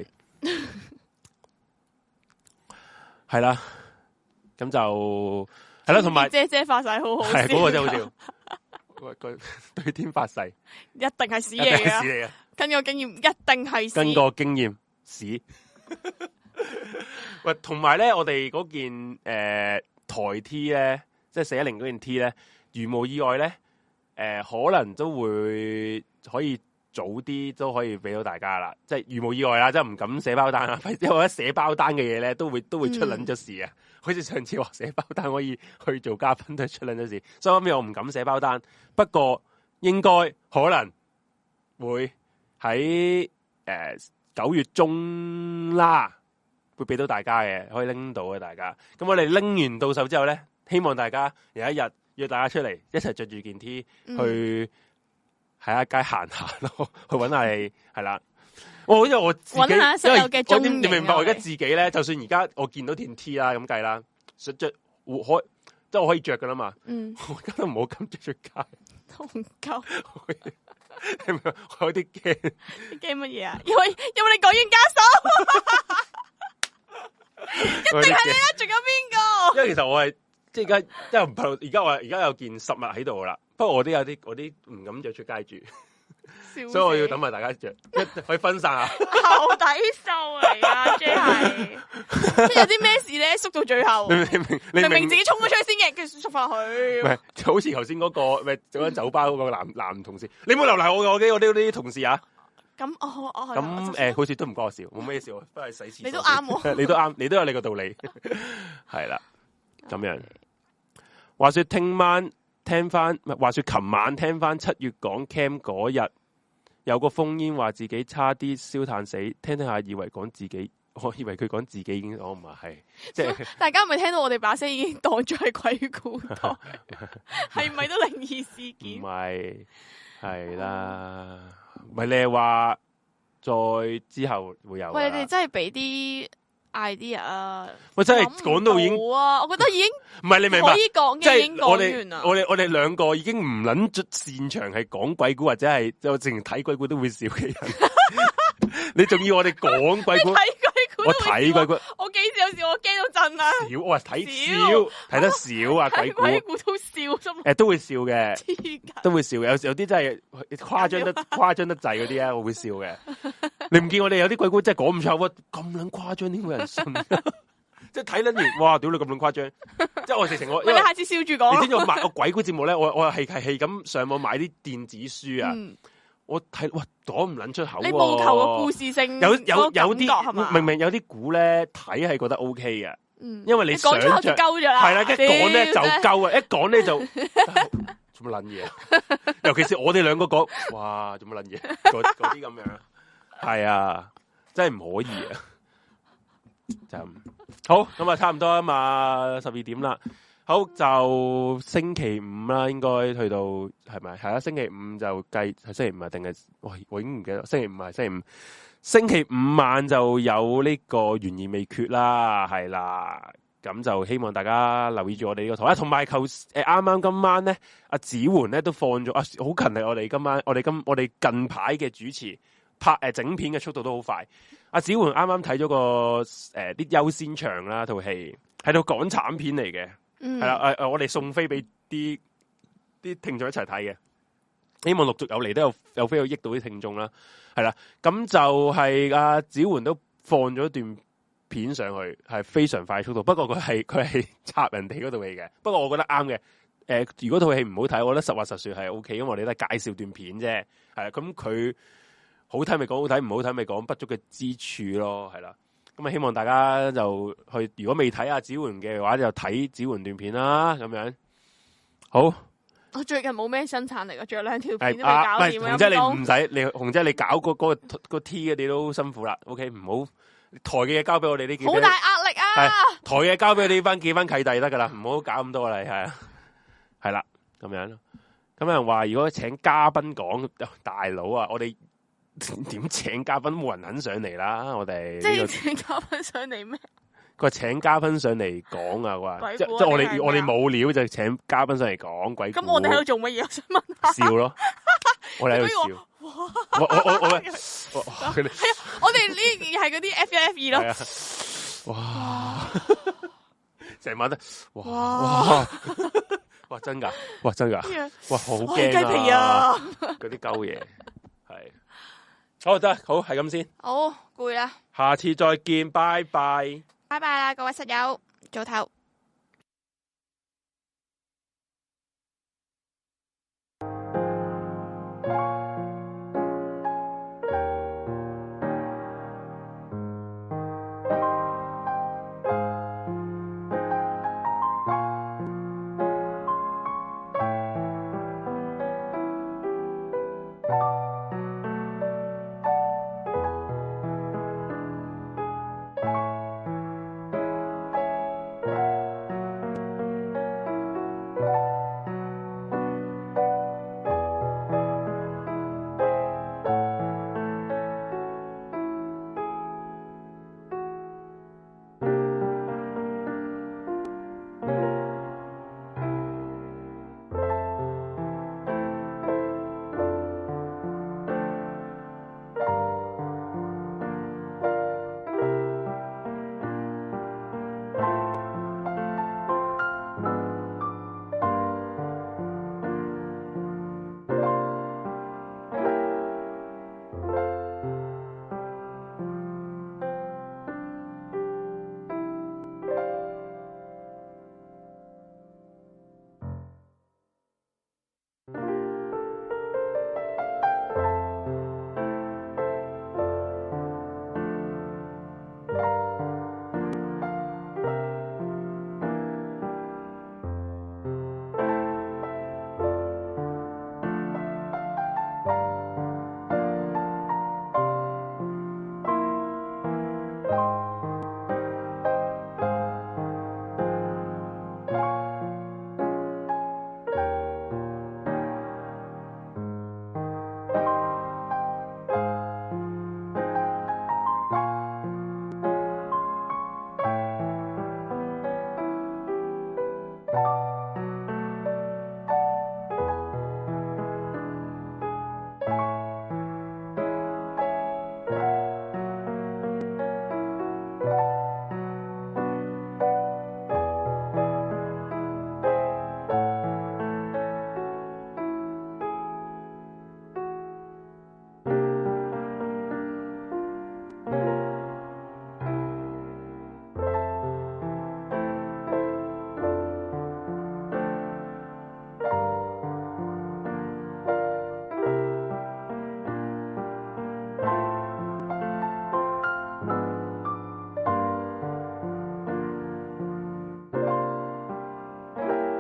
係啦，咁就係啦，同埋姐姐發誓好好笑， 係嗰、嗰個真係好笑，喂，佢對天發誓， 一定係屎嚟啊！根據經驗，一定係屎。 根據經驗，屎。喂，同埋咧，我哋嗰件誒、呃、台 T 咧，即係四一零嗰件 T 咧，如無意外咧，誒、呃、可能都會可以早啲都可以俾到大家啦。即係如無意外啦，即係唔敢寫包單啦，因為一寫包單嘅嘢咧，都會都會出撚咗事啊！嗯、好似上次話寫包單可以去做嘉賓都出撚咗事，所以後尾我唔敢寫包單。不過應該可能會喺誒九月中啦。會俾到大家嘅，可以拎到嘅大家。咁我哋拎完到手之後咧，希望大家有一日約大家出嚟，一齊着住件 T、嗯、去喺一街行下咯，去揾下你係啦。我因為我自己，因為我點你明白？我而家自己咧，就算而家我見到件 T 啦，咁計啦，想着可即係我可以着噶啦嘛。嗯，我而家都唔好咁着出街， 都唔夠。 係咪？我有啲驚。 驚乜嘢啊？因為因為你講完家嫂。一定係你啦，仲有邊個？ 因為其實我係即係而家，即係唔怕。而家我而家有件實物喺度啦。不過我都有啲，我啲唔敢着出街住，所以我要等埋大家着，可以分散下。 後底數嚟啊，即係即係有啲咩事咧，縮到最後。明明明明自己衝咗出去先嘅，跟住縮翻去。唔係， 就好似頭先嗰個咪做緊酒吧嗰個男男同事，你唔好留嚟我嘅，我啲我啲啲同事啊。 咁哦哦， 咁誒，好似都唔關我笑，冇咩笑，不過洗廁所。 你都啱喎， 你都啱，你都有你個道理，係啦，咁樣。話說聽晚聽翻，唔係話說琴晚聽翻七月講 cam 嗰日，有個烽煙話自己差啲燒炭死，聽聽下以為講自己，我以為佢講自己已經，我唔係，即係大家係咪聽到我哋把聲已經當咗係鬼故台，係咪都靈異事件？ 唔係，係啦。唔係你係話再之後會有？喂， 你哋真係俾啲 idea 啊！ 我真係講到已經， 啊，我覺得已經唔係你明白可以講嘅，已經講完啦。 我哋我哋兩個已經唔捻出擅長係講鬼故或者係就淨係睇鬼故都會笑嘅人，你仲要我哋講鬼故？我睇鬼故， 我幾時有時我驚到震啊！ 少，我睇少，睇得少啊！鬼故， 鬼故都笑啫。 誒，都會笑嘅，都會笑嘅。有有啲真係誇張得誇張得滯嗰啲咧，我會笑嘅。你唔見我哋有啲鬼故真係講唔出喎，咁撚誇張點會有人信？即係睇撚完，哇！屌你咁撚誇張！即係我直情我， 你下次笑住講。 你知唔知我買個鬼故節目咧？我我係係係咁上網買啲電子書啊。我睇哇，講唔捻出口。你務求個故事性， 有有有啲明明有啲估咧睇係覺得 O K 嘅，因為你想像係啦，一講咧就夠啊，一講咧就做乜撚嘢？尤其是我哋兩個講，哇，做乜撚嘢？嗰嗰啲咁樣，係啊，真係唔可以啊！就好咁啊，差唔多啊嘛，十二點啦。好，就星期五啦，應該去到係咪？係啊，星期五就計係星期五啊，定係我我已經唔記得。星期五係星期五，星期五晚就有呢個懸而未決啦，係啦。咁就希望大家留意住我哋呢個台啦，同埋求誒啱啱今晚咧，阿子桓咧都放咗啊，好勤力！我哋今晚，我哋今我哋近排嘅主持拍誒、呃、整片嘅速度都好快。阿子桓啱啱睇咗個誒啲優先場啦，套戲係套港產片嚟嘅。係啦，誒誒、呃，我哋送飛俾啲啲聽眾一齊睇嘅，希望陸續有嚟都有有飛去益到啲聽眾啦。係啦，咁就係阿子桓都放咗一段片上去，係非常快速度。不過佢係佢係插人哋嗰套戲嘅。不過我覺得啱嘅。誒、呃，如果套戲唔好睇，我覺得實話實說係 O K，因為我哋都係介紹段片啫。係啦，咁佢好睇咪講好睇，唔好睇咪講不足嘅之處咯。係啦。咁啊，希望大家就去，如果未睇阿子桓嘅話，就睇子桓段片啦。咁樣好。 我最近冇咩生產力，仲有兩條片都未搞掂。 紅姐你唔使，你紅姐你搞嗰嗰個個 T 嘅，你都辛苦啦。OK，唔好台嘅嘢交俾我哋呢幾。 好大壓力啊！ 台嘅嘢交俾你翻，記翻契弟得噶啦，唔好搞咁多啦，係啊，係啦，咁樣。咁有人話如果請嘉賓講，大佬啊，我哋。點請嘉賓冇人肯上嚟啦！我哋即係請嘉賓上嚟咩？ 佢話請嘉賓上嚟講啊！話即即係我哋我哋冇料就請嘉賓上嚟講鬼故。 咁我哋喺度做乜嘢？我想問下。 笑咯，我哋喺度笑。我我我我係啊！ 我哋呢係嗰啲 F 一 F 二咯。哇！ 成晚都哇哇哇真噶！哇真噶！哇好驚啊！雞皮啊！ 嗰啲鳩嘢係。好得好係咁先， 好攰啦， 下次再見，拜拜， 拜拜啦，各位室友，早唞。